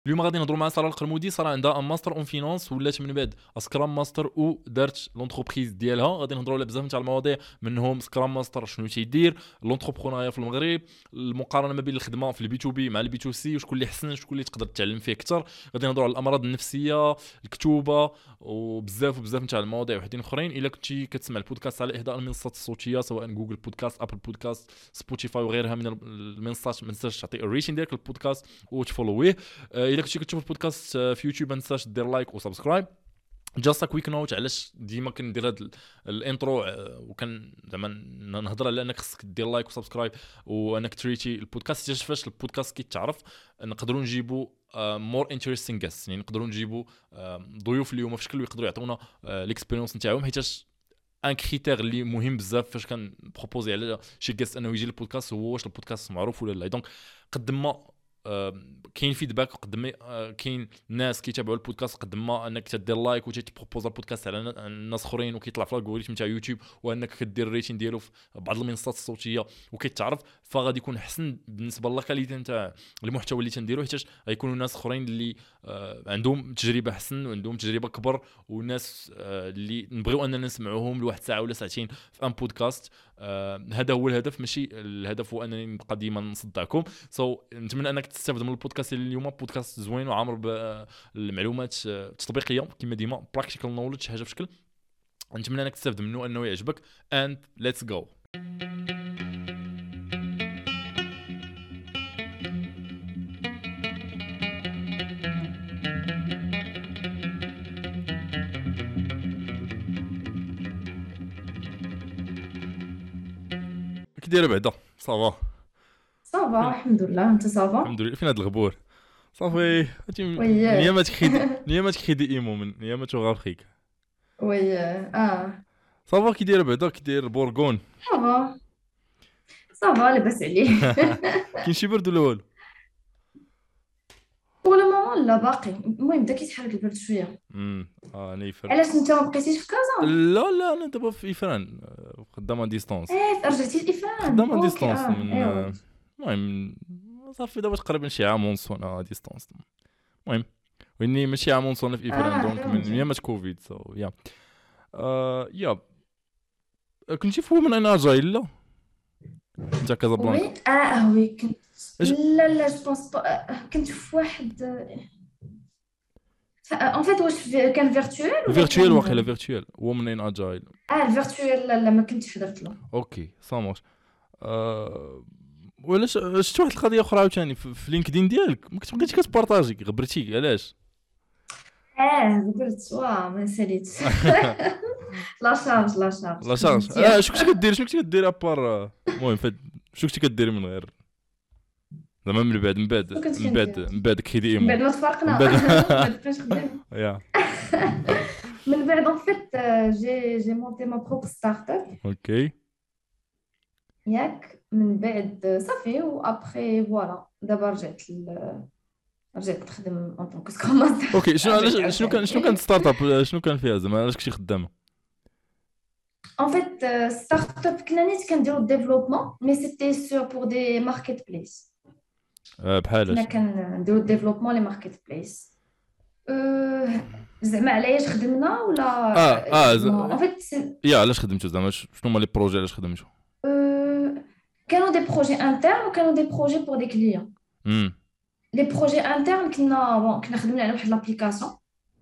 اليوم غادي نهضروا مع ساره القرمودي. ساره عندها ان ماستر اون فينانس، ولات من بعد سكرام ماستر ودارت لونتربريز ديالها. غادي نهضروا على بزاف تاع المواضيع، منهم سكرام ماستر شنو تيدير، لونتربرونيا في المغرب، المقارنه ما بين الخدمه في البي تو بي مع البي تو سي، وشكون اللي احسن، شكون اللي تقدر تتعلم فيه اكثر. غادي نهضروا على الامراض النفسيه، الكتوبه، وبزاف تاع المواضيع وحدين اخرين. الا كنتي كتسمع البودكاست على احدى المنصات الصوتيه سواء جوجل بودكاست، ابل بودكاست، سبوتيفاي وغيرها من المنصات، ما تنساش تعطي الريتين ديالك البودكاست وتفولويه. الا كنتي كتشوف البودكاست في يوتيوب ما تنساش دير لايك وسبسكرايب. جاست كويك نوت علاش ديما كندير هذا الانترو، وكان زعما نهضر على انك خصك دير لايك وسبسكرايب وانك تريتي البودكاست. فاش البودكاست كيتعرف نقدروا نجيبوا مور انتريستين جاست، يعني نقدروا نجيبوا ضيوف اليوم في شكل يقدروا يعطونا الاكسبيرينس نتاعهم، حيتاش ان كريتير اللي مهم بزاف فاش كان بروبوزي على شي جاست انه يجي للبودكاست هو واش البودكاست معروف ولا لا. دونك قد ما كاين فيدباك، وقد ما كاين ناس كيتابعوا البودكاست، قد ما انك تدير لايك وتبروبوز البودكاست على الناس اخرين وكيطلع في الالغوريثم تاع يوتيوب، وانك كدير الريتين ديالو في بعض المنصات الصوتيه وكيتعرف، فغادي يكون احسن بالنسبه للكاليتي نتاع المحتوى اللي تنديرو، حيت غيكونوا ناس اخرين اللي عندهم تجربه احسن وعندهم تجربه كبر، وناس اللي نبغيو اننا نسمعوهم لواحد ساعه ولا ساعتين في ان بودكاست. هذا هو الهدف، ماشي الهدف هو انني نبقى ديما نصدعكم. نتمنى انك تستافد من البودكاست اليوم. بودكاست زوين وعامر بالمعلومات التطبيقيه كما ديما، براكتيكال نوليدج حاجه بشكل. نتمنى انك تستافد منه، انه يعجبك. and let's go. كي داير بعدا؟ صافا صافا الحمد لله. انت صافا؟ الحمد لله. فين هاد الغبور؟ صافي وي نيامات كريدي ايمو من نيامات وغافخيك. وي صافا كي داير بعدا؟ كي داير بورغون؟ صافا صافا لاباس عليه. كاين شي برد ولا والو؟ ولا ماما لا باقي. المهم بدا كيتحرك البرد شويه. انا يفر. علاش انت ما بقيتيش في كازا؟ لا انا دابا في افران، خدام ديستونس. رجعتي لإفران؟ خدام اوكي ديستونس من ايوا. المهم صافي دابا تقريبا شي عام ونص وانا ديستونس. المهم واني ماشي عام ونص وانا في افران، دونك من ايام كوفيد. سو يا يا كنتي في من انا جاي لا انت كازابلانكا؟ وي كنت. لا جو بونس كنت في واحد ان فيت. واش كان فيرتوال ولا فيرتوال؟ كان واخيلا فيرتوال هو من اجايل. الفيرتوال. لا ما كنتش حضرت له. اوكي سامر. ولا شفت واحد القضيه اخرى عاوتاني في لينكدين ديالك، ما بقيتيش كتبارطاجي، غبرتي علاش؟ قلت ما ساليت. لا شارج لا شارج. شنو كنتي كدير ابار؟ المهم شنو كنتي كديري من غير زعما من بعد كريدي ايمو، من بعد ما تفارقنا. من بعد فاش خدام يا من بعد ان فيت جي مونتي ما بروب ستارت اب. اوكي. ياك من بعد صافي وابخي فوالا دابا رجعت نخدم اون طونك سكرام ماستر. اوكي شنو كان ستارت اب؟ شنو كان فيها زعما؟ علاش كنتي خدامه؟ ان فيت ستارت اب كنا نيت كنديرو ديفلوبمون مي سيتي سور بور دي ماركت بليس. بحالاش؟ كنا كنديرو ديفلوبمون لي ماركت بليس. زعما علاش خدمنا ولا ان فيت يا علاش خدمتو زعما؟ شنو هما لي بروجي علاش خدمتو؟ كانوا دي بروجي انترن وكانوا دي بروجي بور دي كليون. لي بروجي انترن كنا خدمنا على واحد لابليكاسيون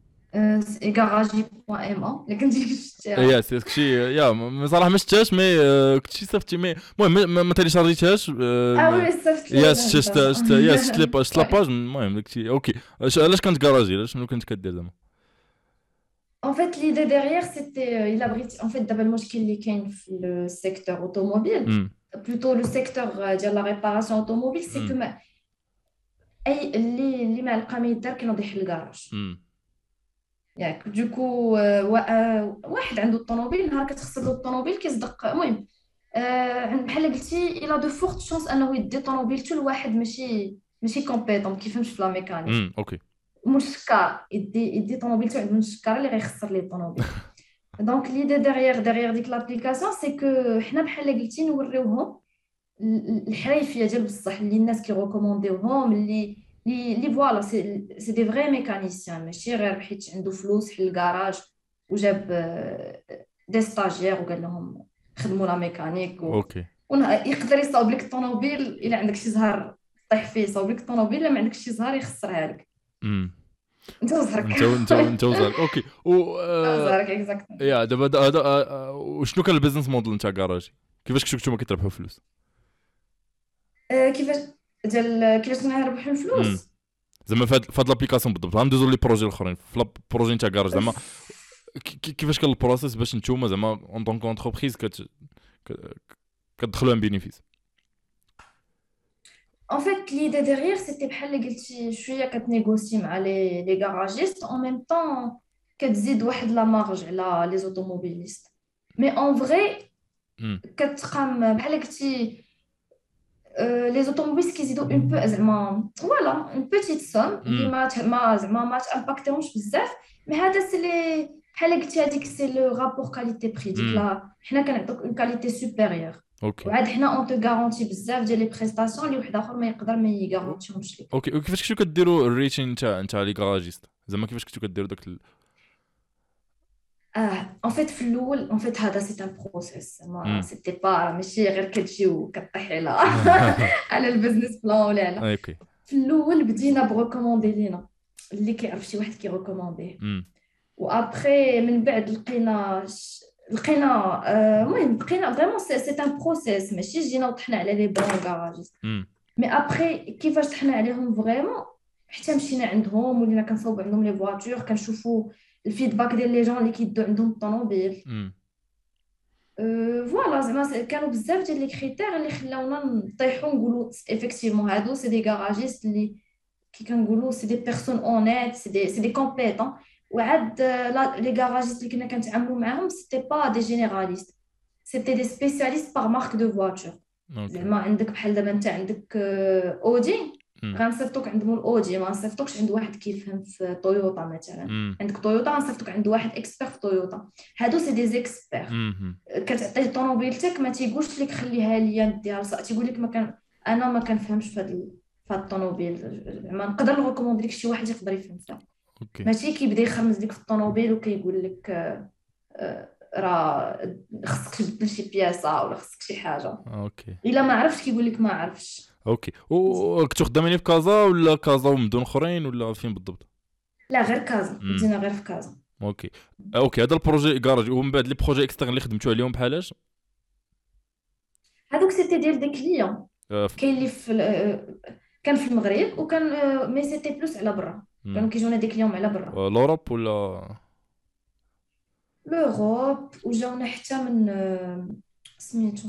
garagi.ma اللي كنتي شفتيها. يا سي يا صراحه ما شفتهاش مي كنتي صيفطتي مي المهم ما تيليشارجيتهاش. وي صيفط يا شفت يا شفت لاباج. المهم داكشي اوكي. علاش كانت كراجي؟ علاش شنو كنت كدير زعما؟ En fait, l'idée derrière, c'était, il abrite, en fait, d'abord, le qui est le secteur automobile, plutôt le secteur de la réparation automobile, c'est que les malqamid qui ont des garage. ياك دوكو واحد عنده الطوموبيل، نهار كتخسر له الطوموبيل كيصدق. المهم بحال قلتي الى دو فورت شونس انه يدي طوموبيلته لواحد ماشي كومبيتون، ما كيفهمش في لا ميكانيك. اوكي. مشكار يدي طوموبيلته عند المشكار اللي غيخسر ليه الطوموبيل. دونك ليدي ديغيغ ديك لابليكاسيون سي كو حنا بحال قلتي نوريوهم الحريفيه ديال بصح اللي الناس كيغوكومونديوهم، اللي لي فوالا سي دي فري ميكانيسيان، ماشي غير حيت عنده فلوس حل الكراج وجاب دي ستاجير وقال لهم خدموا لا ميكانيك اوكي يقدر يصاوب لك الطوموبيل الا عندك شي زهر طيح فيه، يصاوب لك الطوموبيل الا ما عندكش شي زهر يخسرها لك. امم انت وزهرك. انت وزارك اوكي وزهرك اكزاكت. يا دابا هذا وشنو كان البيزنس موديل نتاع كراجي؟ كيفاش كنتو نتوما كتربحوا فلوس؟ كيفاش كيفاش نربحوا الفلوس؟ زعما فهاد لابليكاسيون بالضبط غندوزو لي بروجي الاخرين في بروجي نتاع كراج زعما كيفاش كان البروسيس باش نتوما زعما اون طونك اونتربريز كتدخلوا ان بينيفيس؟ En fait, l'idée derrière, c'était بحال اللي قلتي شويه كتنيغوسي مع لي غاراجيست en même temps كتزيد واحد لا مارج على لي زوتوموبيليست. مي اون فري كتقام بحال قلتي لي زوتوموبيليست كيزيدوا اون بو زعما فوالا اون بوتيت سوم اللي ما زعما ما تامباكتيهمش بزاف. مي هذا سي لي بحال قلتي هذيك سي لو رابور كاليتي بري ديك لا حنا كنعطوك اون كاليتي سوبيريور. اوكي وعاد حنا اون تو غارونتي بزاف ديال لي بريستاسيون اللي واحد اخر ما يقدر ما يغارونتيهمش ليك. اوكي وكيفاش كنتو كديروا الريتين نتاع لي غاراجيست زعما كيفاش كنتو كديروا داك ان فيت في الاول ان فيت هذا سي ان بروسيس ما سيتي با ماشي غير كتجي وكطيحي على على البيزنس بلان ولا على. اوكي في الاول بدينا بروكوموندي لينا اللي كيعرف شي واحد كيريكومونديه وابري من بعد لقينا المهم بقينا فريمون سي ان بروسيس ماشي جينا وطحنا على لي بون كاراجيست. مي ابري كيفاش طحنا عليهم فريمون حتى مشينا عندهم ولينا كنصاوبوا عندهم لي فواتور كنشوفوا الفيدباك ديال لي جون اللي كيدوا عندهم الطوموبيل. فوالا زعما كانوا بزاف ديال لي كريتير اللي خلاونا نطيحوا نقولوا ايفيكتيفمون هادو سي دي غاراجيست اللي كي كنقولوا سي دي بيرسون اونيت سي دي كومبيتون. وعاد لي غاراجيست اللي كنا كنتعاملوا معاهم سيتي با دي جينيراليست سيتي دي سبيسياليست باغ مارك دو فواتور. زعما عندك بحال دابا انت عندك اودي غنصيفطوك عند مول اودي ما نصيفطوكش عند واحد كيفهم في تويوتا مثلا. عندك تويوتا غنصيفطوك عند واحد اكسبير في تويوتا. هادو سي دي زيكسبير كتعطيه طوموبيلتك ما تيقولش لك خليها ليا نديها لصاحبي تيقول لك انا ما كنفهمش في هاد الطوموبيل زعما نقدر نريكوموندي لك شي واحد يقدر يفهم فيها. ماشي كيبدا يخرمز لك في الطوموبيل وكيقول لك راه خصك تبدل شي بياسه ولا خصك شي حاجه. اوكي الا ما عرفتش كيقول لك ما عرفتش. اوكي وكنتو خدامين في كازا ولا كازا ومدن اخرين ولا فين بالضبط؟ لا غير كازا بدينا غير في كازا. اوكي هذا البروجي كراج ومن بعد لي بروجي اكسترن اللي خدمتوا عليهم بحالاش هذوك سيتي ديال دي كليون كاين اللي في كان في المغرب وكان مي سيتي بلوس على برا كانوا كيجونا دي كليون على برا لوروب ولا لوروب وجاونا حتى من سميتو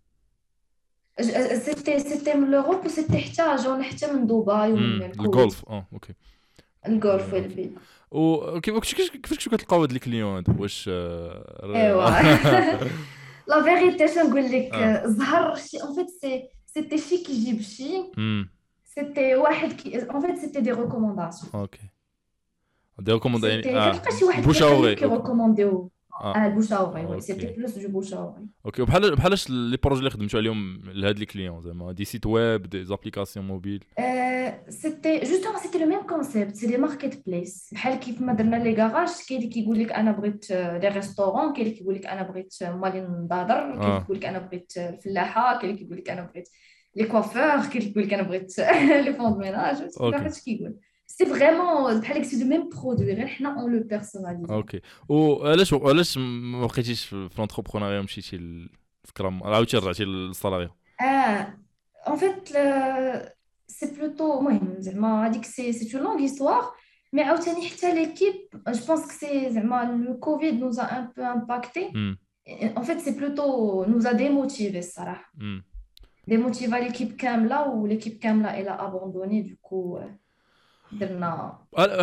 سيتي من لوروب وسيتي حتى جاونا حتى من دبي ومن الجولف اوكي الجولف والبي. وكيفاش كنتو كتلقاو هاد لي كليون هادو واش ايوا لا فيريتي شنقول لك ظهر شي اون فيت سيتي شي كيجيب شي سيتي واحد اون فيت سيتي دي ريكومونداسيون. اوكي دي ريكومونداسيون كتلقى شي واحد كيريكومونديو البوشاوري وي سيتي بلوس جو بوشاوري. اوكي بحالاش لي بروجي اللي خدمتوا عليهم لهاد لي كليون زعما دي سيت ويب دي زابليكاسيون موبيل سيتي جوستومون سيتي لو ميم كونسيبت سي دي ماركت بلايس بحال كيف ما درنا لي كاراج. كاين اللي كيقول لك انا بغيت لي ريستورون كاين اللي كيقول لك انا بغيت مالي نضادر كاين اللي كيقول لك انا بغيت الفلاحه كاين اللي كيقول لك انا بغيت لي كوافور كاين اللي كيقول لك انا بغيت لي فوند ميناج فاش كيقول سي فريمون بحال سي دو ميم برودوي غير حنا اون لو بيرسوناليزي. اوكي وعلاش ما بقيتيش في لونتربرونيا مشيتي للسكرام عاودتي رجعتي للصالاريو؟ en fait c'est plutôt المهم زعما هذيك سي اون لونغ هيستوار مي عاوتاني حتى ليكيب جو بونس كو سي زعما لو كوفيد نوزا ان بو امباكتي en fait c'est plutôt نوزا ديموتيفي الصراحه ديموتيفا ليكيب كامله وليكيب كامله الى ابوندوني دوكو درنا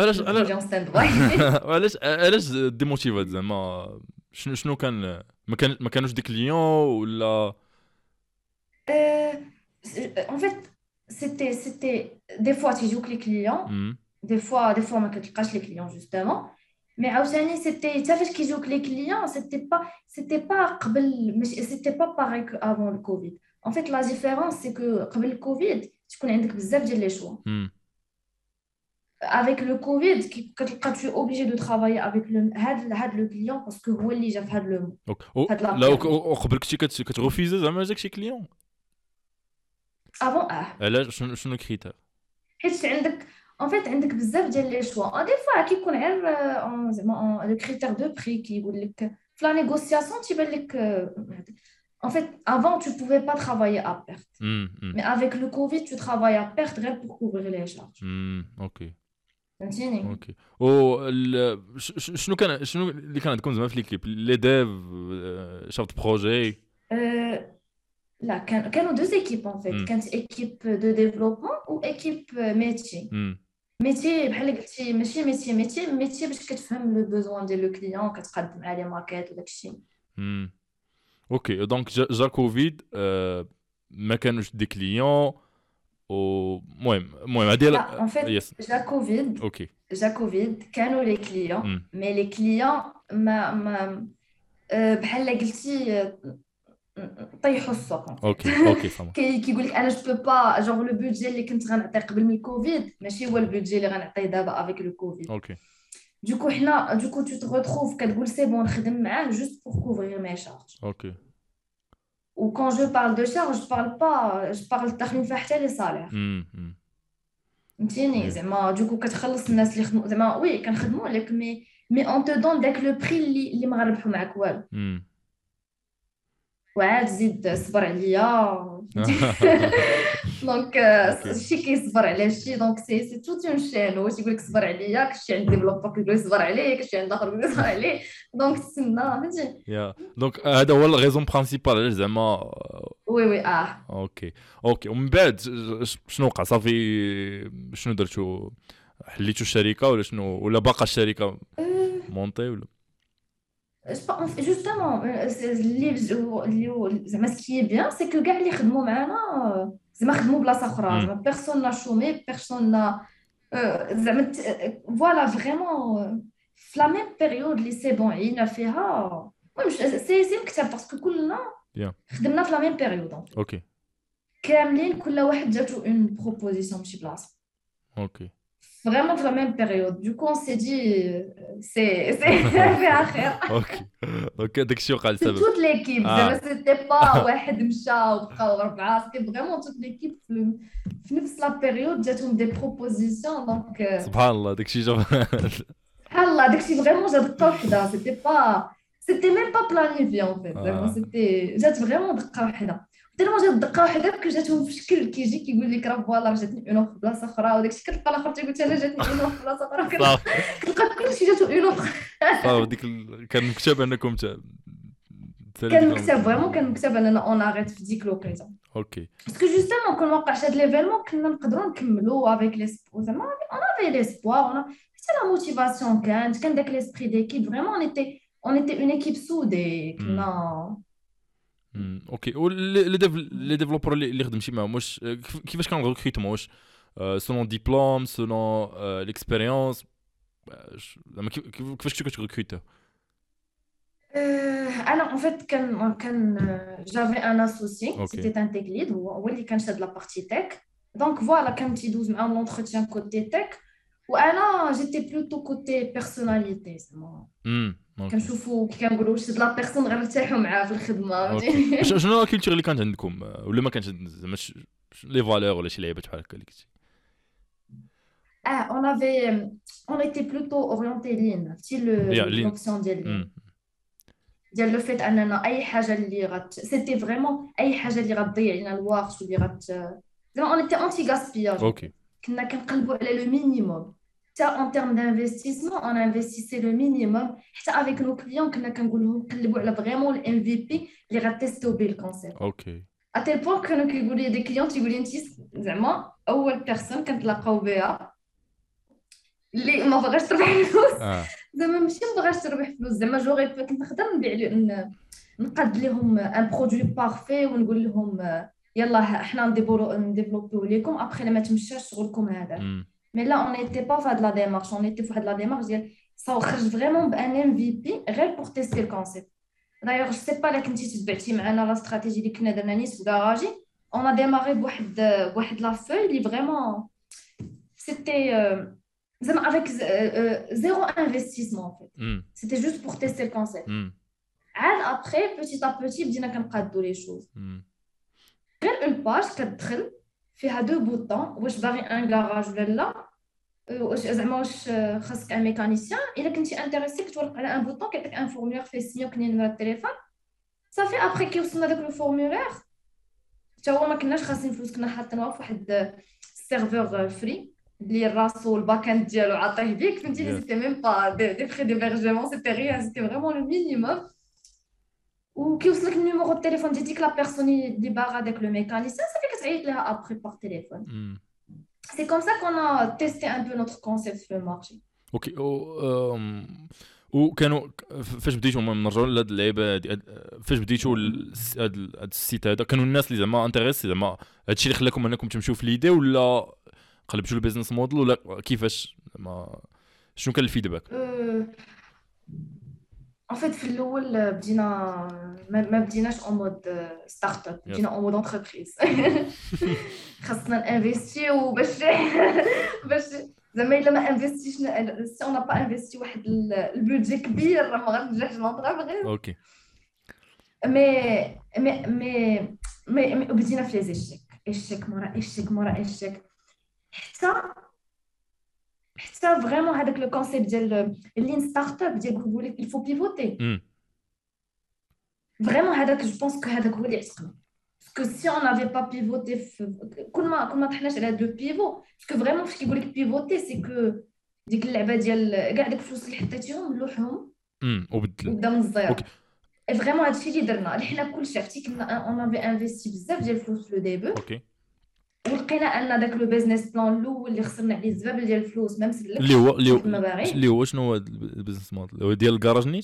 علاش ديموتيفات زعما شنو كان ما كانوش دي كليون ولا en fait c'était des fois تيجوك لي كليون des fois ما كتلقاش لي كليون justement مي عاوتاني سيتي حتى فاش كيجوك لي كليون سيتي با قبل ماشي سيتي با باغي كو افون الكوفيد. en fait la différence c'est que قبل الكوفيد تكون عندك بزاف ديال لي شوا avec le Covid quand tu es obligé de travailler avec le client parce que هو اللي جا في هاد لا لا période. قبل كنتي كتغوفيزي زعما جاك شي كليون؟ avant علاش؟ شنو كريتير؟ حيت عندك en fait عندك بزاف ديال لي شوا دي فوا كيكون غير زعما لو كريتير دو بري كيقول لك في لا نيغوسياسيون تيبان لك en fait avant tu pouvais pas travailler à perte mais avec le Covid tu travailles à perte غير pour couvrir les charges. اوكي فهمتيني. اوكي. شنو اللي كان عندكم زعما في ليكيب لي ديف شافت بروجي؟ لا كانوا deux équipes en fait. كانت équipe de développement ou équipe métier. ميتي بحال قلتي ماشي ميتي باش كتفهم لو بوزوان ديال لو كليون كتقدم عليه ماكيت وداك الشيء. اوكي دونك جا كوفيد ما كانوش دي كليون المهم هادي لا ان فيت جا كوفيد. اوكي جا كوفيد كانوا لي كليون مي لي كليون ما بحال قلتي طيحوا السوق. اوكي فهمت. كيقول لك انا جو بو با جونغ لو بودجي اللي كنت غنعطي قبل من الكوفيد ماشي هو البودجي اللي غنعطي دابا افيك لو كوفيد. اوكي دوكو tu te retrouves كتقول سي بون نخدم معاه juste pour couvrir mes charges. اوكي. و quand je parle de charge je parle داخلين فيها حتى لي صالير. فهمتيني زعما دوكو كتخلص الناس اللي خدموا زعما وي كنخدموا لك مي اون تو دون داك لو بري اللي ما غنربحوا معاك والو. وعاد زيد صبر عليا دونك شي كيصبر على شي دونك سي توت اون شين. واش يقول لك صبر عليا كشي عند ديفلوبر كيقول لك صبر عليه كشي عند اخر كيقول لك صبر عليه دونك تسنى فهمتي. يا دونك هذا هو الريزون برينسيبال علاش زعما وي اوكي ومن بعد شنو وقع صافي شنو درتو حليتو الشركه ولا شنو ولا باقا الشركه مونطي ولا justement اللي زعما سكي بيان سي كو كاع اللي خدموا معانا زعما خدموا بلاصه اخرى زعما بيرسون لا شومي بيرسون لا زعما فوالا فريمون في لا ميم بيريود اللي سي بون عينا فيها. المهم سي مكتب باسكو كلنا خدمنا في لا ميم بيريود اوكي كاملين كل واحد جاتو اون بروبوزيسيون ماشي بلاصه اوكي vraiment de la même période. Du coup, on s'est dit, c'est faire خير. اوكي داكشي وقع لسبب. toute l'équipe. C'était pas واحد مشى وبقاو أربعة. C'était vraiment toute l'équipe في نفس la période جاتهم des propositions donc. سبحان الله داكشي جا. سبحان الله داكشي vraiment جا دقة وحدة. C'était même pas planifié en fait. C'était جات vraiment دقة وحدة. تيرمون جات دقه واحده جاتهم في شكل كيجي كيقول لك راه فوالا جاتني اون في بلاصه اخرى وداك الشيء كتلقى الاخر تيقول انا جاتني اون في بلاصه اخرى كتلقى كلشي جاتو اون صافي ديك كان مكتب انكم كان مكتب فريمون كان مكتب اننا اون اريت في ديك لوكيزون. اوكي باسكو جوستومون كون وقعش هاد ليفينمون كنا نقدروا نكملوا افيك لي سبور زعما اون افي ليسبوار حتى لا موتيفاسيون كان داك ليسبري ديكيب فريمون اون ايتي اون ايكيب سودي كنا. اوكي لي ديفلوبر اللي خدم شي معاهم واش كيفاش كان الريكروتمون واش سولون ديبلوم سولون ليكسبيريونس زعما كيفاش كنتو كتريكروتو؟ انا ان فيت كان جافي ان اسوسي سيتي ان تيك ليد هو اللي كان شاد لا بارتي تك دونك فوالا كان تيدوز معاهم لونتروتيان كوتي تك وانا جيتي بلوتو كوتي بيرسوناليتي زعما كنشوفوا كي كنقولوا واش لا بيرسون غنرتاحوا معاه في الخدمه. شنو الكولتور اللي كانت عندكم ولا ما كانش زعما لي فالور ولا شي لعيبات بحال هكا اللي كنتي؟ on était plutôt orienté lean تي l'option ديال لو فيت اننا اي حاجه اللي سيتي فريمون اي حاجه اللي غتضيع لنا الوقت واللي زعما on était anti gaspillage. كنا كنقلبوا على لو مينيموم en termes d'investissement, on investissait le minimum. Avec nos clients, on a vraiment le MVP, les tester au le concept. Okay. À tel point que nous avons des clients qui disent vraiment, أول personne quand la قوبها اللي ما بغاش تربح فلوس زعما ماشي ما بغاش تربح فلوس زعما جوغي كنت نقدر نبيع نقاد لهم ان برودوي بارفي ونقول لهم يلا حنا نديفلوبيو لكم ابخي ما تمشاش شغلكم هذا. Mais là, on n'était pas fait de la démarche. On était fait de la démarche. Ça a vraiment un MVP réel pour tester le concept. D'ailleurs, je ne sais pas là, quand tu as la stratégie de Kned Ananis ou Garage, on a démarré avec la feuille. Vraiment, c'était زعما avec zéro investissement en fait. امم C'était juste pour tester le concept. امم عاد après petit à petit بدينا كنقادو les choses. امم غير اون باج كتدخل فيها دو بوطون واش باغي ان كراج ولا لا. واش زعما واش خاصك ان ميكانيسيان. الا كنتي انتريسي كتورق على ان بوطون كيعطيك ان فورمولير فيه سينيو كني نمرة التليفون صافي. ابخي كي وصلنا داك لو فورمولير حتى هو ما كناش خاسرين فلوس كنا حاطينها في واحد السيرفور فري اللي راسو الباك اند ديالو عاطيه بيك فهمتيني. يس سيتي ميم با دي فري ديبرجمون سيتي ريان سيتي فريمون لو مينيموم. وكيوصلك النيميرو التليفون ديال ديك لا بيرسون اللي باغا داك لو ميكانيسيان صافي كتعيط ليها ابخي باغ تليفون. امم سي كوم سا كون ا تيستي ان بو نوتر كونسيبت في المارشي. اوكي وكانوا فاش بديتوا نرجعوا لهاد اللعيبه فاش بديتوا هاد السيت هذا كانوا الناس اللي زعما انتريسي زعما هادشي اللي خلاكم انكم تمشيو في ليدي ولا قلبتوا البيزنس موديل ولا كيفاش ما شنو كان الفيدباك؟ En fait, في الأول بدينا ما بديناش en mode ستارت اب يس بدينا en mode entreprise. خاصنا نانفيستيو باش زعما الا ما انفيستيش سي اون با انفيستي واحد البودجي كبير راه ما غنجحش لونطربريز. اوكي مي مي بدينا في لي زيشيك ايشيك مورا ايشيك مورا ايشيك حتى فريمون هذاك لو كونسيبت ديال اللين ستارت اب ديال يقول لك il faut pivoter. امم فريمون هذاك جو بونس كو هذاك هو اللي عتقنا. باسكو سي اون نافي با بيفوتي كل ما طحناش على دو بيفو باسكو فريمون فاش كيقول لك بيفوتي سي كو ديك اللعبه ديال كاع داك الفلوس اللي حطيتيهم لوحهم وبدل وبدا من الزيرو. اوكي فريمون هادشي اللي درنا اللي حنا كلشي عرفتي كنا اون نافي انفيستي بزاف ديال الفلوس في لو ديبو اوكي ولقينا ان داك لو بيزنس بلان الاول اللي خسرنا عليه الزبابل ديال الفلوس ما اللي مسلكش هو كيف ما باغي. اللي هو شنو هو البيزنس موديل هو ديال الكراج نيت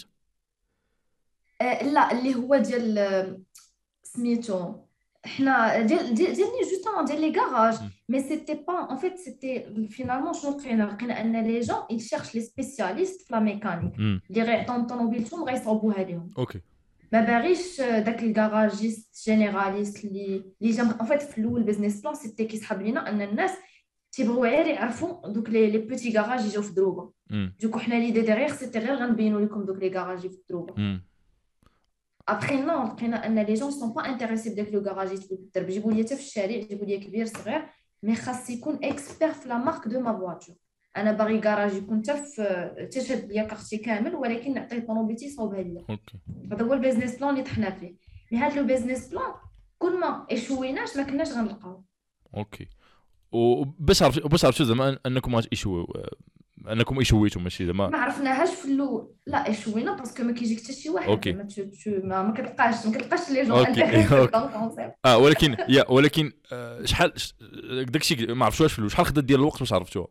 لا اللي هو ديال سميتو حنا ديالني جوستومون ديال لي كاراج. مي سيتي با ان فيت سيتي فينالمون شنو لقينا ان لي جون ils cherchent لي سبيسياليست في لا ميكانيك اللي غيعطيهم طوموبيلتهم غيصاوبوها ليهم. اوكي ما باغيش داك الكاراجيست جينيراليست اللي جا ان فيت في الاول بيزنس بلان سيتي كيسحب لينا ان الناس تيبغيو غير يعرفوا دوك لي بوتي كاراج يجيو في دروبه. دوكو حنا ليدي ديغيغ سيتي غير غنبينوا لكم دوك لي كاراج في دروبه. Après, non, les gens ne sont pas intéressés dès que le garagiste peut être. Je voulais te faire, je voulais que bien sûr, mais خاص يكون expert في la marque de ma voiture. أنا باغي garage يكون تشهد ليا كارتي كامل ولكن نعطيه طوموبيلتي يصاوبها ليا. اوكي هذا هو البيزنس بلان اللي طحنا فيه. مي هذا لو بيزنس بلان كل ما ايشويناش ما كناش غنلقاو. اوكي وباش عرفتوا زعما انكم انكم ايشويتوا ماشي زعما ما عرفناهاش في الاول. لا ايشوينا باسكو ما كيجيك حتى شي واحد اوكي ما كتلقاش لي جون اوكي انتريسي دون الكونسيبت. ولكن شحال داكشي ما عرفتوش في الاول شحال خدات ديال الوقت باش عرفتوها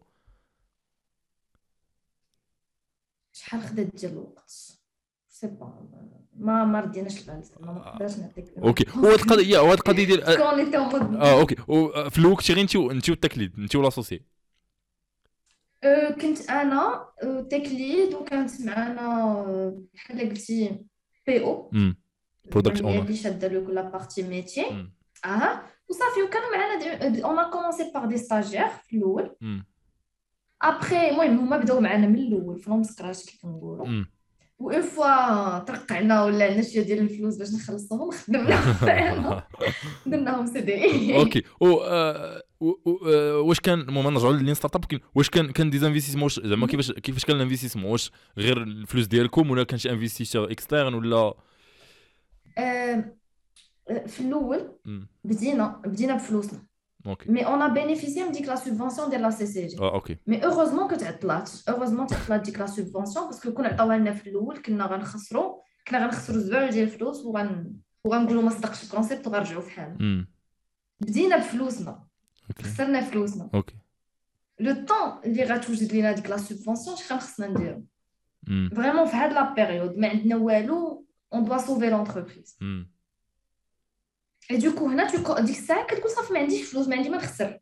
شحال خدات ديال الوقت سي با ما رديناش البال ما نقدرش نعطيك. اوكي وهاد القضيه ديال كون نتا مود اوكي وفي الوقت غير انت والتكليد انت والاسوسي. كنت انا تيك ليد وكانت معنا بحال قلتي بي او برودكت اونر اللي شاده له كل بارتي ميتي. وصافي وكانوا معنا اون ا كومونسي باغ دي ستاجير في الاول. ابخي المهم هما بداو معنا من الاول فروم سكراش كيف كنقولوا. وإن فوا ترقعنا ولا عندنا شويه ديال الفلوس باش نخلصوهم خدمنا درناهم سي دي. اوكي واش كان المهم نرجعوا للين ستارت اب واش كان ديزانفيستيسمون زعما كيفاش كان الانفيستيسمون واش غير الفلوس ديالكم ولا كان شي انفيستيسور اكسترن ولا في الاول بدينا بفلوسنا. اوكي مي اون ا بينيفيسيي من ديك لا سوبفونسيون ديال لا سي سي جي. اوكي مي اوغوزمون تعطلات ديك لا سوبفونسيون باسكو كون عطاوها لنا في الاول كنا غنخسروا زبال ديال الفلوس وغنقولوا ما صدقش الكونسيبت وغنرجعوا في حالنا. بدينا بفلوسنا خسرنا فلوسنا. اوكي لو طون اللي غتوجد لينا ديك لا سوبفونسيون شحال خصنا نديرو فريمون في هاد لا بيريود ما عندنا والو اون دوا سوفي لونتربريز. اي دوكو هنا ديك الساعه كتقول صافي ما عنديش فلوس ما نخسر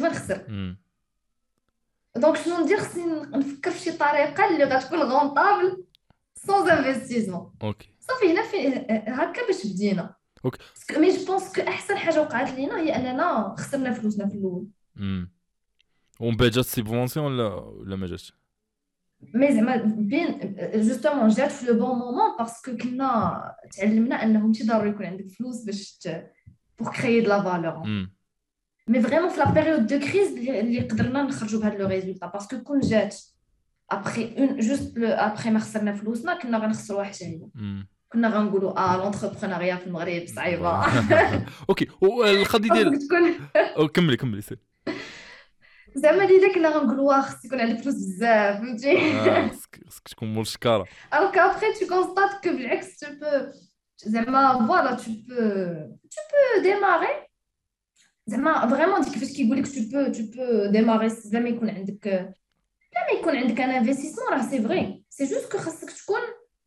دونك شنو ندير خصني نفكر في شي طريقه اللي غتكون غونطابل سون انفستيسمون. اوكي صافي هنا في هكا باش بدينا. اوكي مي جو بونس كو احسن حاجه وقعت لينا هي اننا خسرنا فلوسنا في الاول. ومن بعد جات سيبونسيون ولا ما جاتش؟ مي زعما بين جوستومون جات في لو بون مومون باسكو كنا تعلمنا انه ماشي ضروري يكون عندك فلوس باش بور كريي د لا فالور. مي فريمون في لا بيريود دو كريز اللي قدرنا نخرجوا بهذا لو ريزولتا باسكو كون جات ابخي اون جوست ابخي ما خسرنا فلوسنا كنا غنخسروا حتى هي. كنا غنقولوا لونتربرونيا في المغرب صعيبه. اوكي والقضيه ديال كملي سير. زعما اللي كنا غنقولوا خص يكون عندك فلوس بزاف فهمتي. خصك تكون مول شكاره. alors qu'après tu constates que بالعكس tu peux زعما voilà tu peux démarrer زعما فريمون ديك كيفاش كيقول لك tu peux démarrer زعما يكون عندك لما يكون عندك ان انفستيسمون راه سي فري سي جوست كو خاصك تكون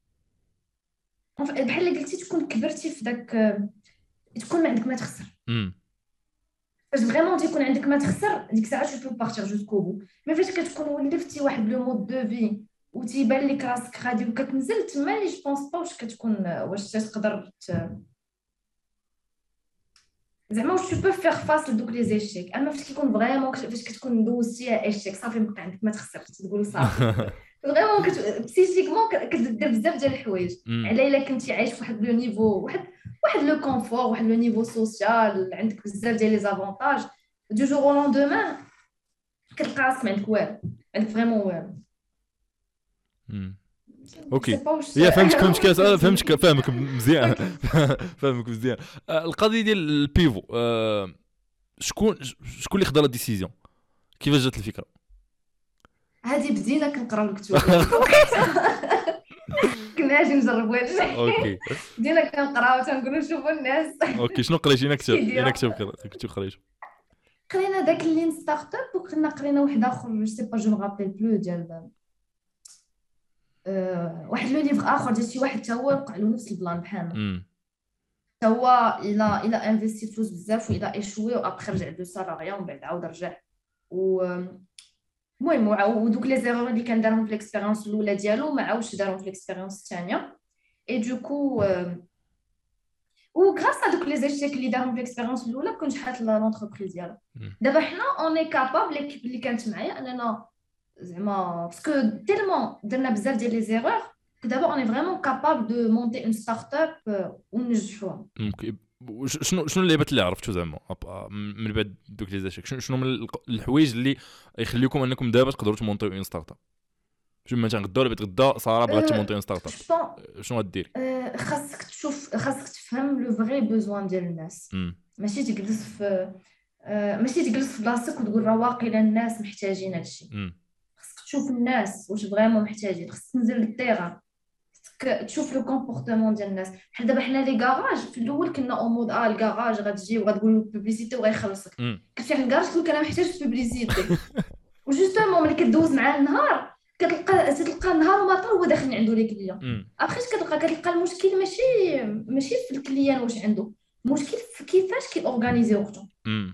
بحال اللي قلتي تكون كبرتي في داك تكون ما عندك ما تخسر. فاش فريمون تيكون عندك ما تخسر ديك الساعه tu peux partir jusqu'au bout. مي فاش كتكون ولفتي واحد لو مود دو في وتيبان لك راسك غادي وكتنزل تما لي جوبونس با واش كتكون واش تقدر زعما واش tu peux faire face لدوك لي زيشيك. اما فاش كيكون فريمون فاش كتكون دوزتي ايشيك صافي ما عندك ما تخسر تقول صافي فريمون بسيكيكمون كدير بزاف ديال الحوايج على الا كنتي عايش فواحد لو نيفو واحد لو كونفور واحد لو نيفو سوسيال عندك بزاف ديال لي زافونتاج دو جور او لوندومان كتلقى راسك ما عندك والو عندك فريمون والو. اوكي يا فهمتك مزيان. فهمك مزيان. القضيه ديال البيفو شكون اللي خدا لا ديسيزيون كيفاش جات الفكره؟ هذه بدينا كنقراو الكتب كنا اجي نجربوا هادشي. اوكي بدينا كنقراو تنقولوا شوفوا الناس. اوكي شنو قريتي؟ كنت قريت قرينا داك اللين ستارت اب وكنا قرينا واحد اخر جو سي با جو مغابيل بلو ديال واحد لو ليفر اخر ديال شي واحد تا هو وقع له نفس البلان بحالنا تا هو الى انفيستي فلوس بزاف والى ايشوي وابخي رجع دو سالاريا ومن بعد عاود رجع المهم ودوك لي زيرور اللي كان دارهم في ليكسبيريونس الاولى ديالو ما عاودش دارهم في ليكسبيريونس الثانيه اي دوكو و غراس ا دوك لي زيشيك اللي دارهم في ليكسبيريونس الاولى كون شحات لونتربريز ديالو. دابا حنا اوني كابابل ليكيب اللي كانت معايا اننا زعما باسكو تيلمون درنا بزاف ديال لي زيرور دابا اوني فريمون كابابل دو مونتي اون ستارت اب وننجحوها. شنو اللعبات اللي عرفتو زعما من بعد دوك لي زاشيك؟ شنو من الحوايج اللي يخليكم انكم دابا تقدروا تمونطيو اون ستارت اب؟ شنو مثلا غدا ولا غدا صراحه بغات تمونطي اون ستارت اب شنو غديري؟ خاصك تفهم لو فري بوزوان ديال الناس. ماشي تجلس في بلاصتك وتقول راه واقيلا الناس محتاجين هادشي. خاصك تشوف الناس واش فريمون محتاجين. خاصك تنزل للتيران تشوف لو كومبورتمون ديال الناس. بحال دابا حنا لي كاراج في الاول كنا او مود الكاراج غتجي وغتقول له بوبليسيتي وغيخلصك. كتمشي للكاراج تقول انا محتاج بوبليسيتي وجوستومون ملي كدوز معاه النهار كتلقى النهار وما طول هو داخل عنده لي كليون. ابخي كتلقى المشكل ماشي في الكليان واش عنده، المشكل في كيفاش كيورغانيزي وقته.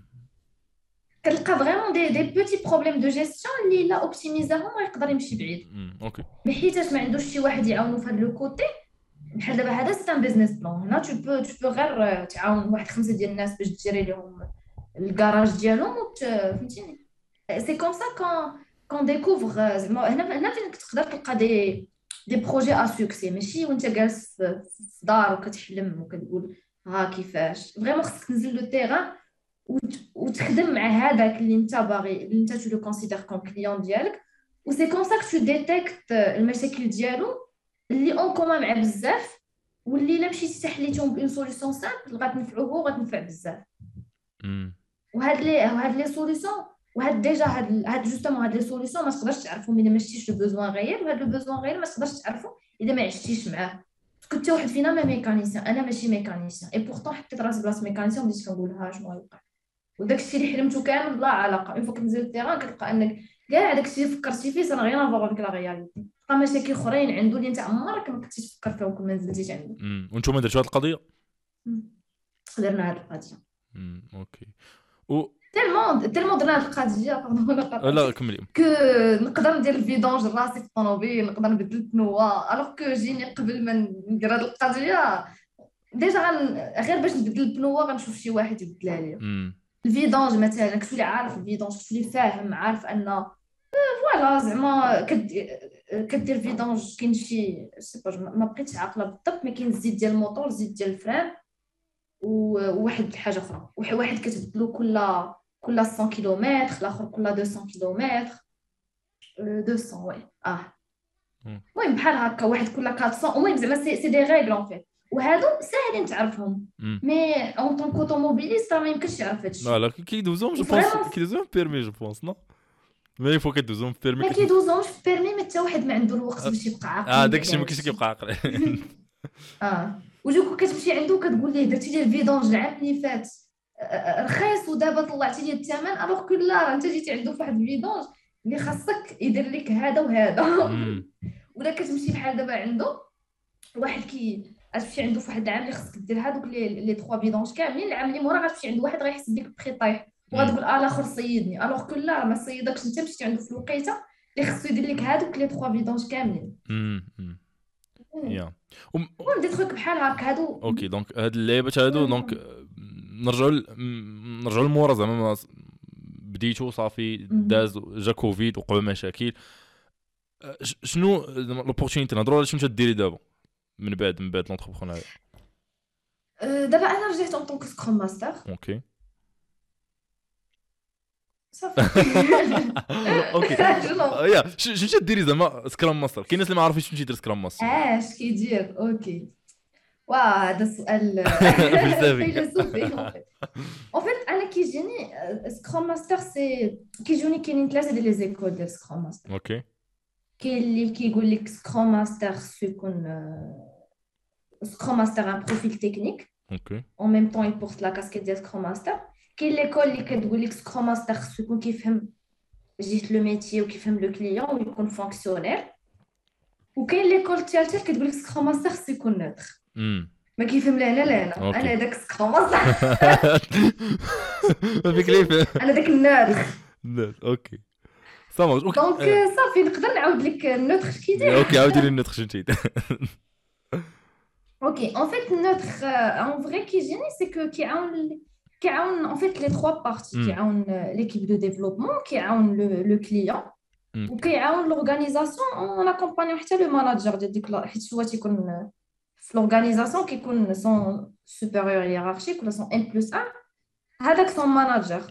كتلقى فريمون دي بوتي بروبليم دو جيستيون اللي لا اوبتيميزاهم يقدر يمشي بعيد. اوكي بحيثاش ما عندوش شي واحد يعاونو في هذا لو كوتي. بحال دابا هذا سي ان بيزنس بلان. هنا تو بو غير تعاون واحد 5 ديال الناس باش تجري لهم الكراج ديالهم فهمتيني. سي كوم سا كون ديكوفر زعما هنا فين كتقدر تلقى دي بروجي ا سوكسي، ماشي وانت جالس في دار وكتحلم وكتقول ها كيفاش. فريمون خصك تنزل لو تيران وتخدم مع هذاك اللي انت باغي، اللي انت تو لو كونسيدير كوم كليون ديالك. و سي كوم سا كو تو ديتيكت المشاكل ديالو اللي اون كومان مع بزاف، واللي الا مشيتي تحليتهم بون سوليوشن سامبل غتنفعوه وغتنفع بزاف. وهاد لي سوليوشن وهاد ديجا هاد جوستومون هاد لي سوليوشن ما تقدرش تعرفهم الا ما شتيش لو بوزوان غير، وهاد لو بوزوان غير ما تقدرش تعرفو الا ما عشتيش معاه. كنت واحد فينا ما ميكانيسيان، انا ماشي ميكانيسيان، اي بورطون حطيت راسي بلاصه ميكانيسيان وبديت كنقولها شنو غيوقع. وداك الشيء اللي حلمته كامل بلا علاقه. اون فوا كتنزل للتيران كتلقى انك كاع داك الشيء اللي فكرتي فيه سان غير افوغ افيك لا رياليتي. تلقى مشاكل اخرين عنده اللي انت عمرك ما كنتي تفكر فيهم كون ما نزلتيش عنده. وانتم درتوا هذه القضيه؟ درنا هذه القضيه. اوكي. تيلمون درنا هذه القضيه لا كملي. نقدر ندير الفيدونج راسي في الطوموبيل، نقدر نبدل البنوه. الوغ كو جيني قبل ما ندير هذه القضيه ديجا غير باش نبدل البنوه غنشوف شي واحد يبدلها لي. الفيدونج مثلا كتولي عارف الفيدونج، كتولي فاهم عارف ان فوالا زعما كدير فيدونج. كاين شي سي با ما بقيتش عاقله بالضبط، ما كاين الزيت ديال الموطور، الزيت ديال الفران، وواحد الحاجه اخرى، واحد كتبدلو كل 100 كيلومتر، الاخر كل 200 كيلومتر. 200 وي مم. المهم بحال هكا، واحد كل 400. المهم زعما سي دي ريغل اون فيت، وهادو ساهلين تعرفهم. مم. مي اون طون كوتوموبيليست راه ما يمكنش يعرف هادشي. لا كيدوزوهم جو بونس، وفريمون كيدوزوهم بيرمي جو بونس نو، مي فوا كدوزوهم بيرمي ما كيدوزوش في بيرمي، ما حتى واحد ما عنده الوقت باش يبقى عاقل داكشي على ما كاينش هادشي. كيبقى عاقل. وجوكو كتمشي عنده كتقول ليه درتي لي الفيدونج العام اللي فات رخيص، ودابا طلعتي لي الثمن، الوغ كو لا راه انت جيتي عنده في واحد الفيدونج اللي خاصك يدير لك هذا وهذا. ولا كتمشي بحال دابا عنده واحد غتمشي عنده في واحد العام اللي خاصك دير هذوك لي 3 فيدونج كاملين، العام اللي مورا غتمشي عند واحد غيحسب لك بخي طايح، وغتقول الاخر صيدني، الوغ كو لا ما صيدكش، انت مشيتي عنده في الوقيته اللي خاصو يدير لك هذوك لي 3 فيدونج كاملين. يا المهم دي تخوك بحال هكا هادو. اوكي دونك هاد اللعيبات هادو دونك نرجعوا للمورا زعما بديتو صافي داز جا كوفيد وقعوا مشاكل. شنو لوبورتونيتي نهضروا على شنو تديري دابا من بعد لونتربرونيا؟ دابا انا رجعت اون طونك سكروم ماستر. اوكي صافي. اوكي يا شنو تديري زعما سكرام ماستر؟ كاين ناس اللي ما عارفينش شنو تيدير سكرام ماستر. اش كيدير؟ اوكي واه هذا سؤال فيلسوفي. اون فيت انا كيجيني سكروم ماستر سي كيجوني كاينين 3 ديال لي زيكول ديال سكروم ماستر. اوكي كاين اللي كيقول لك سكروم ماستر يكون سكروم ماستر ان بروفيل تكنيك اوكي اون ميم طون يبورت لا كاسكيت ديال سكروم ماستر. كاين ليكول اللي كتقول لك سكروم ماستر يكون كيفهم جيت لو ميتي وكيفهم لو كليون ويكون فونكسيونير. وكاين ليكول الثالثه اللي كتقول لك سكروم ماستر يكون نوتر، ما كيفهم لا انا انا داك سكروم ماستر. ما فيك ليف انا داك النوتر. اوكي صافي اوكي دونك صافي نقدر نعاود لك النوتر كيدير. اوكي عاودي لي النوتر شنو تيدير. اوكي اون فيت النوتر اون فري كيجيني سي كو كيعاون اون فيت لي 3 بارتي، كيعاون ليكيب دو ديفلوبمون، كيعاون لو كليون، وكيعاون لورغانيزاسيون اون اكومبانيون حتى لو ماناجر ديال ديك حيت هو تيكون في لورغانيزاسيون كيكون سون سوبيريور هيرارشيك ولا سون ان بلس 1، هذاك سون ماناجر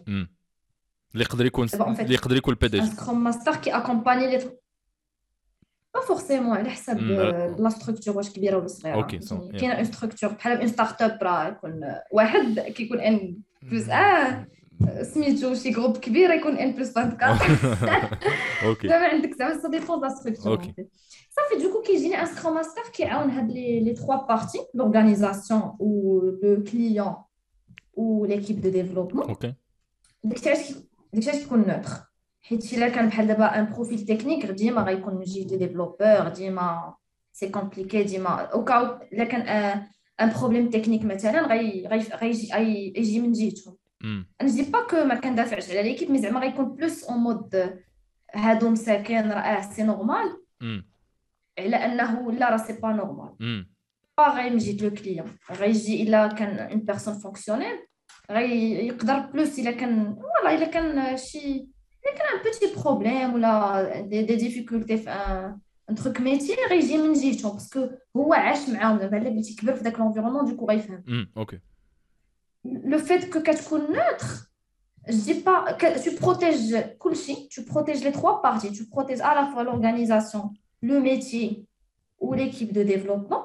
اللي يقدر يكون البي دي جي. سكروم ماستر كي اكومباني لي با فورسيمون على حسب لا ستركتور واش كبيره ولا صغيره. كاينه اون ستركتور بحال اون ستارت اب راه يكون واحد كيكون ان بلس سميتو شي جروب كبير يكون ان بلس 24. اوكي دابا عندك زعما سا ديبون لا ستركتور. صافي دوكو كيجيني ان سكروم ماستر كيعاون هاد لي 3 بارتي، لورغانيزاسيون و لو كليون و ليكيب دو ديفلوبمون. اوكي داكشي كيكون نوتر، حيت الا كان بحال دابا ان بروفيل تكنيك ديما غيكون من جهه ديفلوبور، ديما سي كومبليكي، ديما اوكا الا كان ان بروبليم تكنيك مثلا غيجي من جهتهم. انا دي با كو ما كندافعش على ليكيب، مي زعما غيكون بلوس اون مود هادو مساكن راه سي نورمال، على انه لا راه سي با نورمال. غير من جهه لو كليون غيجي الا كان اون بيرسون فونكسيونيل غيقدر بلوس الا كان فوالا الا كان شي كان ان بوتي بروبليم ولا دي ديفيكولتي في ان تروك ميتي غيجي من جهتهم باسكو هو عاش معاهم، دابا الا بغيتي كبر في داك لونفيرونمون دوكو غيفهم. اوكي لو فيت كو كتكون نوتر je dis pas que tu protèges كلشي, tu protèges les 3 parties, tu protèges à la fois l'organisation, le métier ou l'équipe de développement,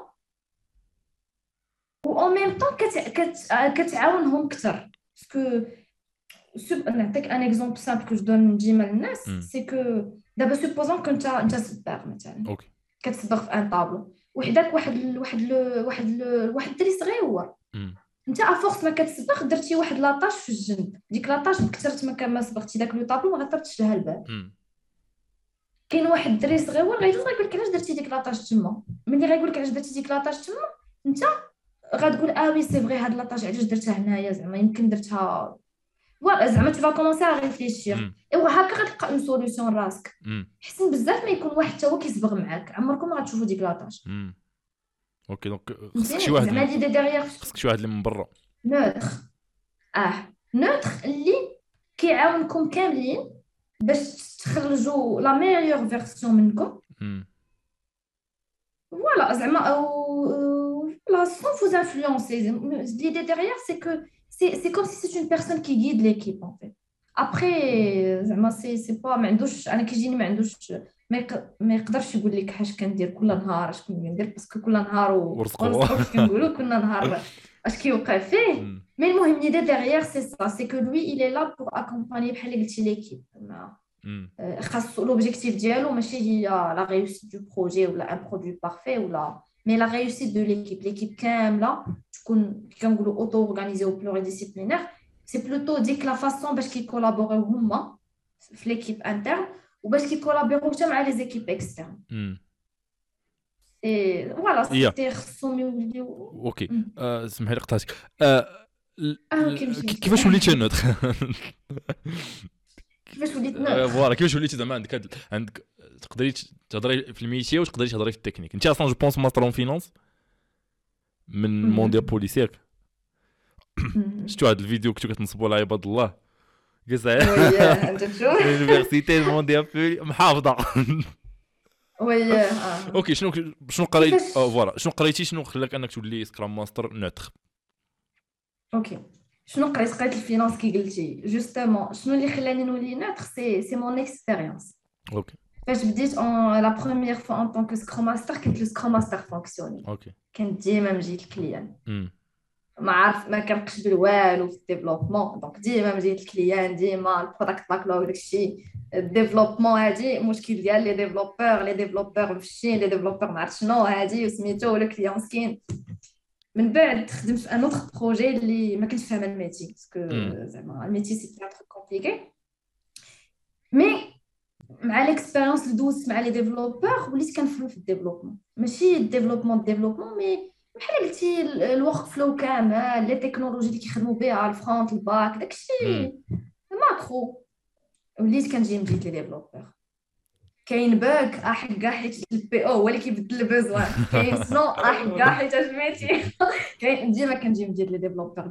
ou en même temps كتعاونهم اكثر. باسكو نعطيك ان اكزومبل سامبل كو دون ديما للناس، سي كو دابا سوبوزون كنت انت صباغ مثلا، اوكي كتصبغ في ان طابلو وحداك واحد الدري صغيور، انت افورس ما كتصبغ درتي واحد لاطاش في الجنب، ديك لاطاش بكثرت ما صبغتي داك لو طابلو ما غطرتش لها البال. كاين واحد الدري صغيور غيقول لك علاش درتي ديك لاطاش تما، ملي غيقول لك علاش درتي ديك لاطاش تما انت غتقول وي سي فري هاد لاطاج علاش درتها هنايا، زعما يمكن درتها زعما تو فا كومونسي ا ريفليشير ايوا هكا غتلقى اون سوليوشن راسك. حسن بزاف ما يكون واحد حتى هو كيصبغ معاك عمركم ما غتشوفوا ديك لاطاج. اوكي دونك خصك شي واحد زعما ليدي ديغيغ خصك شي واحد اللي من برا نوتر نوتر اللي كيعاونكم كاملين باش تخرجوا لا ميور فيرسيون منكم. Voilà, زعما او la sans vous influencer. L'idée derrière c'est que c'est comme si c'est une personne qui guide l'équipe en fait. Après زعما c'est pas ما عندوش انا كيجيني ما عندوش ما يقدرش يقول لك اش كندير كل نهار اش كندير باسكو كل نهار ورزقو اش كنقولوا كل نهار اش كيوقع فيه. مي المهم l'idée derrière c'est ça, c'est que lui il est là pour accompagner بحال قلتي l'équipe. خاصو l'objectif ديالو ماشي هي la réussite du projet ou un produit parfait ou la mais la réussite de l'équipe كامله تكون كنقولوا auto organisée ou pluridisciplinaire. C'est plutôt ديك la façon باش كيكولابوريو هما في l'équipe interne وباش كيكولابوريو حتى مع les équipes externes. Et voilà, c'était خصهم يوليو. اوكي سمحي لي قطعتك. كيفاش وليتي نوتر؟ كيفاش وليت نوتر؟ فوالا كيفاش وليتي زعما عندك تقدري تهضري في الميتي وتقدري تهضري في التكنيك. انت اصلا جو بونس ماستر اون فينانس من مونديال بوليسيك. شفتوا هذا الفيديو كنتو كتنصبوا على عباد الله كسا انت تشوف اليونيفرسيتي مونديال محافظه. وي اوكي شنو قريت فوالا شنو قريتي شنو خلاك انك تولي سكرام ماستر نوتر؟ اوكي شنو قريت الفينانس كي قلتي جوستومون شنو اللي خلاني نولي نوتر سي مون اكسبيريونس. اوكي فاش بديت لا بروميير فوا ان طونك سكرام ماستر كنت لو سكرام ماستر فونكسيوني. اوكي كنت ديما نجي الكليان ما عارف ما كنقشبل والو في الديفلوبمون دونك ديما نجي الكليان ديما البرودكت باكلوغ داكشي الديفلوبمون هادي مشكل ديال لي ديفلوبور مفشين لي ديفلوبور ما عرفت شنو هادي وسميتو ولا كليون مسكين. من بعد خدمت في ان اوتر بروجي اللي ما كنتش فاهمه الميتي باسكو زعما الميتي سي تري كومبليكي مي مع ليكسبيريونس اللي دوزت مع لي ديفلوبور وليت كنفهم في الديفلوبمون ماشي الديفلوبمون مي بحال قلتي الورك فلو كامل لي تكنولوجي اللي كيخدموا بها الفرونت الباك داكشي ماكرو وليت كنجي نجيت لي ديفلوبور. كاين باك احق حيت البي او هو اللي كيبدل البوزوان كاين سنو احق حيت اجمعتي كاين ديما كنجي ندير لي ديفلوبور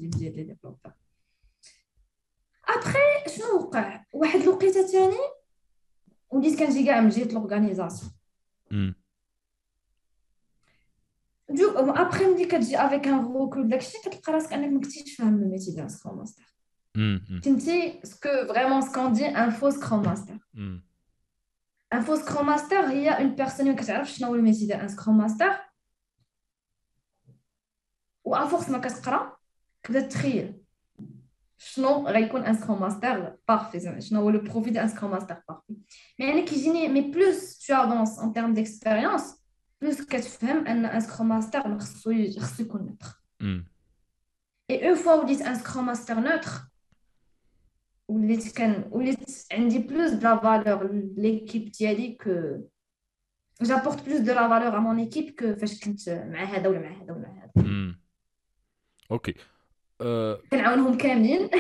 ابخي شنو وقع واحد الوقيته ثاني وليت كنجي كاع من جهه لورغانيزاسيون دو ابخي ملي كتجي افيك ان روكول داكشي كتلقى راسك انك ما كنتيش فاهم الميتي ديال سكرام ماستر. فهمتي سكو فريمون سكون دي ان فو سكرام ماستر. ان فو سكرام ماستر هي اون بيرسون اللي كتعرف شنو هو الميتي ديال ان سكرام ماستر و افورس ما كتقرا كتبدا تخيل شنو غيكون ان سكرام ماستر بارفي زعما شنو هو لو بروفيل ديال ان سكرام ماستر بارفي. يعني كيجيني مي بلوس تو افونس ان تيرم ديكسبيريونس بلوس كتفهم ان ان سكرام ماستر خصو يكون نوتر. اي اون فوا وليت ان سكرام ماستر نوتر وليت عندي بلوس دو لا فالور ليكيب ديالي كو جابورت بلوس دو لا فالور ا مون ايكيب كو فاش كنت مع هذا ولا مع هذا ولا مع هذا. اوكي كنعاونهم كاملين.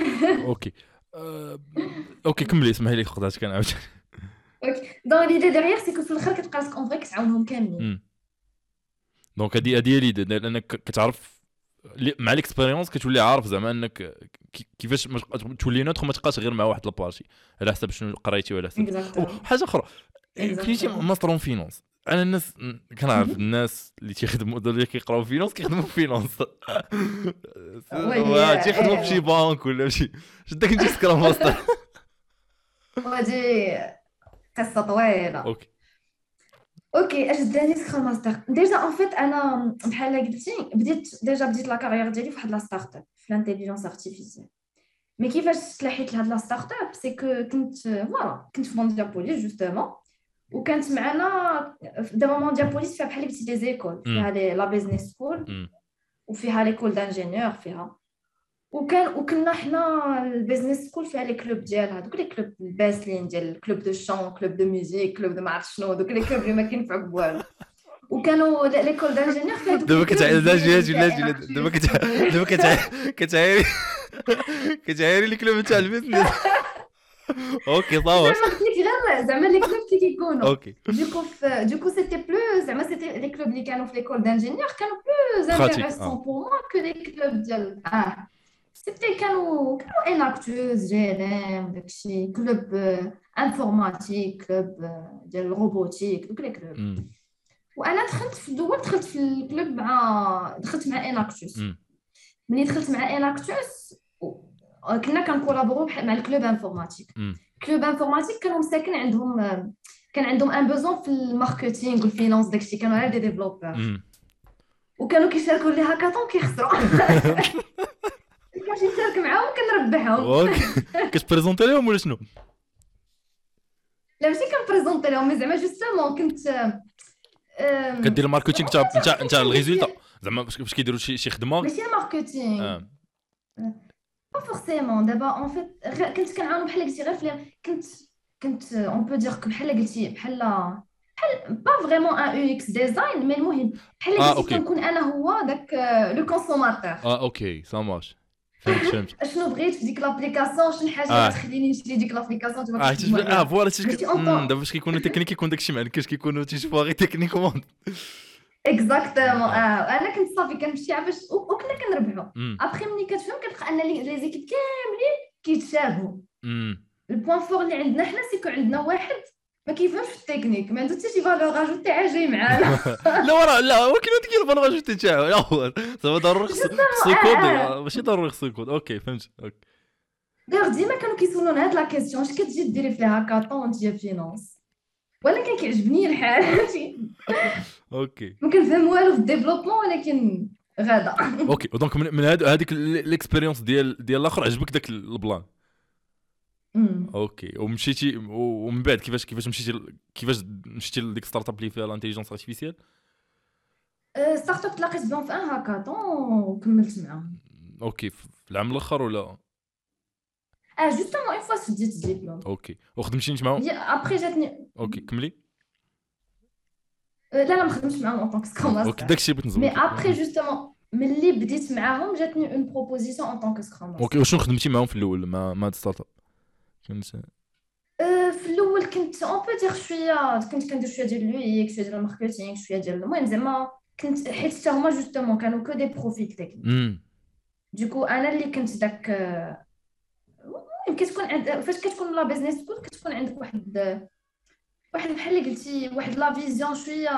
اوكي كملي اسمحي لي خداتك كنعاود. اوكي دونك ليدي ديغيغ سي كو في الاخر كتبقى لك اون فري كتعاونهم كاملين. دونك هادي ليدي لانك كتعرف مع ليكسبيريونس كتولي عارف زعما انك كيفاش تولي نوتر ما تبقاش غير مع واحد لابارتي على حسب شنو قريتي ولا حسب حاجه اخرى. كليتي ماستر اون فينانس. انا الناس كنعرف الناس اللي تيخدموا اللي كيقراو فينانس كيخدموا في فينانس تيخدموا في شي بانك ولا شي شدك انت سكرام ماستر. هادي قصه طويله. اوكي اش داني سكرام ماستر ديجا ان فيت انا بحال قلتي بديت لا كارير ديالي فواحد لا ستارت اب في الانتيليجنس ارتيفيسيال. مي كيفاش تلاحيت لهاد لا ستارت اب سي كو كنت في مونديال بوليس جوستومون وكانت معنا دابا مونديال بوليس فيها بحال قلتي دي زيكول فيها لا بيزنس سكول وفيها ليكول دانجينيور فيها وكنا حنا البيزنس سكول فيها لي كلوب ديالها دوك لي كلوب الباسلين ديال كلوب دو شون كلوب دو ميوزيك كلوب دو ما عرفت شنو دوك لي كلوب اللي ما كينفعوا بوالو وكانوا ليكول دانجينيور فيها دابا كتعاير دابا كتعايري لي كلوب تاع البيزنس. اوكي صافي زعما لي كلوب اللي كيكونوا دوكو سيتي بلو زعما سيتي لي كلوب اللي كانوا في ليكول دانجينيور كانوا بلو انتريسون بور موا كو لي كلوب ديال سيتي كانوا اناكتوز جيرام داكشي كلوب انفورماتيك كلوب ديال الروبوتيك دوك لي كلوب. امم وانا دخلت في الدول، دخلت في الكلوب دخلت مع اناكتوس. امم ملي دخلت مع اناكتوس كنا كنكولابورو مع الكلوب انفورماتيك. امم كلوب انفورماتيك كانوا مساكن عندهم، كان عندهم ان بوزون في الماركتينغ والفينانس داكشي، كانوا غير دي ديفلوبور امم وكانوا كيشاركوا لي هاكاطون كيخسروا. كنمشي نشارك معاهم كنربحهم. اوكي كتبريزونتي لهم ولا شنو؟ لا ماشي كنبريزونطي لهم، مي زعما جوستومون كنت كدير الماركتينغ تاع الريزولتا ماشي زعما باش كيديروا شي خدمه. الماركتينغ اه با فورسيمون. دابا اون فيت كنت كنعاونو بحال قلتي غير كنت اون بو دير بحال قلتي بحال با فريمون ان يو اكس ديزاين، مي المهم بحال قلتي اوكي كنكون انا هو داك لو كونسوماتور. اوكي سا مارش فهمت شنو بغيت في ديك لابليكاسيون، شنو الحاجه اللي غتخليني نشري ديك لابليكاسيون تبقى تخدم عليها. فوالا ماشي اون طون. دابا باش كيكونوا تكنيك كيكون داكشي ما كاش كيكونوا تيشوفوا غير تكنيكومون. اكزاكتومون. انا كنت صافي كنمشي باش وكنا كنربحوا. امم ابخي ملي كتفهم كتلقى ان لي زيكيب كاملين كيتشابهوا. البوان فور اللي عندنا حنا سيكو عندنا واحد ما كيفهمش في التكنيك، ما عنده حتى شي فالور اجوتي عا جاي معانا. لا ولكن هذيك هي الفالور اجوتي تاعو يا هو زعما ضروري خصو يكود ماشي ضروري خصو يكود. اوكي فهمت. اوكي دايوغ ديما كانوا كيسولونا هاد لا كيسيون، اش كتجي ديري في الهاكاطون وانت جا فينانس؟ وانا كان كيعجبني الحال. اوكي ما كنفهم والو في الديفلوبمون ولكن غادا. اوكي دونك من هذيك الاكسبيريونس ديال الاخر عجبك داك البلان. اوكي ومشيتي ومن بعد كيفاش مشيتي لديك ستارت اب اللي فيها الانتيليجنس ارتيفيسيال؟ ستارت اب تلاقيت بهم في ان هاكاطون وكملت معاهم. اوكي في العام الاخر ولا؟ جوستومون اون فوا سديت الدبلوم. اوكي وخدمتي انت معاهم؟ ابخي جاتني. اوكي كملي. لا ما خدمتش معاهم اون طونك سكرام ماستر. اوكي داكشي بغيت نزول. مي ابخي جوستومون ملي بديت معاهم جاتني اون بروبوزيسيون اون طونك سكرام ماستر. اوكي وشنو خدمتي معاهم في الاول مع هاد ستارت اب؟ كنت في الاول كنت اون بو دير شويه، كنت كندير شويه ديال اليو اكس، شويه ديال الماركتينغ، شويه ديال المهم زعما كنت حيت حتى هما جوستومون كانوا كو دي بروفيل تكنيك. دوكو انا اللي كنت داك المهم كتكون عند فاش كتكون لا بيزنس سكول كتكون عندك واحد بحال اللي قلتي واحد لا فيزيون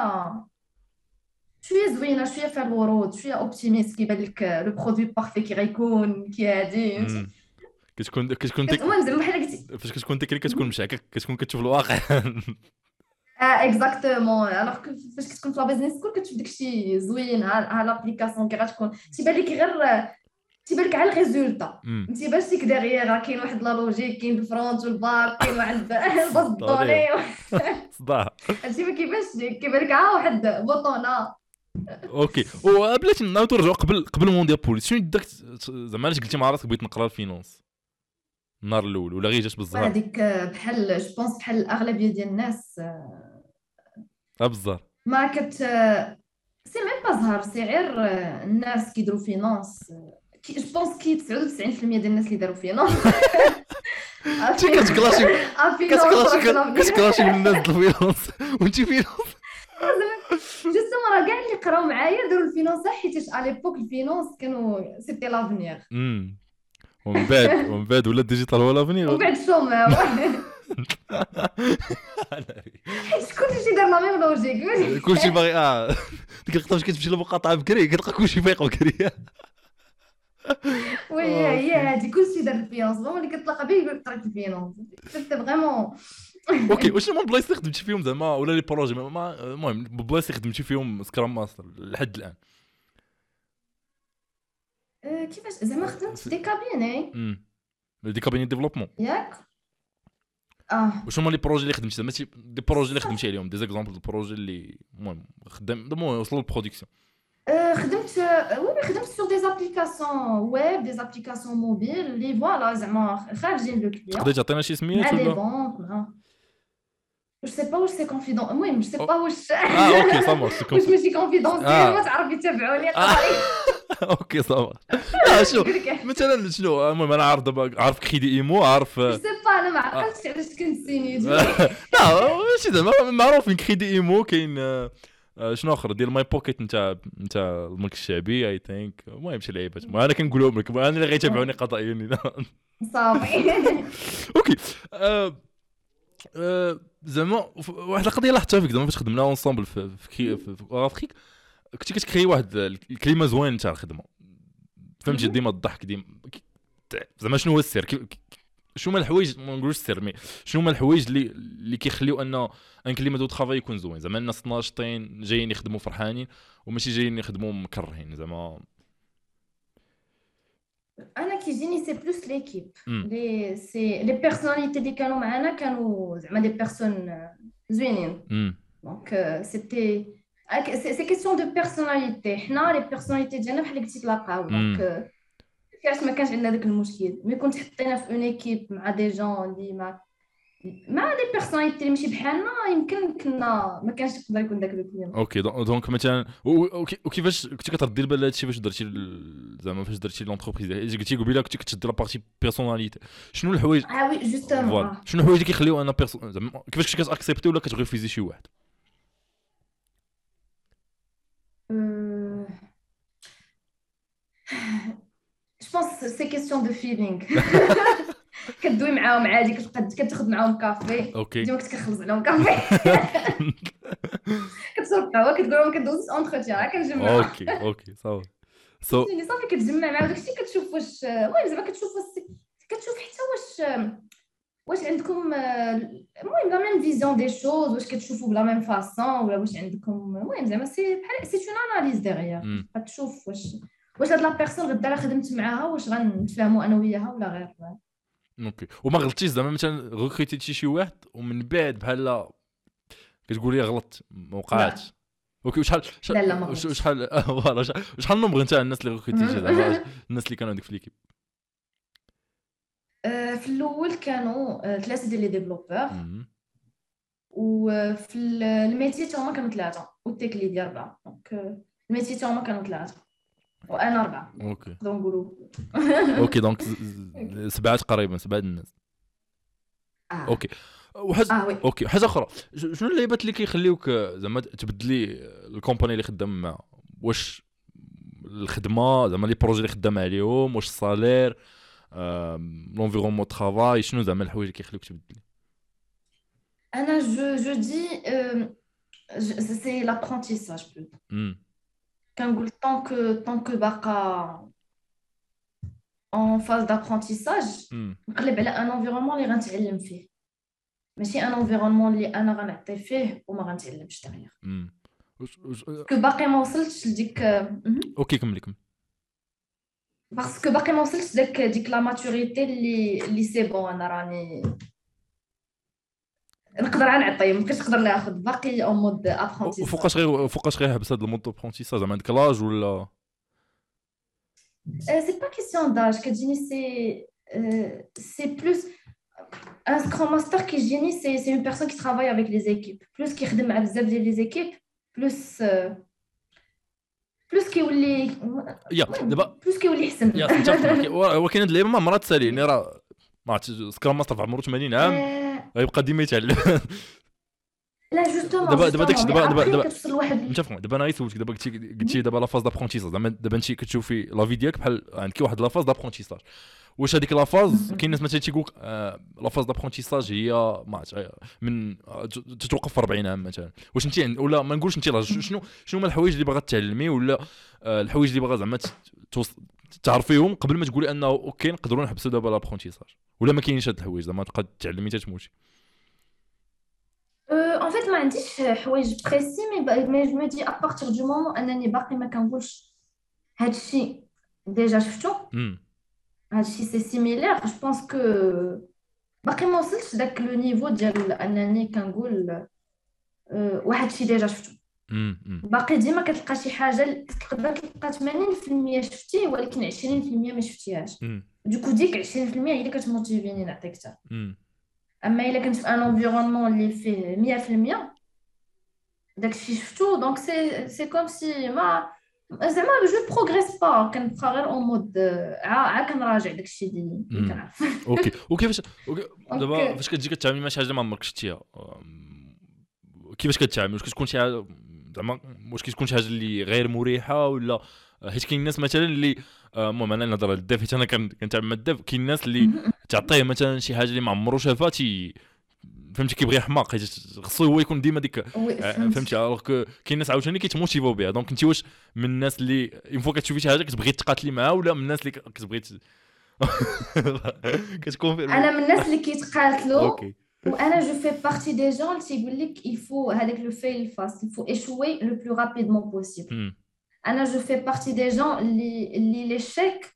شويه زوينه، شويه فيها الورود، شويه اوبتيميست، كيبان لك لو برودوي بارفي كي غيكون كي هادي كتكون المهم زعما بحال قلتي فاش كتكون تكنيك كتكون مشاكك كتكون كتشوف الواقع. اكزاكتومون. الوغ فاش كتكون في لا بيزنس سكول كتشوف داكشي زوين، ها لابليكاسيون كي غتكون تيبان لك غير تيبان لك على الريزولتا، ما تيبانش لك ديغيغ كاين واحد لا لوجيك، كاين الفرونت والباك، كاين واحد الباص الدوني صداع. هادشي ما كيبانش لك، كيبان لك واحد بوطونه. اوكي وبلاتي نعاودو نرجعو قبل مونديال بوليس. شنو داك زعما علاش قلتي مع راسك بغيت نقرا الفينانس النهار الاول ولا غير جات بالزهر؟ هذيك بحال جو بونس بحال الاغلبيه ديال الناس بالزهر ما كت سي ميم با زهر، سي غير الناس كيديروا فينانس جو بونس كي 99% ديال الناس اللي داروا فينانس كتكلاشي من الناس ديال الفينانس وانت فينانس جوستومون راه كاع اللي قراو معايا داروا الفينانس حيت على ليبوك الفينانس كانوا سيتي لافنيغ. ومن بعد ولا ديجيتال ولا لافنيغ ومن بعد الشوماو. حيت كلشي دار لا ميم لوجيك، كلشي باغي ديك اللقطه فاش كتمشي للمقاطعه بكري كتلقى كلشي فايق بكري. وي هي هادي كلشي دار الفينانس، هو اللي كتلاقى به يقول لك قريت الفينانس سيتي فريمون. اوكي واش هما البلايص اللي خدمتي فيهم زعما ولا لي بروجي المهم البلايص اللي خدمتي فيهم سكرام ماستر لحد الان؟ كيفاش زعما خدمت في دي كابيني دي كابيني ديفلوبمون ياك؟ واش هما لي بروجي اللي خدمتي زعما دي بروجي اللي خدمتي عليهم دي زيكزامبل دو بروجي اللي المهم المهم وصلوا للبرودكسيون؟ خدمت سور دي زابليكاسيون ويب، دي زابليكاسيون موبيل اللي فوالا زعما خارجين لو كليون. تقدري تعطينا شي سميات ولا ولا؟ بونك جو سي با واش سي كونفيدون، المهم جو سي با واش اوكي صافا واش ماشي كونفيدونسيال ما تعرف يتابعوني قراي. اوكي صافا. لا شو مثلا شنو المهم انا عارف دابا عارف كريدي ايمو عارف جو سي با انا ما عقلتش علاش كنت سينيت. لا ماشي زعما معروفين كريدي ايمو كاين شنو اخر ديال ماي بوكيت نتاع الملك الشعبي اي ثينك. المهم شي لعيبات انا كنقولهم لك انا اللي غيتابعوني قضائيا. صافي. اوكي. زعما واحد القضيه لاحظتها فيك زعما فاش خدمنا اونصامبل في افريك كنتي كتكري واحد الكلمه زوين تاع الخدمه فهمتي ديما الضحك ديما زعما شنو هو السر شنو هما الحوايج ما نقولوش السر مي شنو هما الحوايج اللي كيخليو ان كلمه دو طرافاي يكون زوين زعما الناس ناشطين جايين يخدموا فرحانين وماشي جايين يخدموا مكرهين زعما. انا كيجيني سي بلوس ليكيب لي بيرسوناليتي اللي كانوا معنا كانوا زعما دي بيرسون زوينين دونك سيتي سي كيسيون دو بيرسوناليتي حنا لي بيرسوناليتي ديالنا بحال قلتي تلاقاو دونك كاش ما كانش عندنا داك المشكل مي كنت حطينا في اون ايكيب مع دي جون اللي مع دي بيرسوناليتي اللي ماشي بحالنا يمكن كنا ما كانش يقدر يكون داك الكلام. اوكي دونك مثلا وكيفاش كنتي كتردي البال هادشي فاش درتي زعما فاش درتي لونتربريز قلتي قبيله كنتي كتشد لا بارتي بيرسوناليتي شنو الحوايج وي جوستومون شنو الحوايج اللي كيخليو انا زعما كيفاش كنتي كتاكسبتي ولا كتغريفيزي شي واحد؟ جو بونس سي كيسيون دو فيلينغ كدوي معاهم عادي كتاخذ معاهم كافي ديما كنت كنخلص عليهم كافي كتشرب قهوه كتقول لهم كدوز اونتروتيان كنجمع اوكي صافي صافي كتجمع مع داكشي كتشوف واش المهم زعما كتشوف حتى واش عندكم المهم لا ميم فيزيون دي شوز واش كتشوفوا بلا ميم فاصون ولا واش عندكم المهم زعما سي بحال سي اون اناليز ديغيير كتشوف واش هاد لا بيرسون غدا خدمت معاها واش غنتفاهموا انا وياها ولا غير. اوكي وما غلطتيش زعما مثلا ريكروتيتي شي واحد ومن بعد بحال كتقولي غلطت ما وقعاتش؟ اوكي وشحال فوالا شحال النمبر نتاع الناس اللي ريكروتيتي زعما الناس اللي كانوا عندك في ليكيب؟ في الاول كانوا 3 ديال لي ديفلوبور وفي الميتي تاعهم كانوا 3 والتيك لي ديال 4 دونك الميتي تاعهم كانوا 3 وانا 4 اوكي نقدروا نقولوا اوكي دونك 7 تقريبا 7 الناس. اوكي اوكي حاجه اخرى شنو اللعيبات اللي كيخليوك زعما تبدلي الكومباني اللي خدام معها؟ واش الخدمه زعما لي بروجي اللي خدام عليهم واش الصالير لونفيرونمون طرافاي شنو زعما الحوايج اللي كيخليوك تبدلي؟ انا جو دي سي لابرونتيساج كنقول طونك باقا اون فاز دابرونتيساج نقلب على ان انفيرونمون اللي غنتعلم فيه ماشي ان انفيرونمون اللي انا غنعطي فيه وما غنتعلمش دغيا كو باقي ما وصلتش لديك اوكي كملي باسكو باقي ما وصلتش ديك لا ماتوريتي اللي سي بون انا راني نقدر نعطي ما بقيتش نقدر ناخذ باقي اون مود ابرونتيساج. فوقاش غير حبس هذا المود ابرونتيساج زعما عندك لاج ولا سي با كيسيون داج كتجيني سي بلوس ان سكرام ماستر كيجيني سي اون بيرسون كي ترافاي افيك لي زيكيب بلوس كيخدم مع بزاف ديال لي زيكيب بلوس كيولي دابا بلوس كيولي احسن ولكن هاد اللعيبه ما مرات تساليني راه ما عرفتش سكرام ماستر في عمره 80 عام غيبقى ديما يتعلم. لا جوستومون دابا داكشي دابا متفق دابا انا غيسولتك دابا قلتي دابا لا فاز دابرونتيساج زعما دابا انت كتشوفي لا في ديالك بحال عندك واحد لا فاز دابرونتيساج واش هذيك لا فاز كاين ناس مثلا تيقولك لا فاز دابرونتيساج هي ما عرفتش من تتوقف في 40 عام مثلا واش انت ولا ما نقولش انت شنو هما الحوايج اللي باغا تعلمي ولا الحوايج اللي باغا زعما تعرفيهم قبل ما تقولي انه اوكي نقدروا نحبسوا دابا لابرونتيساج ولا ما كاينش هاد الحوايج زعما تبقى تعلمي حتى تموتي؟ ان فيت ما عنديش حوايج بريسي مي جو مي دي ا بارتير دو مومون انني باقي ما كنقولش هادشي ديجا شفتو هادشي سي سيميلير جو بونس كو باقي ما وصلتش داك لو نيفو ديال انني كنقول واحد الشيء ديجا شفتو باقي ديما كتلقى شي حاجه تقدر تلقى 80% شفتيه ولكن 20% ما شفتيهاش دوكو ديك 20% هي اللي كتموتيفيني نعطيك حتى اما الا كنت في ان انفيرونمون اللي فيه 100% داكشي شفتو دونك سي كوم سي ما زعما جو بروغريس با كنبقى غير اون مود عا كنراجع داكشي اللي كنعرف. اوكي فاش دابا فاش كتجي كتعاملي مع شي حاجه ما عمرك شفتيها كيفاش كتعامل؟ واش كتكون شي زعما واش كتكون شي حاجه اللي غير مريحه ولا حيت كاين الناس مثلا اللي المهم انا نهضر على الديف حيت انا كنتعامل مع الديف. كاين الناس اللي تعطيه مثلا شي حاجه اللي ما عمرو شافها فهمتي كيبغي يحماق حيت خصو هو يكون ديما ديك فهمتي. الوغ كاين الناس عاوتاني كيتموتيفاو بها. دونك انت واش من الناس اللي اون فوا كتشوفي شي حاجه كتبغي تقاتلي معها ولا من الناس اللي كتبغي كتكون انا من الناس اللي كيتقاتلوا. اوكي وانا جو في بارتي دي جون اللي تيقول لك il faut هذاك لو فيل فاست il faut échouer le plus rapidement possible. انا جو في بارتي دي جون اللي ليشيك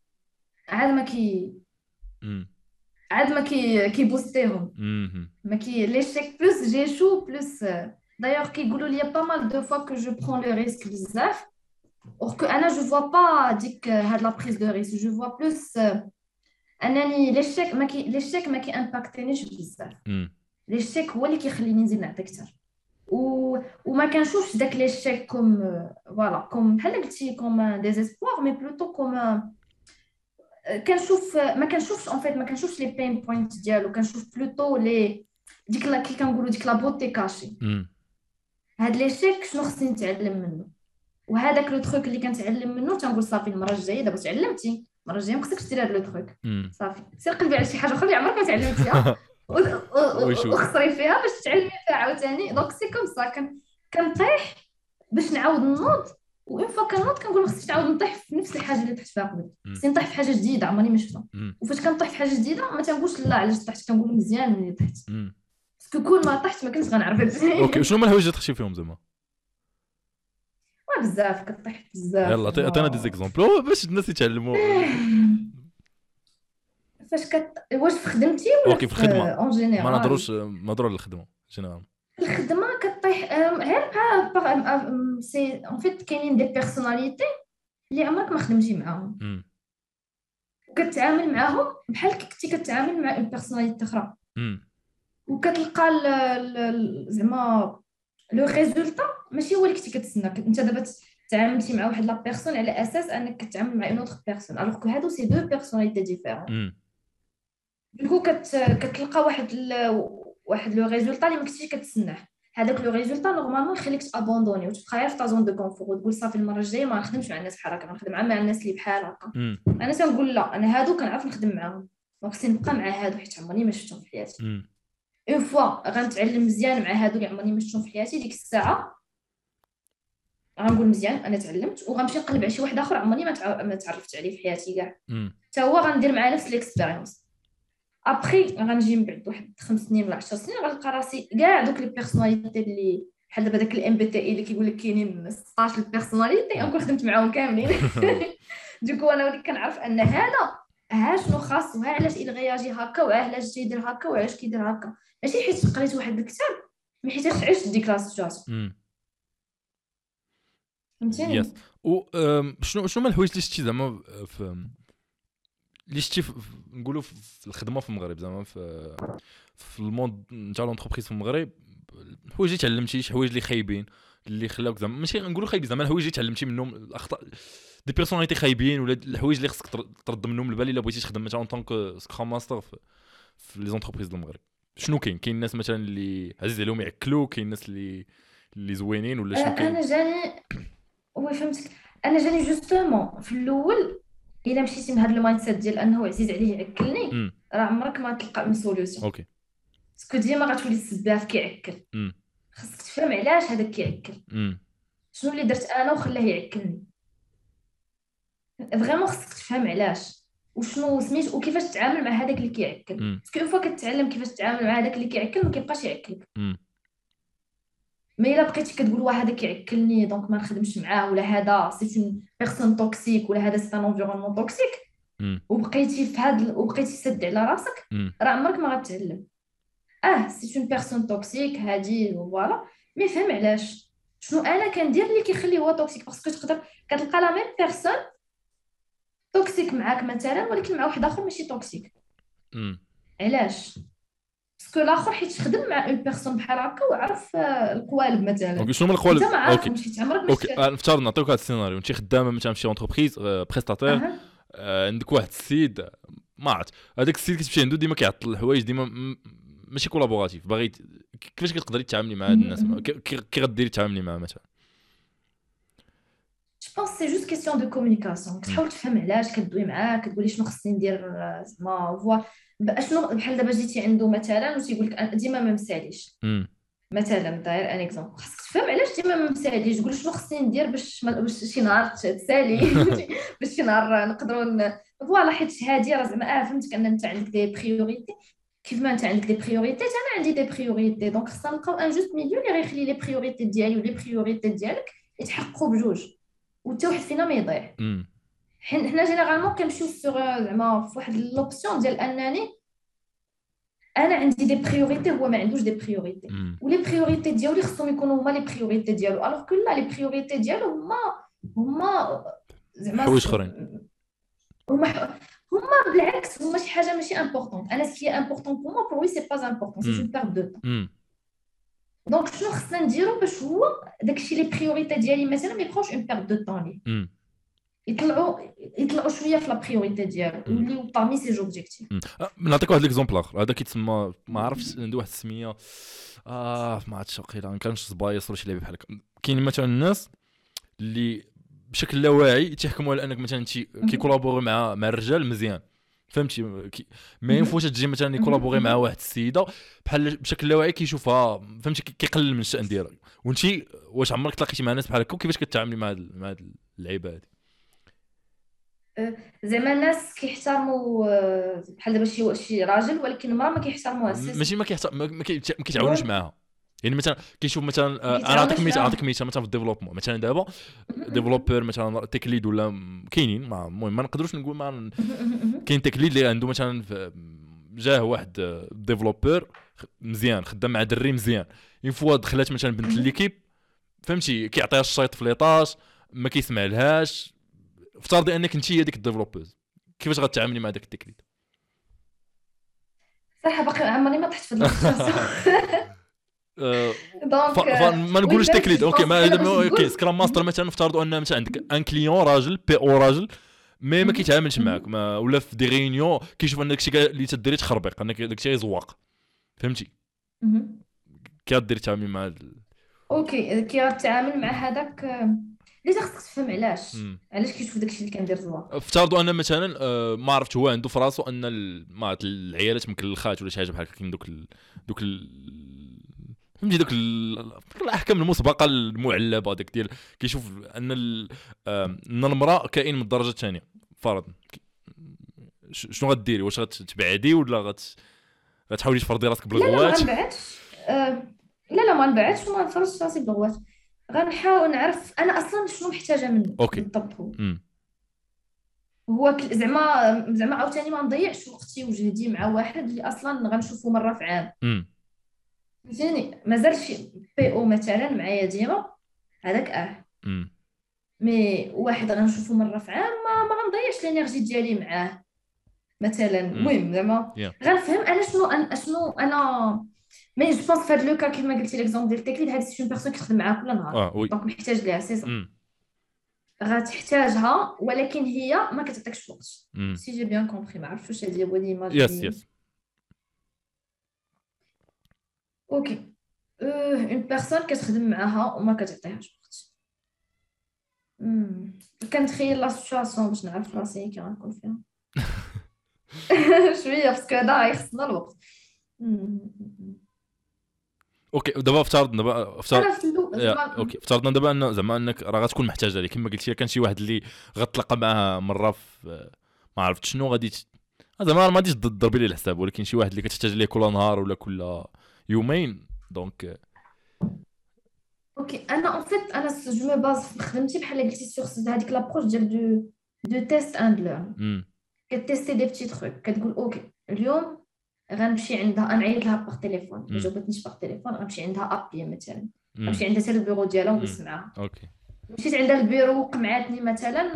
عاد ما كيبوستيهم ما كي ليشيك بلوس جيشو بلوس. دايوغ كيقولوا لي با مال دو فوا كو جو برون لو ريسك بزاف اور كو انا جو فوا با ديك هاد لا بريز دو ريسك. جو فوا بلوس انني ليشيك ما كي امباكتينيش بزاف. ليشيك هو اللي كيخليني نزيد نعطي اكثر وما كنشوفش داك ليشيك كوم فوالا كوم بحال قلتي كوم ديزيسبوار مي بلوتو كوم كنشوف ما كنشوفش اون فيت ما كنشوفش لي بين بوينت ديالو. كنشوف بلوتو لي ديك لا كي كنقولوا ديك لا بوتي كاشي. هاد ليشيك شنو خصني نتعلم منه وهذاك لو تروك اللي كنتعلم منه تنقول صافي المره الجايه دابا تعلمتي المره الجايه ما خصكش دير هاد لو تروك صافي سير قلبي على شي حاجه اخرى اللي عمرك ما تعلمتيها وخسري فيها باش تعلمي فيها عاوتاني. دونك سي كوم سا كنطيح باش نعاود نوض وإن فوا كنوض كنقول ما خصنيش نعاود نطيح في نفس الحاجه اللي طحت فيها قبل. خصني نطيح في حاجه جديده عمرني ما شفتها. وفاش كنطيح في حاجه جديده ما تنقولش لا علاش طحت كنقول مزيان ملي طحت باسكو كون ما طحت ما كنتش غنعرف. اوكي شنو هما الحوايج اللي طحتي فيهم زعما؟ بزاف كطيح بزاف. يلا عطينا دي زيكزامبل باش الناس يتعلموا. فاش واش في خدمتي ولا اوكي في الخدمه اون جينيرال؟ ما نهضروش نهضروا على الخدمه جينيرال. الخدمه كطيح غير بحال سي اون فيت كاينين دي بيرسوناليتي اللي عمرك ما خدمتي معاهم وكتعامل معاهم بحال كنتي كتعامل مع اون بيرسوناليتي اخرى وكتلقى زعما لو ريزولتا ماشي هو اللي كنتي كتسنى. انت دابا تعاملتي مع واحد لا بيرسون على اساس انك كتعامل مع اون اوتر بيرسون الوغ كو هادو سي دو بيرسوناليتي ديفيرون. دونك كتلقى واحد لو ريزولتا اللي ما كنتيش كتسناه. هذاك لو ريزولتا نورمالمون يخليك تابوندوني وتبقى غير في تا زون دو كونفور وتقول صافي المره الجايه ما نخدمش مع الناس بحال هكا غنخدم مع الناس اللي بحال هكا. انا تنقول لا انا هادو كنعرف نخدم معاهم دونك خصني نبقى مع هادو حيت عمرني ما شفتهم في حياتي. اون فوا غنتعلم مزيان مع هادو اللي عمرني ما شفتهم في حياتي ديك الساعه غنقول مزيان انا تعلمت وغنمشي نقلب على شي واحد اخر عمرني ما تعرفت عليه في حياتي كاع حتى هو غندير معاه نفس ليكسبيريونس. ابري غنجي من بعد واحد 5 سنين ولا 10 سنين غنلقى راسي كاع دوك لي بيرسوناليتي اللي بحال دابا داك الام بي تي اي اللي كيقول لك كاينين 16 البيرسوناليتي نكون خدمت معاهم كاملين. دوكو انا وليت كنعرف ان هذا شنو خاص وها علاش يغياجي هكا وعلاش تيدير هكا وعلاش كيدير هكا ماشي حيت قريت واحد الكتاب مي حيت عشت ديك لا سيتواسيون. فهمتيني؟ يس. و شنو هما الحوايج اللي شتي زعما اللي شتي نقولوا في الخدمه في المغرب زعما في الموند نتاع لونتربريز في المغرب الحوايج اللي تعلمتي شي حوايج اللي خايبين اللي خلاوك زعما ماشي نقولوا خايبين زعما الحوايج اللي تعلمتي منهم الاخطاء دي بيرسوناليتي خايبين ولا الحوايج اللي خصك ترد منهم البال الا بغيتي تخدم مثلا اون طونك سكرام ماستر في لي زونتربريز ديال المغرب. شنو كاين الناس مثلا اللي عزيز عليهم يعكلوا كاين الناس اللي زوينين ولا شنو كاين؟ انا جاني وي فهمتك. انا جاني جوستومون في الاول الا مشيتي من هذا المايند سيت ديال انه عزيز عليه يعكلني راه عمرك ما تلقى اون سوليوشن. اوكي باسكو ديما غتولي السباف كيعكل. خاصك تفهم علاش هذاك كيعكل شنو اللي درت انا وخلاه يعكلني. فريمون خاصك تفهم علاش وشنو سميت وكيفاش تتعامل مع هذاك اللي كيعكل. باسكو اون فوا كتعلم كيفاش تتعامل مع هذاك اللي كيعكل ما كيبقاش يعكلك. مي الا بقيتي كتقول واه هذا كيعكلني دونك ما نخدمش معاه ولا هذا سي اون بيرسون توكسيك ولا هذا سي ان انفيرونمون توكسيك وبقيتي في هذا وبقيتي سد على راسك راه عمرك ما غتعلم. سي اون بيرسون توكسيك هادي فوالا مي فهم علاش شنو انا كندير اللي كيخليه هو توكسيك. باسكو تقدر كتلقى لا ميم بيرسون توكسيك معاك مثلا ولكن مع واحد اخر ماشي توكسيك. علاش؟ باسكو الاخر حيت خدم مع اون بيرسون بحال هكا وعرف القوالب مثلا. اوكي شنو من القوالب؟ اوكي مشيت عمرك اوكي نفترض نعطيوك هذا السيناريو انت خدامه مثلا في شي اونتربريز بريستاتير عندك واحد السيد ما عرفت هذاك السيد كتمشي عنده ديما كيعطل الحوايج ديما ماشي كولابوراتيف باغي كيفاش كتقدري تتعاملي مع هاد الناس كي غديري تتعاملي معاه مثلا؟ بونس سي جوست كيسيون دو كومونيكاسيون كتحاول تفهم علاش كدوي معاه كتقولي شنو خصني ندير زعما فوا شنو بحال دابا جيتي عنده مثلا وتيقول لك ديما ما مساليش مثلا داير ان اكزومبل خصك تفهم علاش ديما ما مساليش تقول شنو خصني ندير باش شي نهار تسالي باش شي نهار نقدروا فوالا حيت هادي راه زعما فهمتك ان انت عندك دي بريوريتي كيف ما انت عندك دي بريوريتي انا عندي دي بريوريتي دونك خصنا نلقاو ان جوست ميليو اللي غيخلي لي بريوريتي ديالي ولي بريوريتي ديالك يتحققوا بجوج وحتى واحد فينا ما يضيع حنا جينيرالمون كنمشيو زعما في واحد لوبسيون ديال انني انا عندي دي بريوريتي هو ما عندوش دي بريوريتي ولي بريوريتي ديالو خصهم يكونوا هما لي بريوريتي ديالو الوغ كو لا لي بريوريتي ديالو هما زعما حوايج اخرين هما بالعكس هما شي حاجه ماشي امبورطون انا سكي امبورطون بور موا بور وي سي با امبورطون سي جو بيرد دو طون دونك شنو خصنا نديرو باش هو داكشي لي بريوريتي ديالي مثلا ما يبقاوش اون بيرد دو طون ليه يطلعوا شويه في لا بريوريتي ديالو يوليو بارمي سي جوبجيكتيف نعطيك واحد ليكزومبل اخر هذا كيتسمى ما عرفتش عنده واحد السميه ما عرفتش واقيلا ما كانش سبايس ولا شي لعبه بحال هكا كاين مثلا الناس اللي بشكل لا واعي تيحكموا على انك مثلا انت كيكولابوري مع الرجال مزيان فهمتي ما ينفوش تجي مثلا يكولابوري مع واحد السيده بحال بشكل لا واعي كيشوفها فهمتي كيقلل من الشأن ديالها وانت واش عمرك تلاقيتي مع ناس بحال هكا وكيفاش كتعاملي مع هاد اللعيبه هذه زعما الناس كيحترموا بحال دابا شي راجل ولكن المراه ما كيحترموهاش ماشي ما كيتعاونوش معاها يعني مثلا كيشوف مثلا انا نعطيك مثال مثلا في الديفلوبمون مثلا دابا ديفلوبر مثلا تيك ليد ولا كاينين المهم ما نقدروش نقول ما كاين تيك ليد اللي عنده مثلا جاه واحد ديفلوبر مزيان خدام مع دري مزيان ينفوا دخلات مثلا بنت ليكيب فهمتي كيعطيها الشيط في ليطاج ما كيسمع لهاش افترضي انك انت هي ديك الديفلوبرز كيفاش غتعاملي مع داك التيك ليد صراحه باقي عمرني ما طحت في هذا دونك ما نقولش تكليد اوكي ما اوكي سكرام ماستر مثلا نفترضوا ان مثلا عندك ان كليون راجل بي او راجل ما كيتعاملش معاك ولا في دي ريونيون كيشوف ان داكشي اللي تديري تخربق انك داكشي يزواق فهمتي كيدير تعامل مع اوكي كيتعامل مع هذاك ليش خصك تفهم علاش كيشوف داكشي اللي كندير زواق افترضوا ان مثلا ما عرفت هو عنده في راسو ان ما العيالات مكلخات ولا شي حاجه بحال هكا كاين دوك فهمتي دوك الاحكام المسبقه المعلبه داك ديال كيشوف ان المراه كائن من الدرجه الثانيه فرض شنو غديري واش غتبعدي ولا غتحاولي تفرضي راسك بالغوات لا ما نبعدش لا ما نبعدش وما نفرضش راسي بالغوات غنحاول نعرف انا اصلا شنو محتاجه منه بالضبط هو زعما عاوتاني ما نضيعش وقتي وجهدي مع واحد اللي اصلا غنشوفه مره في عام فهمتيني مازال شي بي او مثلا معايا ديما هذاك مي واحد غنشوفو مره في عام ما غنضيعش الانرجي ديالي معاه مثلا المهم زعما غنفهم انا شنو انا مي جو بونس فهاد لو كا كيما قلتي ليكزومبل ديال التكليد هذه سي اون بيرسون كتخدم معاه كل نهار دونك محتاج ليها سي صح غتحتاجها ولكن هي ما كتعطيكش وقت سي جي بيان كومبري ما عرفتش واش هذه هو ليماج يس اوكي اون بيرسون كتخدم معاها وما كتعطيهاش وقت كنتخيل لا سيتواسيون باش نعرف راسي كي غنكون فيها شويه باسكو هذا يخصنا الوقت اوكي دابا افترضنا اوكي افترضنا دابا ان زعما انك راه غتكون محتاجه ليه كما قلتي كان شي واحد اللي غتلقى معاه مره في ما عرفت شنو غادي زعما ما غاديش تضربي ليه الحساب ولكن شي واحد اللي كتحتاج ليه كل نهار ولا كل يومين دونك اوكي انا ان فيت انا جو مي باز في خدمتي بحال قلتي سور هذيك لابروش ديال دو تيست اند ليرن كتيستي دي بتي تروك كتقول اوكي اليوم غنمشي عندها نعيط لها باغ تليفون ما جاوبتنيش باغ تليفون غنمشي عندها ابي مثلا غنمشي عندها حتى البيرو ديالها ونسمعها اوكي مشيت عندها البيرو وقمعاتني مثلا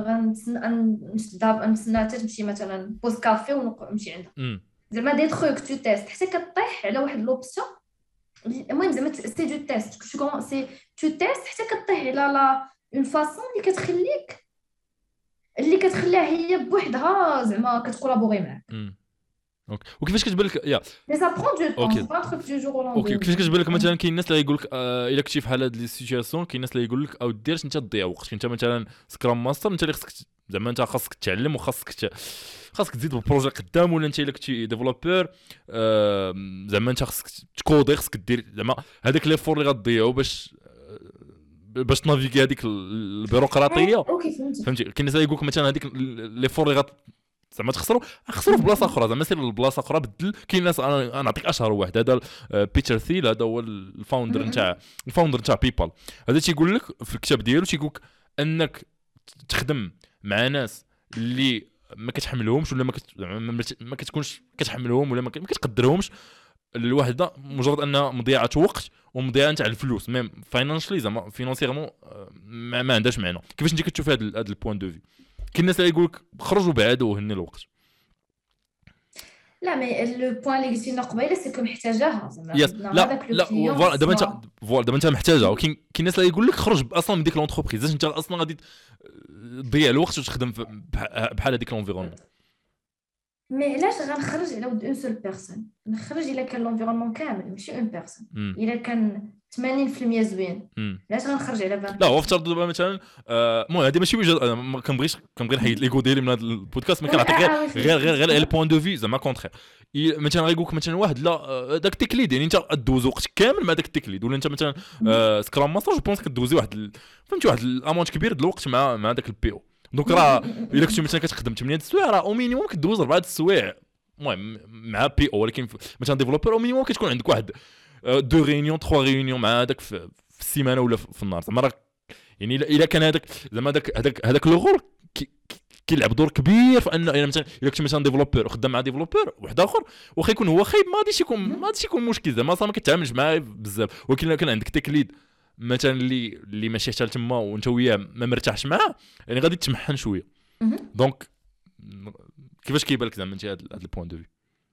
غنستنى حتى تمشي مثلا بوز كافي ونمشي عندها زعما دي تروك تو تيست حتى كطيح على واحد لوبسيون المهم زعما سي دو تيست شو كومون سي تو تيست حتى كطيح على لا اون فاصون اللي كتخليها هي بوحدها زعما كتكولابوري معاك اوكي وكيفاش كتبان لك يا مي سا برون دو طون اوكي سي با ان تروك دو جور او اوكي لوندوم. كيفاش كتبان لك مثلا كاين الناس اللي يقول لك الا كنتي في حال هاد لي سيتوياسيون كاين الناس اللي يقول لك او ديرش انت تضيع وقتك انت مثلا سكرام ماستر انت اللي خصك زعما انت خاصك تتعلم وخاصك خاصك تزيد بالبروجي قدام ولا انت الا كنتي ديفلوبور زعما انت خاصك تكودي خاصك دير زعما هذاك لي فور اللي غتضيعوا باش تنافيغي هذيك البيروقراطيه اوكي فهمتي كاين الناس يقول لك مثلا هذيك لي فور اللي زعما خسروا في بلاصه اخرى زعما سير لبلاصه اخرى بدل كاين ناس انا نعطيك اشهر واحد هذا بيتر ثيل هذا هو الفاوندر نتاع بيبال هذا تيقول لك في الكتاب ديالو تيقول لك انك تخدم مع ناس اللي ما كتحملهمش ولا ما كتكونش كتحملهم ولا ما كتقدرهمش الوحده مجرد انها مضيعه وقت ومضيعه نتاع الفلوس ميم فاينانشلي زعما فينانسيرمون ما عندهاش معنى كيفاش انت كتشوف هذا البوين دو في كاين الناس اللي يقول لك خرجوا بعادوا وهني الوقت لا مي لو بوين اللي قلتي لنا قبيله سي كو محتاجاها زعما لا فوالا دابا انت محتاجها وكاين الناس اللي يقول لك خرج اصلا من ديك لونتربريز انت اصلا غادي تضيع الوقت وتخدم بحال هذيك لونفيرونمون مي علاش غنخرج على ود اون سول بيرسون نخرج الا كان لونفيرونمون كامل ماشي اون بيرسون الا كان 80% زوين علاش غنخرج على 20 لا هو افترض دابا مثلا المهم هذه ماشي وجهه ما كنبغيش نحيد ليغو ديالي من هذا البودكاست ما كنعطيك غير البوين دو في زعما كونترير مثلا غيقول لك مثلا واحد لا داك التكليد يعني انت دوز وقت كامل مع داك التكليد ولا انت مثلا سكرام ماستر جو بونس كدوزي فهمتي واحد الامونت كبير د الوقت مع داك البي او دونك راه الا كنتي مثلا كتخدم 8 السوايع راه او مينيموم كدوز 4 السوايع المهم مع بي او ولكن مثلا ديفلوبر او مينيموم كتكون عندك واحد 2 ريونيون 3 ريونيون مع هذاك في السيمانه ولا في النهار زعما راه يعني الا كان هذاك زعما هذاك لو غور كيلعب دور كبير في ان مثلا الا كنت مثلا ديفلوبر وخدام مع ديفلوبر واحد اخر واخا يكون هو خايب ما غاديش يكون مشكل زعما ما كتعاملش معاه بزاف ولكن الا كان عندك تكليد مثلا اللي ماشي حتى تما وانت وياه ما مرتاحش معاه يعني غادي تمحن شويه دونك كيفاش كيبان لك زعما انت هذا البوين دو في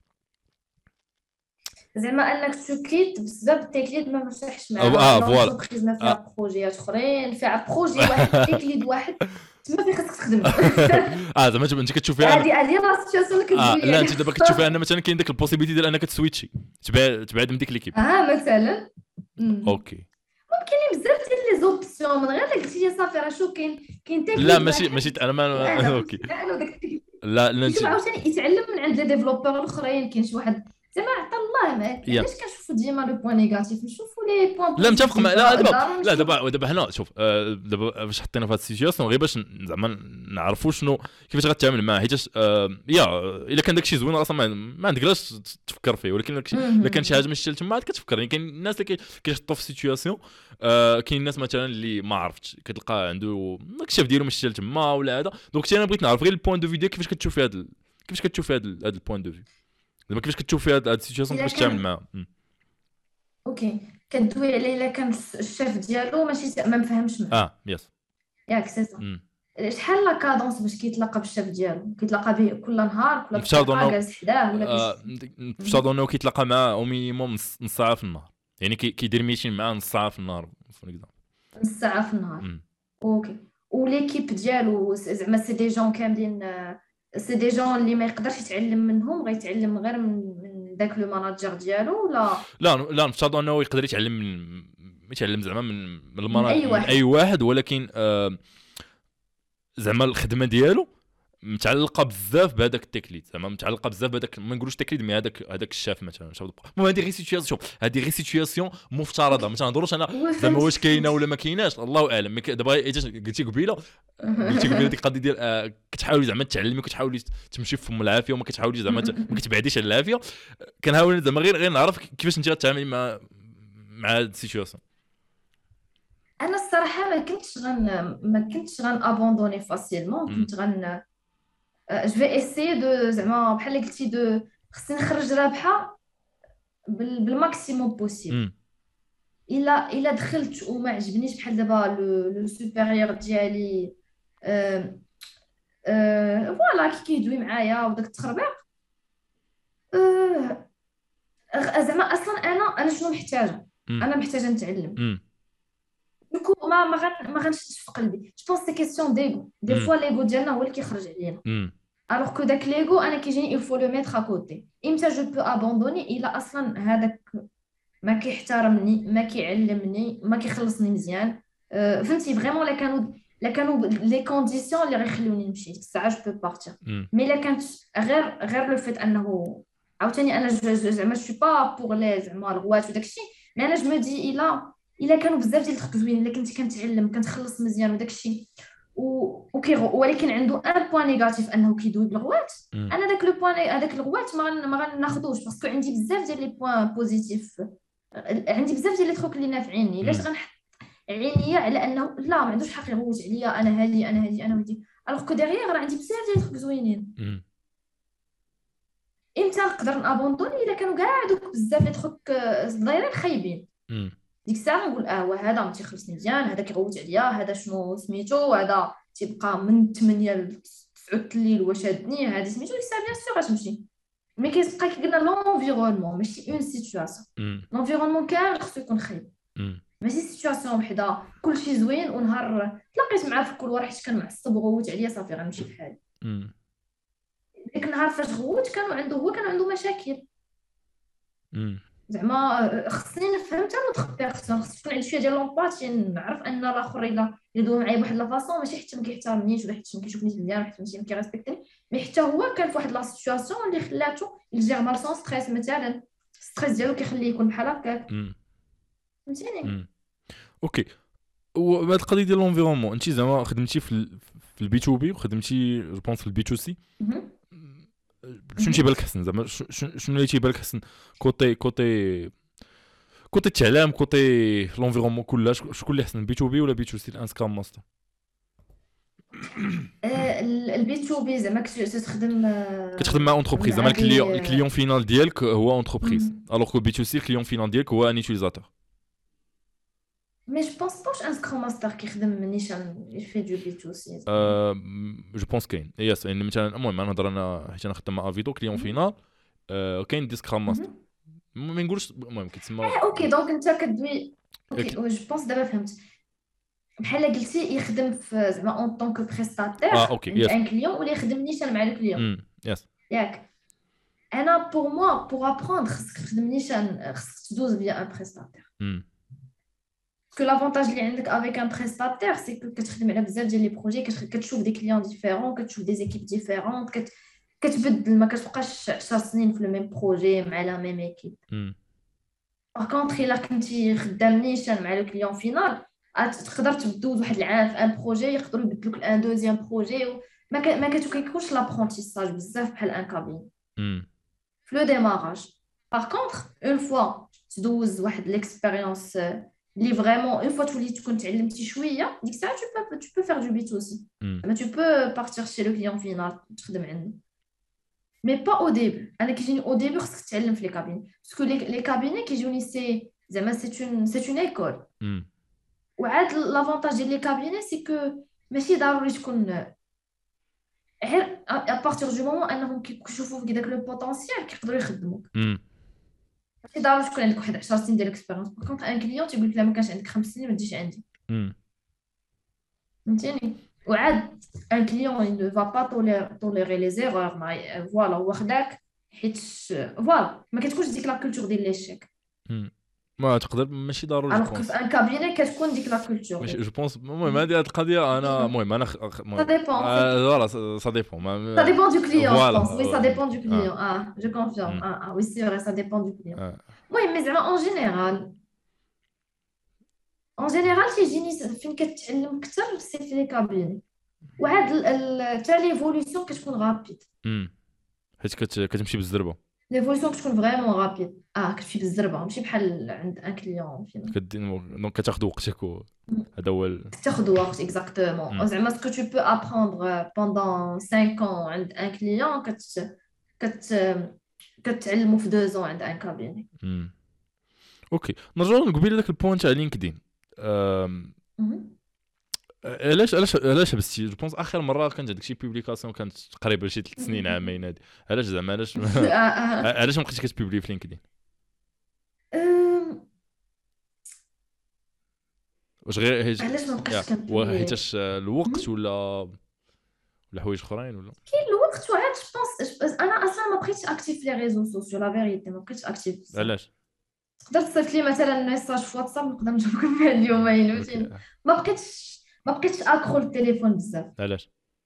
زعما انك تكليد بسبب التكليد ما مرتاحش معاه فوالا ما فيها بروجيات اخرين فيها بروجي واحد تكليد واحد تما فين خاصك تخدم زعما انت كتشوفي هذه لا سيتواسيون اللي لا انت دابا كتشوفي ان مثلا كاين داك البوسيبيليتي ديال انك تسويتشي تبعد من ديك ليكيب مثلا اوكي كاين بزاف ديال لي زوبسيون من غير اللي قلتي لي صافي راه شوف كاين تكليد لا ماشي انا ما اوكي لا شوف عاوتاني يتعلم من عند لي ديفلوبور الاخرين كاين شي واحد زعما عطا الله ما علاش كنشوفوا ديما لو بوين نيجاتيف نشوفوا لي بوين لا متفق مع لا دابا هنا شوف دابا باش حطينا في هذه السيتوياسيون غير باش زعما نعرفوا شنو كيفاش غتعامل معاه حيت الا كان داكشي زوين اصلا ما عندك علاش تفكر فيه ولكن الا كان شي حاجه ماشي تما عاد كتفكر يعني كاين الناس اللي كيحطوا في سيتوياسيون كاين الناس مثلا اللي ما عرفتش كتلقى عنده الكشاف ديالو ماشي تما ولا هذا دونك انا بغيت نعرف غير البوين دو في ديالك كيفاش كتشوفي هذا البوين دو في دابا كيفاش كتشوفي هاد السيتوياسيون كيفاش تعامل معها اوكي كدوي عليه الا كان الشيف ديالو ماشي ما مفهمش معاه يس ياك سي صا شحال لا كادونس باش كيتلاقى بالشيف ديالو كيتلاقى به كل نهار كل جالس حداه ولا نفترضوا انه كيتلاقى معاه او مينيموم نص ساعه في النهار يعني كيدير ميتين معاه نص ساعه في النهار نص ساعه في النهار اوكي وليكيب ديالو زعما سي دي جون كاملين سي دي جون اللي ما يقدرش يتعلم منهم غيتعلم غير من داك لو ماناجر ديالو ولا لا نفترض انه يقدر يتعلم زعما من الماناجر من اي واحد ولكن زعما الخدمه ديالو متعلقه بزاف بهذاك التكليد زعما متعلقه بزاف بهذاك ما نقولوش تكليد مي هذاك الشاف مثلا المهم هذه غير سيتوياسيون مفترضه ما تنهضروش انا زعما واش كاينه ولا ما كايناش الله اعلم دابا قلتي قبيله ديك القضيه ديال كتحاولي زعما تعلمي كتحاولي تمشي في ام العافيه وما كتحاوليش زعما ما كتبعديش على العافيه كنحاول زعما غير نعرف كيفاش انت غتعاملي مع هذه السيتوياسيون انا الصراحه ما كنتش ابوندوني فاسيلمون كنت جو في اسي دو زعما بحال اللي قلتي دو خصني نخرج رابحه بالماكسيموم بوسيبل الا دخلت وما عجبنيش بحال دابا لو سوبيريور ديالي فوالا كيدوي معايا وداك التخربيق زعما اصلا انا شنو محتاجه انا محتاجه نتعلم دوكو ما غنشدش في قلبي جو بونس سي كيسيون ديغو دي فوا ليغو ديالنا هو اللي كيخرج علينا الوغ كو داك ليغو انا كيجيني il faut le mettre à côté. امتى جو بو ابوندوني؟ الا اصلا هذاك ما كيحترمني، ما كيعلمني، ما كيخلصني مزيان. فهمتي فريمون؟ لا كانوا لي كونديسيون اللي غيخلوني نمشي الساعه جو بو بارتير. مي الا كانت غير لو فيت انه عاوتاني انا زعما جو با بوغ لي زعما الغوات وداك الشيء. مي انا جو مو دي الا كانوا بزاف ديال الخط زوين، الا كنت كنتعلم كنتخلص مزيان وداك الشيء ولكن عنده ان بوين نيجاتيف انه كيدوي بالغوات، انا داك لو بوين هذاك الغوات ما غناخذوش باسكو عندي بزاف ديال لي بوين بوزيتيف، عندي بزاف ديال لي تروك اللي نافعيني. علاش غنحط عينيا على انه لا ما عندوش حق يغوت عليا، انا هذه انا هذه انا هذه، الوغ كو ديغيغ راه عندي بزاف ديال تروك زوينين. امتى نقدر نابوندوني؟ الا كانوا كاع دوك بزاف لي تروك صغيرين خايبين، ديك الساعه نقول هو هذا ما تيخلصني مزيان، هذا كيغوت عليا، هذا شنو سميتو، هذا تيبقى من 8 ل 9 الليل واش شادني، هذه سميتو. ديك الساعه بيان سور غتمشي. مي كيبقى كيقولنا لونفيرونمون ماشي اون سيتوياسيون. لونفيرونمون كامل خصو يكون خايب، ماشي سيتوياسيون وحده كلشي زوين ونهار تلاقيت معاه في الكولوار حيت كان معصب وغوت عليا صافي غنمشي بحالي. ديك النهار فاش غوت كان عنده مشاكل. زعما خصني نفهم حتى لوطخ بيرسون، خص تكون عندي شويه ديال لومباتي، نعرف ان الاخر الا يدوي معايا بواحد لا فاصون ماشي حتى ما كيحترمنيش ولا حتى ما كيشوفنيش مزيان ولا حتى ما كيريسبكتني، مي حتى هو كان في واحد لا سيتوياسيون اللي خلاتو يجير مال ستريس. مثلا ستريس ديالو كيخليه يكون بحال هكاك، فهمتيني؟ اوكي. وهاد القضيه ديال لونفيرونمون انت زعما خدمتي في البي تو بي وخدمتي جو بونس في البي تو سي، شنو تيبان لك حسن زعما؟ شنو اللي تيبان لك حسن كوتي التعلام، كوتي لونفيرونمون كلها؟ شكون اللي حسن، بي تو بي ولا بي تو سي الانسكرام ماستر؟ البي تو بي زعما كتخدم مع اونتربريز، زعما الكليون فينال ديالك هو اونتربريز، الوغ كو بي تو سي الكليون فينال ديالك هو ان يوتيليزاتور. مي جو بونس باش ان سكرام ماستر كيخدم نيشان يفي دو بي تو سي. جو بونس كاين ياس، يعني مثلا المهم نهضر انا حيت انا خدام مع افيدو كليون فينال، كاين دي سكرام ماستر ما نقولش المهم كيتسمى. اوكي دونك انت كدوي اوكي جو بونس دابا فهمت. بحال قلتي يخدم في زعما اون طونك بريستاتير اوكي يس، ان كليون ولا يخدم نيشان مع الكليون. يس ياك انا بور موا بور ابروندر خصك تخدم نيشان، خصك تدوز بيا ان بريستاتير. كو لافونتاج اللي عندك افيك ان بريستاتير سي كو كتخدم على بزاف ديال لي بروجي، كتشوف دي كليون ديفيرون، كتشوف دي زيكيب ديفيرون، كتبدل، ما كتبقاش 10 سنين في الميم بروجي مع لا ميم ايكيب. باغ كونطخ الا كنتي خدام نيشان مع لو كليون فينال تقدر تدوز واحد العام في ان بروجي، يقدروا يبدلوك لان دوزيام بروجي، ما كيكونش لابرونتيساج بزاف بحال ان كابين في لو ديماراج. باغ كونطخ اون فوا تدوز واحد ليكسبيريونس اللي فريمون اون فوا تولي تكون تعلمتي شويه، ديك الساعه tu peux faire du B2C. ما tu peux partir chez le client final تخدم عنده، مي با او ديبي. انا كيجيني او ديبي خصك تتعلم في لي كابين، باسكو لي كابين كيجوني سي زعما سي اون ايكول. وعاد لافونتاج ديال لي كابين سي كو ماشي ضروري تكون غير ا بارتير دو مومون انهم كيشوفوا فيك داك لو بوتونسيال كيقدروا يخدموك. ماشي ضروري تكون عندك واحد 10 سنين ديال الاكسبيريونس. باغ كونطخ ان كليون تيقول لك لا ما كانش عندك 5 سنين ما تجيش عندي، فهمتيني؟ وعاد ان كليون il ne va pas tolérer les erreurs. فوالا هو خداك حيت فوالا ما كتكونش ديك لا كولتور ديال ليشيك. ما تقدر ماشي ضروري الوغ في ان كابيني كتكون ديك لا كولتور. جو بونس المهم هذه القضيه انا المهم انا سا ديبون فوالا سا ديبون سا ديبون دو كليون. وي سا ديبون دو كليون. جو كونفيرم. وي سي فري سا ديبون دو كليون. المهم مي زعما اون جينيرال تيجيني فين كتعلم اكثر سي في لي كابيني. وعاد حتى ليفولوسيون كتكون غابيد حيت كتمشي بالزربه. ليفولوسيون كتكون فريمون غابيد. كتمشي بالزربه ماشي بحال عند ان كليون فين دونك كتاخذ وقتك هذا هو تاخذ وقت اكزاكتومون. زعما سكو تو بو ابروندر بوندون 5 ans عند ان كليون كتعلمو في 2 ans عند ان كابيني. اوكي نرجعوا نقبل لك البوين تاع لينكدين. علاش حبستي؟ جو بونس اخر مره كانت هذيك شي بوبليكاسيون كانت تقريبا شي 3 سنين عامين هادي. علاش زعما علاش ما بقيتيش كتبوبلي في لينكدين؟ واش غير علاش ما بقيتش كنبوبلي؟ حيتاش الوقت ولا حوايج اخرين ولا كاين الوقت سورتو عاد جوبونس انا اصلا ما بقيتش اكتيف لي ريزو سوسيو لا فيريتي ما بقيتش اكتيف بزاف. علاش؟ تقدر تصيفط لي مثلا ميساج في واتساب نقدر نجاوبك فيها اليومين اوكي. فهمتيني. ما بقيتش اكرو التليفون بزاف. علاش؟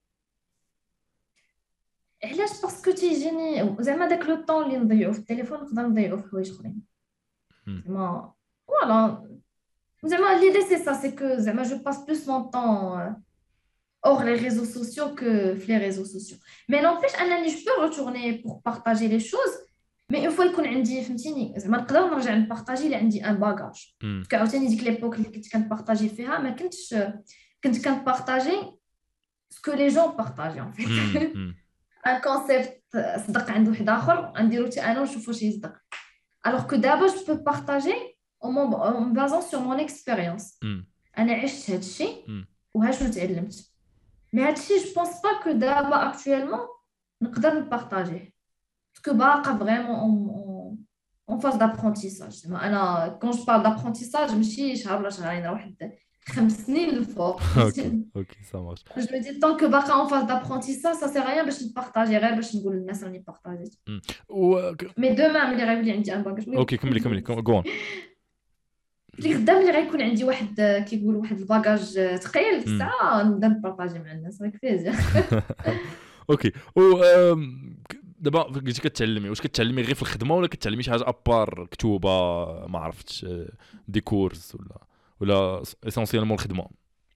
علاش؟ باسكو تيجيني زعما داك لو طون اللي نضيعو في التليفون نقدر نضيعو في حوايج اخرين مم. زعما فوالا. زعما ليدي سي سا سي كو زعما جو باس بلوس مون طون hors les réseaux sociaux que les réseaux sociaux. Mais n'empêche, je peux retourner pour partager les choses, mais une fois يكون عندي فهمتيني زعما نقدر نرجع نبارطاجي اللي عندي ان باغاج. مم. عاوتاني ديك ليبوك اللي كنت كنبارطاجي فيها ما كنت كنبارطاجي سكو لي جون بارطاجي ان فيت. مم. ان كونسيبت صدق عند واحد اخر نديرو حتى انا ونشوف واش يصدق. alors que دابا je peux partager en basant sur mon expérience. مم. انا عشت هذا الشيء مم. وها شنو تعلمت. Mais هادشي je pense pas que d'abord actuellement نقدر نبارطاجيه parce que باقا vraiment en phase d'apprentissage. زعما انا quand je parle d'apprentissage ماشي شهر ولا شهرين راه واحد 5 سنين للفوق. اوكي ça marche. je me dis tant que باقا en phase d'apprentissage ça sert à rien باش نبارطاجي غير باش نقول للناس راني بارطاجيت. mais demain ملي غيولي عندي ان باكاج اوكي كملي جو. اللي غدا ملي غيكون عندي واحد كيقول واحد الباكاج ثقيل الساعه نبدا نبارطاجي مع الناس راك فيزير. اوكي دابا قلتي كتعلمي واش كتعلمي غير في الخدمه ولا كتعلمي شي حاجه ابار كتوبه ما عرفتش دي كورس ولا اسونسيالمون الخدمه؟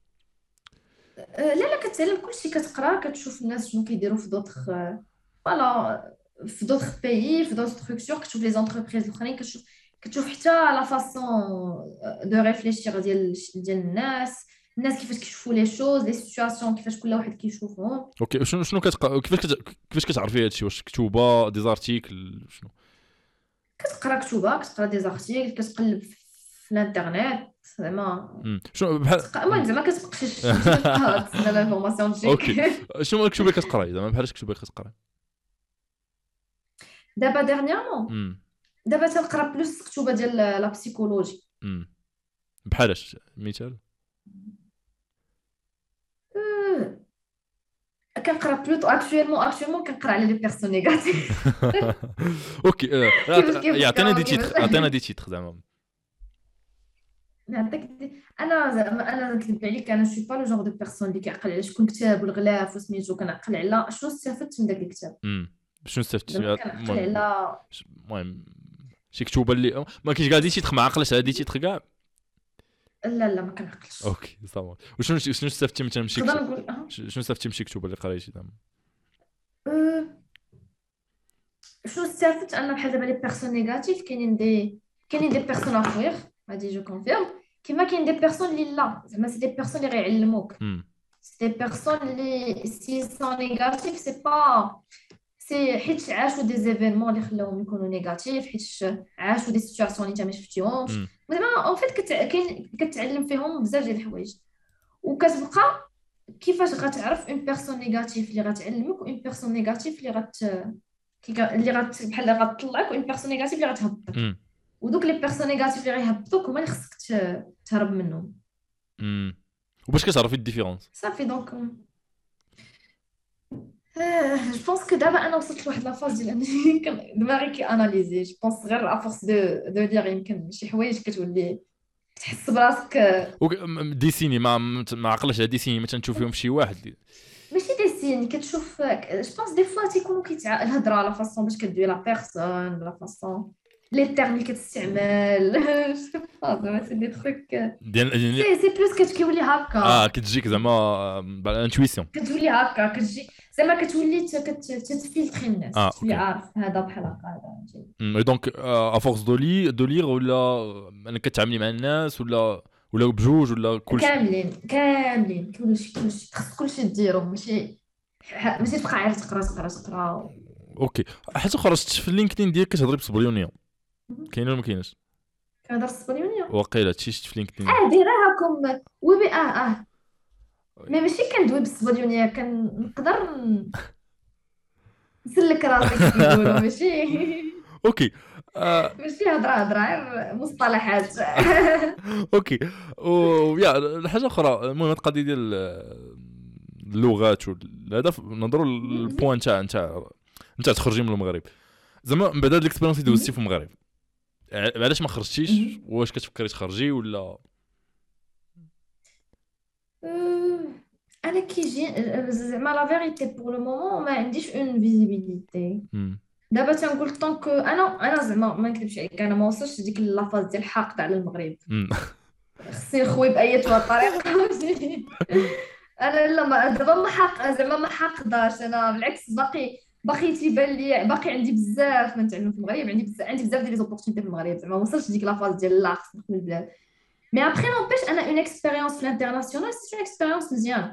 لا كتعلم كلشي كتقرا كتشوف الناس شنو كيديروا في دوطخ فوالا في دوطخ بيي في دوطخ ستركتور كتشوف لي زونتربريز الاخرين كتشوف حتى لا فاصون دو ريفليشير ديال الناس كيفاش كيشوفوا لي شوز لي سيتوياسيون كيفاش كل واحد كيشوفهم. اوكي شنو كتقرا كيفاش كتعرفي هادشي؟ واش كتوبه دي زارتيكل شنو كتقرا دي زارتيكل كتقلب في الانترنت زعما شنو بحال المهم زعما كتبقاش تسنى لافورماسيون تجيك. اوكي شنو مكتوبه كتقراي زعما بحال كتبه كتقراي دابا ديرنييرمون دابا تنقرا بلوس كتوبه ديال لا بسيكولوجي. بحالاش مثال؟ كنقرا بلوتو اكطويلمون كنقرا على لي بيرسون نيجاتيف. اوكي يعطينا دي كيفاش تيتر زعما. نعطيك انا نكذب عليك انا شي با لو جونغ دو بيرسون اللي كيعقل على شكون كتاب والغلاف وسميتو كنعقل على شنو استفدت من داك الكتاب. شنو استفدت؟ كنعقل على المهم شي كتوبه اللي ما كاينش كاع دي تيتر ما عقلش هادي تيتر كاع. لا ما كنعقلش. اوكي صافي. وشنو استفدتي مثلا من شي نقدر نقول شنو استفدتي من شي كتوبه اللي قريتي زعما؟ شنو استفدت انا بحال دابا لي بيرسون نيجاتيف كاينين دي بيرسون اخوير غادي جو كونفيرم كيما كاين دي بيرسون اللي لا زعما سي دي بيرسون اللي غيعلموك سي دي بيرسون اللي سي سون نيجاتيف سي با سي حيت عاشوا دي زيفينمون اللي خلاوهم يكونوا نيجاتيف حيت عاشوا دي سيتوياسيون اللي انت ما شفتيهمش زعما اون فيت كتعلم فيهم بزاف ديال الحوايج وكتبقى كيفاش غتعرف اون بيرسون نيجاتيف اللي غتعلمك وان بيرسون نيجاتيف اللي بحال غتطلعك وان بيرسون نيجاتيف اللي غتهبطك ودوك لي بيرسون نيجاتيف اللي غيهبطوك هما اللي خصك تهرب منهم. وباش كتعرفي الديفيرونس صافي دونك جو بونس كو دابا انا وصلت لواحد لافاز ديال انني دماغي كي اناليزي جو بونس غير افورس دو لير يمكن شي حوايج كتولي تحس براسك ديسيني ما عقلش ديسيني مثلا تشوفيهم في شي واحد ماشي ديسيني كتشوف جو بونس دي فوا تيكونوا الهضره لا فاصون باش كدوي لا بيرسون لا فاصون لي تيرم اللي كتستعمل زعما سي دي تروك ديال سي بلوس كتولي هكا كتجيك زعما بالانتويسيون كتولي هكا كتجي زعما كتولي تتفلتري الناس تولي عارف هذا بحال هكا هذا دونك افورس دو لير ولا انك كتعاملي مع الناس ولا بجوج ولا كلشي كاملين كلشي خص كلشي ديرو ماشي تبقى عارف تقرا اوكي حاجه خرجت في اللينكدين ديالك كتهضري بالصبليونيه كاينه ولا ما كايناش؟ كنهضر بالصبليونيه واقيلا شفت في لينكدين ديراها وبي مي ماشي كندوي بالصبليونيه كنقدر نسلك راسي كيقولوا ماشي اوكي ماشي هضره غير مصطلحات. اوكي ويا الحاجه اخرى المهم القضيه ديال اللغات والهدف نهضروا البوان تاع تخرجي من المغرب زعما من بعد هاد الاكسبيريونس اللي دوزتي في المغرب علاش ما خرجتيش واش كتفكري تخرجي ولا انا كيجي زعما لا فيريتي بور لو مومون ما عنديش اون فيزيبيليتي دابا تنقول طونك انا زعما ما نكذبش عليك انا ما وصلتش ديك لافاز ديال الحقد على المغرب خصني نخوي باي طريقه انا لا دابا ما حق زعما ما حقداش انا بالعكس باقي تيبان لي باقي عندي بزاف ما نتعلم في المغرب عندي بزاف ديال لي زوبورتونيتي في المغرب زعما ما وصلتش ديك لافاز ديال لا خصني نخوي البلاد مي ابخي نوبيش انا اون اكسبيريونس في الانترناسيونال سي اون اكسبيريونس مزيان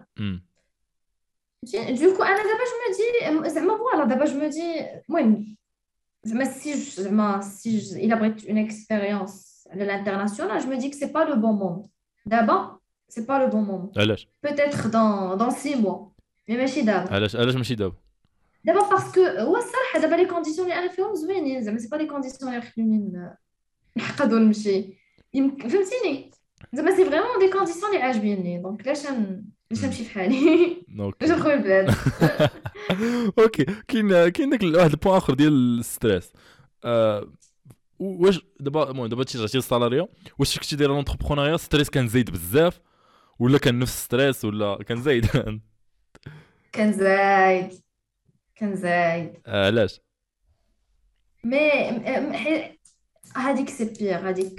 دوكو انا دابا جو مي دي زعما فوالا دابا جو مي دي المهم زعما سي الا بغيت اون اكسبيريونس على الانترناسيونال جو مي دي كو سي با لو بون مومون دابا سي با لو بون مومون علاش peut-être dans 6 mois مي ماشي دابا علاش ماشي دابا باسكو هو الصراحه دابا لي كونديسيون اللي انا فيهم زوينين زعما سي با لي كونديسيون اللي خلوني نحقد ونمشي يمكن فهمتيني زعما سي فريمون دي كونديسيون اللي عاجبيني دونك علاش نمشي في حالي علاش نخوي البلاد اوكي كاين داك واحد البوان اخر ديال الستريس واش دابا رجعتي للسالاريا واش كنتي دايره لونتربرونيا ستريس كان زايد بزاف ولا كان نفس ستريس ولا كان زايد كان زايد علاش مي هذيك سي بير هذيك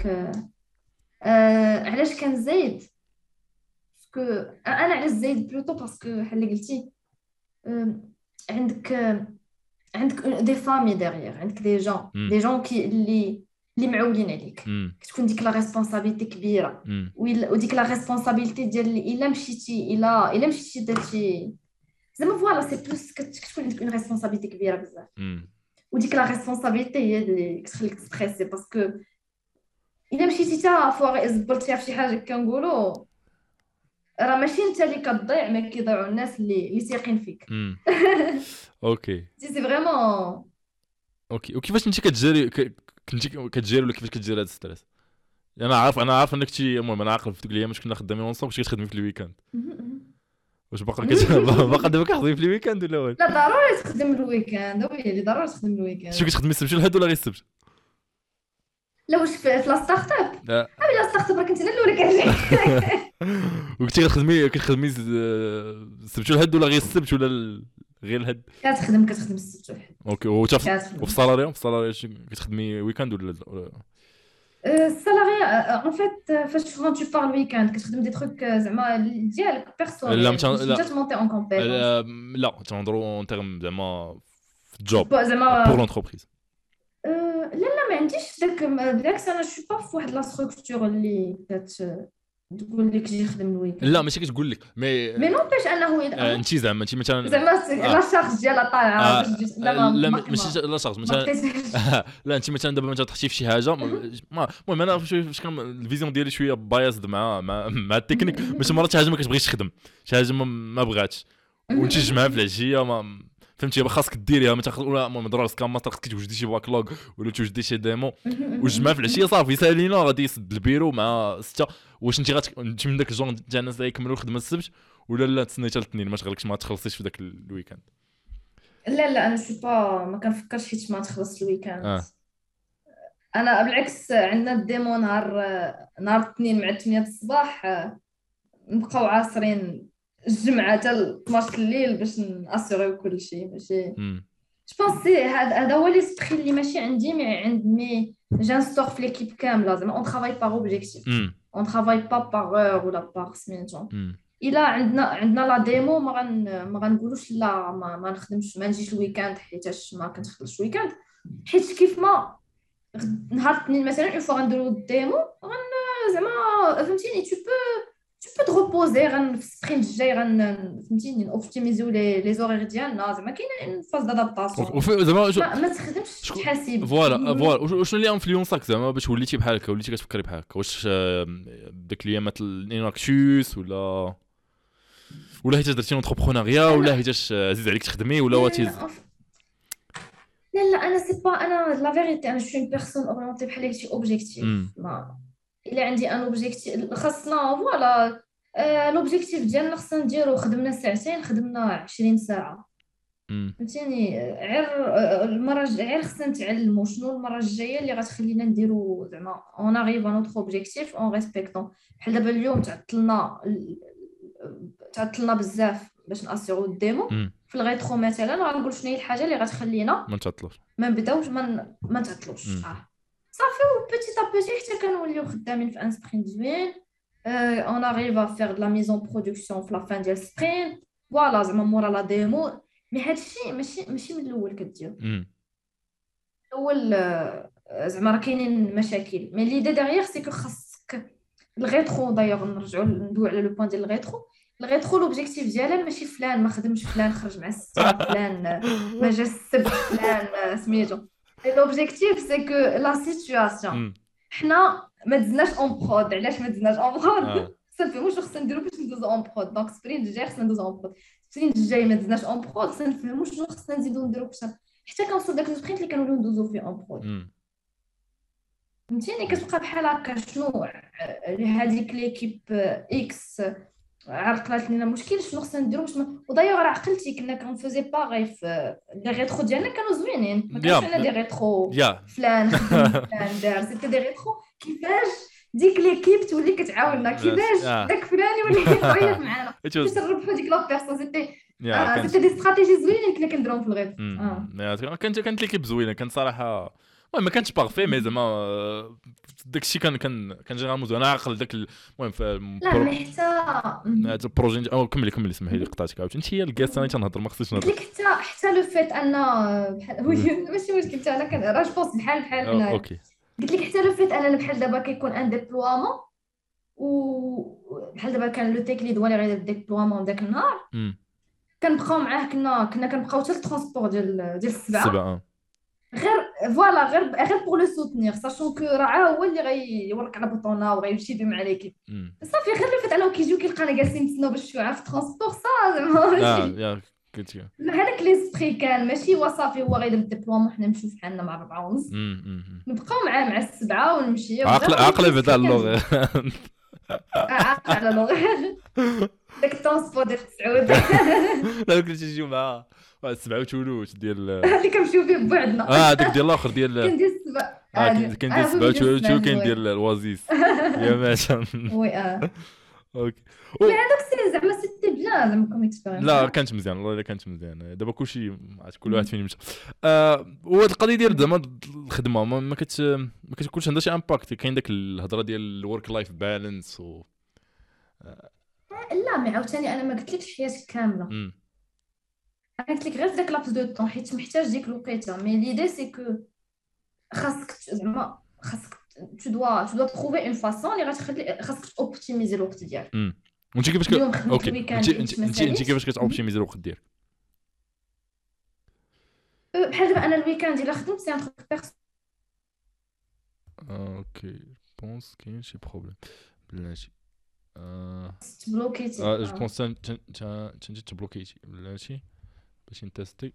علاش كان زايد باسكو انا علاش زايد بلوتو باسكو بحال اللي قلتي عندك دي فامي ديغيغ عندك دي جون كي اللي معولين عليك كتكون ديك لا ريسبونسابيلتي كبيره وديك لا ريسبونسابيلتي ديال الا مشيتي درتي زعما فوالا سي بلوس كتكون عندك اون ريسبونسابيلتي كبيره بزاف وديك لا ريسبونسابيلتي هي اللي كتخليك تستريسي باسكو الا مشيتي تا فوغي زبلت فيها شي حاجه كنقولوا راه ماشي انت اللي كتضيع ما كيضيعوا الناس اللي ثاقين فيك اوكي سي فريمون اوكي وكيفاش انت كتجيري ولا كيفاش كتجيري هذا الستريس انا عارف انك المهم انا عاقل في ديك الايام كنا خدامين اونصوب واش كتخدمي في الويكاند واش باقا دابا كتخدمي في الويكاند ولا واش لا ضروري تخدم الويكاند ويلي ضروري تخدم الويكاند شنو كتخدمي السبت والحد ولا غير السبت لا واش في لا ستارت اب لا ستارت اب راه كنت انا الاولى كنجي وكنتي كتخدمي السبت والحد ولا غير السبت ولا غير الحد كتخدم السبت والحد اوكي وفي السالاري كتخدمي ويكاند ولا السالاري ان فيت فاش تو بارل ويكاند كتخدم دي تروك زعما ديالك بيرسونيل لا مونتي اون كومبيتونس لا تنهضروا اون تيرم زعما في الجوب زعما بور لونتربريز لا ما عنديش داك بالعكس انا شو با فواحد لا ستركتور اللي تقول لك جي خدم الويكاند لا ماشي كتقول لك مي نوبيش انه انت زعما انت مثلا لا شارج ديالها طالعه لا ماشي لا شارج مثلا لا انت مثلا دابا مثلا تحتي في شي حاجه المهم انا فاش كان الفيزيون ديالي شويه بايزد مع التكنيك باش مرات شي حاجه ما كتبغيش تخدم شي حاجه ما بغاتش وانت تجمعها في العشيه فهمتي خاصك ديريها ولا المهم ضروري كان ماستر خاصك توجدي شي باكلوغ ولا توجدي شي ديمو وجمع في العشيه صافي سالينا غادي يسد البيرو مع 6 واش انت من داك الجون تاع الناس اللي يكملوا الخدمه السبت ولا لا تسني حتى الاثنين ما تغلقش ما تخلصيش في داك الويكاند لا انا شو با ما كنفكرش حيت ما تخلص الويكاند انا بالعكس عندنا الديمو نهار الاثنين مع 8 الصباح نبقاو عاصرين الجمعه حتى 12 الليل باش ناسيغيو كل شيء ماشي جو بونسي هذا هو ليسبري اللي ماشي عندي مي جانستور في ليكيب كامله زعما اون ترافاي باغ اوبجيكتيف اون ترافاي با باغ اور ولا باغ سميتو الا عندنا لا ديمو ما غنقولوش لا ما نخدمش ما نجيش الويكاند حيتاش ما كنخدمش الويكاند حيت كيف ما نهار الاثنين مثلا اون فوا غنديرو الديمو زعما فهمتيني tu peux te reposer في السبرينت الجاي فهمتيني نوبتيميزيو لي زورير ديالنا زعما كاينه فاز دادابطاسيون زعما ما تخدمش تحاسب فوالا وشنو اللي انفلونساك زعما باش وليتي بحال هكا وليتي كتفكري بحال هكا واش داك الايامات الاناكتوس ولا حيت درتي لونتربرونيا ولا حيت عزيز عليك تخدمي ولا واتيز لا انا سي با انا لا فيريتي انا شوي بيرسون اورينتي بحال قلتي اوبجيكتيف الا عندي ان اوبجيكتيف خاصنا فوالا لوبجيكتيف ديالنا خصنا نديرو، خدمنا ساعتين خدمنا 20 ساعه، امم فهمتيني؟ غير غير خصنا نتعلموا شنو المره الجايه اللي غتخلينا نديرو زعما اون اريف ا نوتر اوبجيكتيف اون ريسبكتون. بحال دابا اليوم تعطلنا بزاف باش ناسيغو الديمو. في الغيترو مثلا غنقول شنو هي الحاجه اللي غتخلينا ما نتعطلوش. ما نبداوش ما نتعطلوش. صافي، و بيتي تا بيتي حتى كنوليو خدامين في ان سبرينت زوين. اون اريف ا فير دو لا ميزون برودكسيون في لا فان ديال سبرينت. فوالا زعما مورا لا ديمو. مي هادشي ماشي من الاول كدير. الاول زعما راه كاينين مشاكل، مي ليدي ديغيغ سي كو خاصك الغيترو. دايوغ نرجعوا ندوي على لو بوين ديال الغيترو لوبجيكتيف ديالها ماشي فلان ما خدمش، فلان خرج مع الستة، فلان ما جا السبت، فلان سميتو. لوبجيكتيف سي كو لا سيتوياسيون حنا ما دزناش اون برود. علاش ما دزناش اون برود؟ خصنا نفهموا شنو خصنا نديرو باش ندوزو اون برود. دونك سبرينت الجاي خصنا ندوزو اون برود، سبرينت الجاي ما دزناش اون برود، خصنا نفهموا شنو خصنا نزيدو نديرو باش حتى كنوصل داك السبرينت اللي كنوليو ندوزو فيه اون برود. فهمتيني؟ كتبقى بحال هكا شنو هذيك ليكيب اكس عرقلات لينا مشكل، شنو خصنا نديرو باش ودايوغ راه عقلتي كنا كنفوزي باغي في لي ريترو ديالنا كانوا زوينين، ما كانش عندنا دي ريترو فلان فلان دار. سيتي دي ريترو كيفاش ديك ليكيب تولي كتعاوننا، كيفاش داك فلان يولي كيعيط معانا باش نربحوا ديك لا بيرسون. سيتي دي استراتيجي زوينين كنا كنديروهم في الغيترو. كانت ليكيب زوينه، كان صراحه ما كانش باغفي، مي زعما داكشي كان جينيرالمون زوين. انا عاقل داك المهم في لا مي حتى هذا البروجي. او كملي اسمحي لي قطعتك عاوتاني. انت هي الكاس انا تنهضر ما خصنيش نهضر. قلت لك حتى لو فيت ان بحال ماشي مشكل، حتى انا كان راه جوبونس بحال هنايا. اوكي قلت لك حتى لو فيت انا بحال دابا كيكون ان ديبلوامون، و بحال دابا كان لو تيك ليد هو اللي غيدير الديبلوامون داك النهار، كنبقاو معاه. كنا كنبقاو حتى الترونسبور ديال السبعه. غير فوالا غير بور لو سوتنير، ساشون كو راه هو اللي غيورك على بوطونا وغيمشي بيه مع ليكيب. صافي غير اللي فات انا كيجيو كيلقانا جالسين نتسناو باش نمشيو في الترونسبور زعما هذاك ليسبري كان ماشي هو صافي هو غيدير الدبلوم وحنا نمشيو فحالنا مع 4 ونص نبقاو معاه مع 7 ونمشيو. عقله بدا اللغه عقل على اللغه داك الترونسبور ديال سعود لا كنت تجيو مع 7 وتولوش ديال اللي كنمشيو فيه بوحدنا. داك ديال الاخر ديال كان ديال 7 كان ديال 7 وتولوش كاين ديال الوازيس يا ماشا. وي اوكي هذاك سي زعما سيتي بيان زعما كوم اكسبيرينس. لا كانت مزيان والله، الا كانت مزيان. دابا كلشي كل واحد فين مشى. وهاد القضيه ديال زعما الخدمه ما كتكونش عندها شي امباكت. كاين داك الهضره ديال الورك لايف بالانس لا مي عاوتاني انا ما قلتلكش حياتك كامله. انا قلت لك غير في داك لابس دو طون حيت محتاج ديك الوقيته. مي ليدي سي كو خاصك زعما tu dois trouver une façon اللي غتخلي خاصك اوبتيميزي الوقت ديالك. وانت كيفاش اوكي انت كيفاش كتوبتيميزي الوقت ديالك؟ بحال دابا انا الويكاند الا خدمت سي ان تروك بيرسون. اوكي بونس كاين شي بروبليم بلاتي تبلوكيتي. جو بونس انت تبلوكيتي بلاتي باش نتيستي.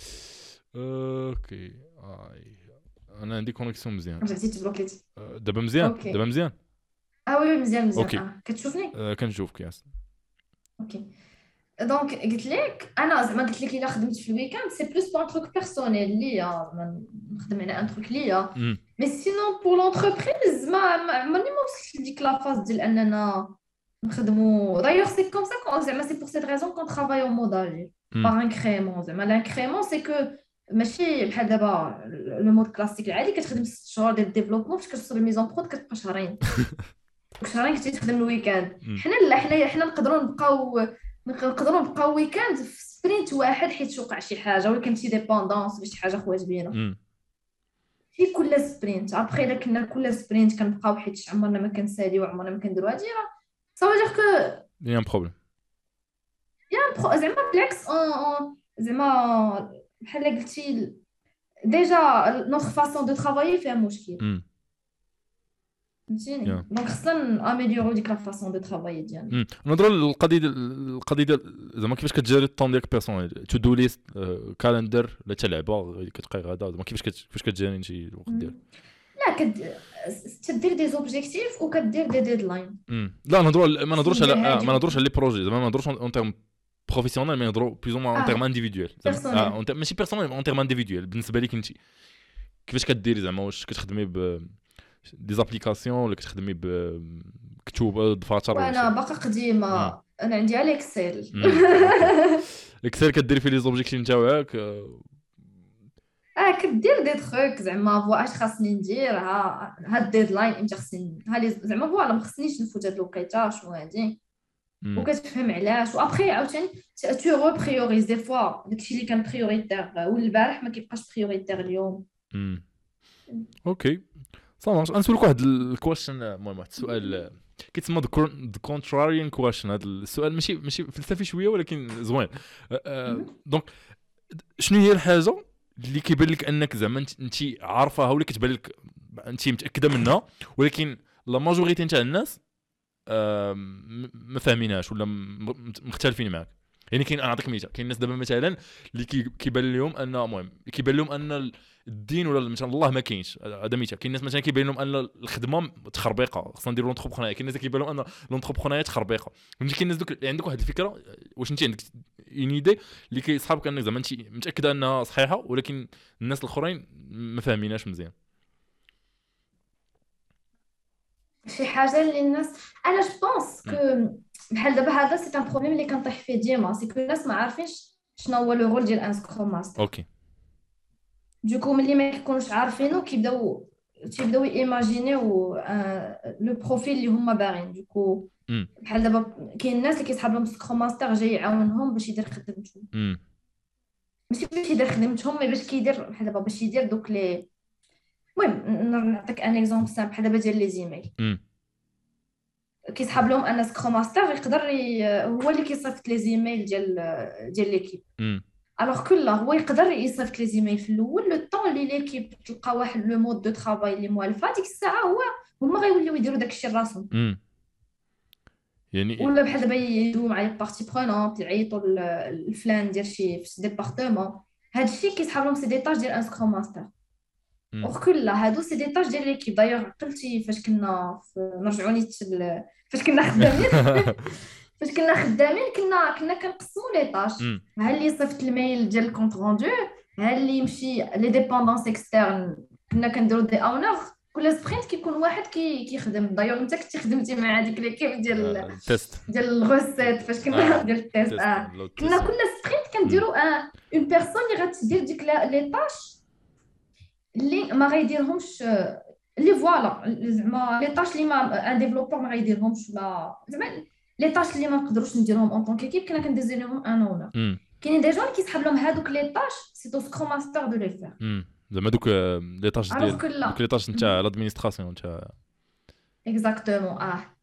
اوكي انا عندي كونيكسيون مزيان. رجعتي تبلوكيتي دابا مزيان. دابا مزيان. وي مزيان. كتشوفني؟ كنشوفك ياس. اوكي دونك قلت لك انا زعما قلت لك الا خدمت في الويكاند سي بلوس بور ان تروك بيرسونيل ليا نخدم على ان تروك ليا. مي سينون بور لونتربريز ما عمرني ما وصلت لديك لا فاز ديال اننا نخدمو. دايوغ سي كوم سا زعما سي بور سيت ريزون كون ترافاي او مودال باغ انكريمون. زعما لانكريمون سي كو ماشي بحال دابا لو مود كلاسيك العادي كتخدم 6 شهور ديال الديفلوبمون فاش كتوصل الميزون برود كتبقى شهرين كنتي تخدم الويكاند. حنا لا حنا نقدروا نبقاو ويكاند في سبرينت واحد حيت وقع شي حاجه ولكن شي ديبوندونس ولا شي حاجه خوات بينا في كل سبرينت. ابخي الا كنا كل سبرينت كنبقاو حيت عمرنا ما كنساليو وعمرنا ما كنديرو هادي راه صافي دير كو يا بروبليم زعما بالعكس زعما بحال قلتي ديجا نوتر فاسون دو ترافايي فيها مشكل. فهمتيني؟ دونك خصنا اميليورو ديك لا فاسون دو ترافاي ديالنا. نهضروا القضيه ديال زعما كيفاش كتجاري الطون ديالك بيرسونيل. تو دو ليست كالندر ولا حتى لعبه كتبقاي غادا زعما كيفاش كتجاري انت الوقت ديالك؟ لا تدير دي زوبجيكتيف وكدير دي ديدلاين. لا ما نهضروش على لي بروجي زعما ما نهضروش اون تيرم بروفيسيونيل مي نهضروا بلوز اون تيرم انديفيدويل ماشي بيرسونيل اون تيرم انديفيدويل. بالنسبه ليك انت كيفاش كديري زعما واش كتخدمي ب دي زابليكاسيون ولا كتخدمي بكتب دفاتر؟ وانا باقا قديمه انا عندي على اكسل. اكسل كديري فيه لي زوبجيكتيف نتاعك كدير دي تروك زعما فوا اش خاصني ندير ها الديدلاين امتى خصني زعما فوالا ما خصنيش نفوت هاد الوقيته شنو هادي وكتفهم علاش وابخي عاوتاني تو ريبريوريز دي فوا داكشي اللي كان بريوريتير والبارح ما كيبقاش بريوريتير اليوم. اوكي صافي غنسولك واحد الكويشن. المهم واحد السؤال كيتسمى the contrarian question. هذا السؤال ماشي فلسفي شويه ولكن زوين. دونك شنو هي الحاجه اللي كيبان لك انك زعما انت عارفاها ولا كتبان لك انت متاكده منها ولكن لا ماجوريتي نتاع الناس ما فاهمينهاش ولا مختلفين معك؟ يعني كاين نعطيك مثال. كاين الناس دابا مثلا اللي كيبان لهم ان المهم كيبان لهم ان الدين ولا مثلا الله ما كاينش. هذا مثال. كاين الناس مثلا كيبان لهم ان الخدمه تخربيقه خصنا نديروا لونتربرونيا. كاين الناس كيبان لهم ان لونتربرونيا تخربيقه. فهمتي كاين الناس دوك عندك واحد الفكره واش انت عندك اون ايدي اللي كيصحابك انك زعما انت متاكده انها صحيحه ولكن الناس الاخرين ما فاهميناش مزيان. شي حاجه اللي الناس انا جو بونس كو بحال دابا هذا سي ان بروبليم اللي كنطيح فيه ديما سي كو الناس ما عارفينش شنو هو لو رول ديال ان سكروم ماستر. اوكي دوكو ملي ما كيكونوش عارفينو كيبداو ايماجينيو لو بروفيل اللي هما باغيين. دوكو بحال دابا كاين الناس اللي كيسحاب لهم سكروم ماستر جاي يعاونهم باش يدير خدمتهم ماشي باش يدير خدمتهم مي باش كيدير بحال دابا باش يدير دوك لي. المهم نعطيك ان اكزومبل سامبل بحال دابا ديال لي زيميل كيسحاب لهم ان سكروم ماستر يقدر هو اللي كيصيفط لي زيميل ديال ليكيب. الوغ كل هو يقدر يصيفط لي زيميل في الاول لو طون اللي ليكيب تلقى واحد لو مود دو طرافاي اللي موالفه ديك الساعه هما غيوليو يديروا داكشي لراسهم. يعني ولا بحال دابا يدوي مع لي بارتي برونونط يعيطوا الفلان ديال شي ديبارتمون هادشي كيسحاب لهم سي ديتاج ديال ان سكروم ماستر. وكل هادو سي ديتاج ديال ليكيب. دايوغ قلتي فاش كنا نرجعوني فاش كنا خدامين فاش كنا خدامين كنا كنقسموا لي طاش. ها اللي صيفط الميل ديال الكونط روندو ها اللي يمشي لي ديبوندونس اكسترن كنا كنديروا دي اونر. كل سبرينت كيكون واحد كيخدم. دايوغ انت كنتي خدمتي مع هذيك ليكيب ديال التيست ديال الغوسيت فاش كنا ديال التيست. كنا كل سبرينت كنديروا اون بيرسون اللي غتدير ديك لي طاش اللي ما غيديرهمش اللي فوالا زعما لي طاش اللي ما ان ديفلوبور ما غيديرهمش ولا زعما لي طاش اللي ما نقدروش نديرهم اون طون كيكيب كنا كنديزينيهم ان اونر. كاينين دي جون كيسحب لهم هذوك لي طاش سي تو سكروم ماستر دو لي فير زعما دوك لي طاش ديال دوك لي طاش نتاع لادمينستراسيون نتاع اكزاكتومون.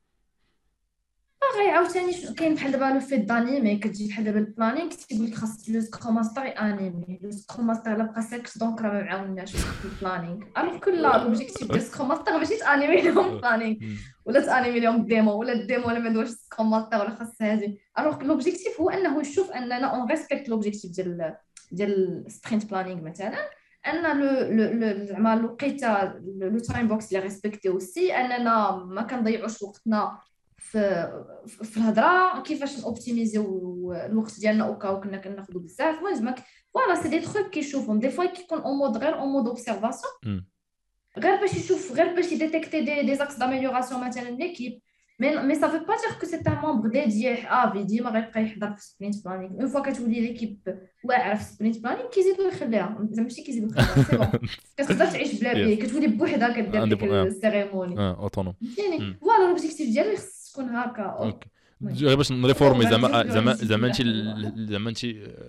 غير عاوتاني كاين بحال دابا لو فيت دانيمي كتجي بحال دابا البلانينغ كتقول لك خاص لو سكروم ماستر انيمي. لو سكروم ماستر لا بقى ساكت دونك راه ما معاوناش في البلانينغ. الوغ كل لوبجيكتيف ديال سكروم ماستر ماشي تانيمي لهم البلانينغ ولا تانيمي لهم الديمو ولا الديمو ولا ما ندوش سكروم ماستر ولا خاص هذه. الوغ لوبجيكتيف هو انه يشوف اننا اون ريسبكت لوبجيكتيف ديال سبرينت بلانينغ مثلا ان لو زعما الوقيته لو تايم بوكس اللي ريسبكتي اوسي اننا ما كنضيعوش وقتنا في الهضره كيفاش نوبتيميزيو الوقت ديالنا وكاو كنا كناخذوا بزاف. المهم فوالا سي دي تروك كيشوفهم دي فوا كيكون اون مود غير اون مود اوبسيرفاسيون غير باش يشوف غير باش يديتيكتي دي زاكس داميليوراسيون مثلا ليكيب. مي سا فو با دير كو سي ان ممبر ديديي في ديما غيبقى يحضر في سبرينت بلانينغ. اون فوا كتولي ليكيب واعره في سبرينت بلانينغ كيزيدوا يخليها زعما ماشي كيزيدوا يخليها سي بون كتقدر تعيش بلا بيه كتولي بوحدها كدير ديك السيريموني اوتونوم. يعني فوالا لوبجيكتيف ديالي تكون هكا غير باش نريفورمي زعما انت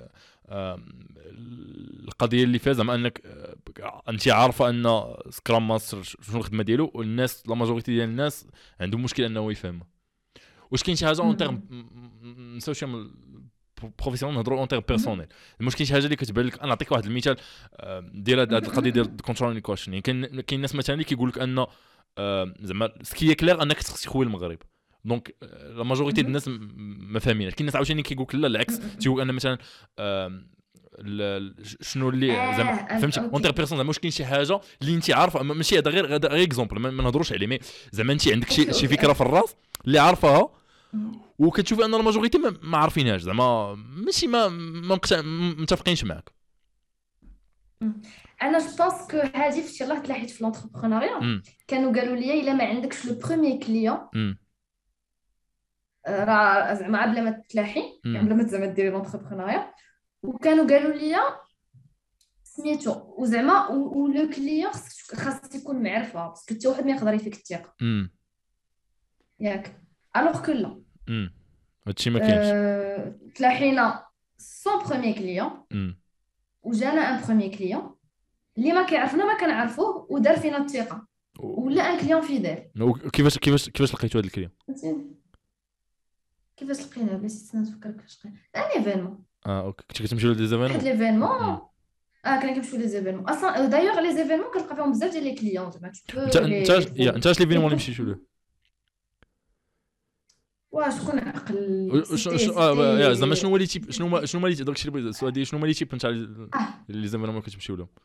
القضيه اللي فيها زعما انك انت عارفه ان سكرام ماستر شنو الخدمه ديالو والناس لا ماجوريتي ديال الناس عندهم مشكل انه يفهمها. واش كاين شي حاجه اون تيرم نساوش بروفيسيونيل نهضروا اون تيرم بيرسونيل المشكل شي حاجه اللي كتبان لك. انا نعطيك واحد المثال ديال هذه القضيه ديال كونترول كويشن. يعني كاين ناس مثلا اللي كيقول لك ان زعما سكي كلير انك خصك تخوي المغرب دونك لا ماجوريتي ديال الناس ما فاهمينش. كاين ناس عاوتاني كيقول لك لا العكس تيقول ان مثلا شنو اللي زعما فهمتي اونتر بيرسون زعما واش كاين شي حاجه اللي انت عارفه ماشي هذا غير اكزومبل ما نهضروش عليه مي زعما انت عندك شي فكره في الراس اللي عارفاها وكتشوفي ان الماجوريتي ما عارفينهاش زعما ماشي ما متفقينش معاك. انا جو بونس كو هذه فاش يلاه تلاحيت في لونتربرونيا كانوا قالوا لي الا ما عندكش لو بروميير كليون راه زعما بلا ما تلاحي يعني بلا ما زعما ديري لونتربرونيا وكانوا قالوا لي سميتو وزعما ولو كليون خاص يكون معرفه باسكو حتى واحد ما يقدر يفيك الثقه ياك الوغ كو لا هادشي ما كاينش. تلاحينا سون بروميير كليون وجانا ان بروميير كليون اللي ما كيعرفنا ما كنعرفوه ودار فينا الثقه ولا ان كليون فيدال. كيفاش لقيتو هذا الكليون؟ كيفاش لقيناه بس نفكر كيفاش لقينا ان ايفينمون. اوكي كنت كتمشيو لدي زيفينمون واحد ليفينمون كنا كنمشيو لي زيفينمون اصلا دايوغ لي زيفينمون كنلقى فيهم بزاف ديال لي كليون زعما انت اش ليفينمون اللي مشيتو له شكون عقل يا زعما شنو هو لي تيب شنو هما لي داكشي اللي السؤال ديال شنو هما لي تيب نتاع لي زيفينمون كتمشيو لهم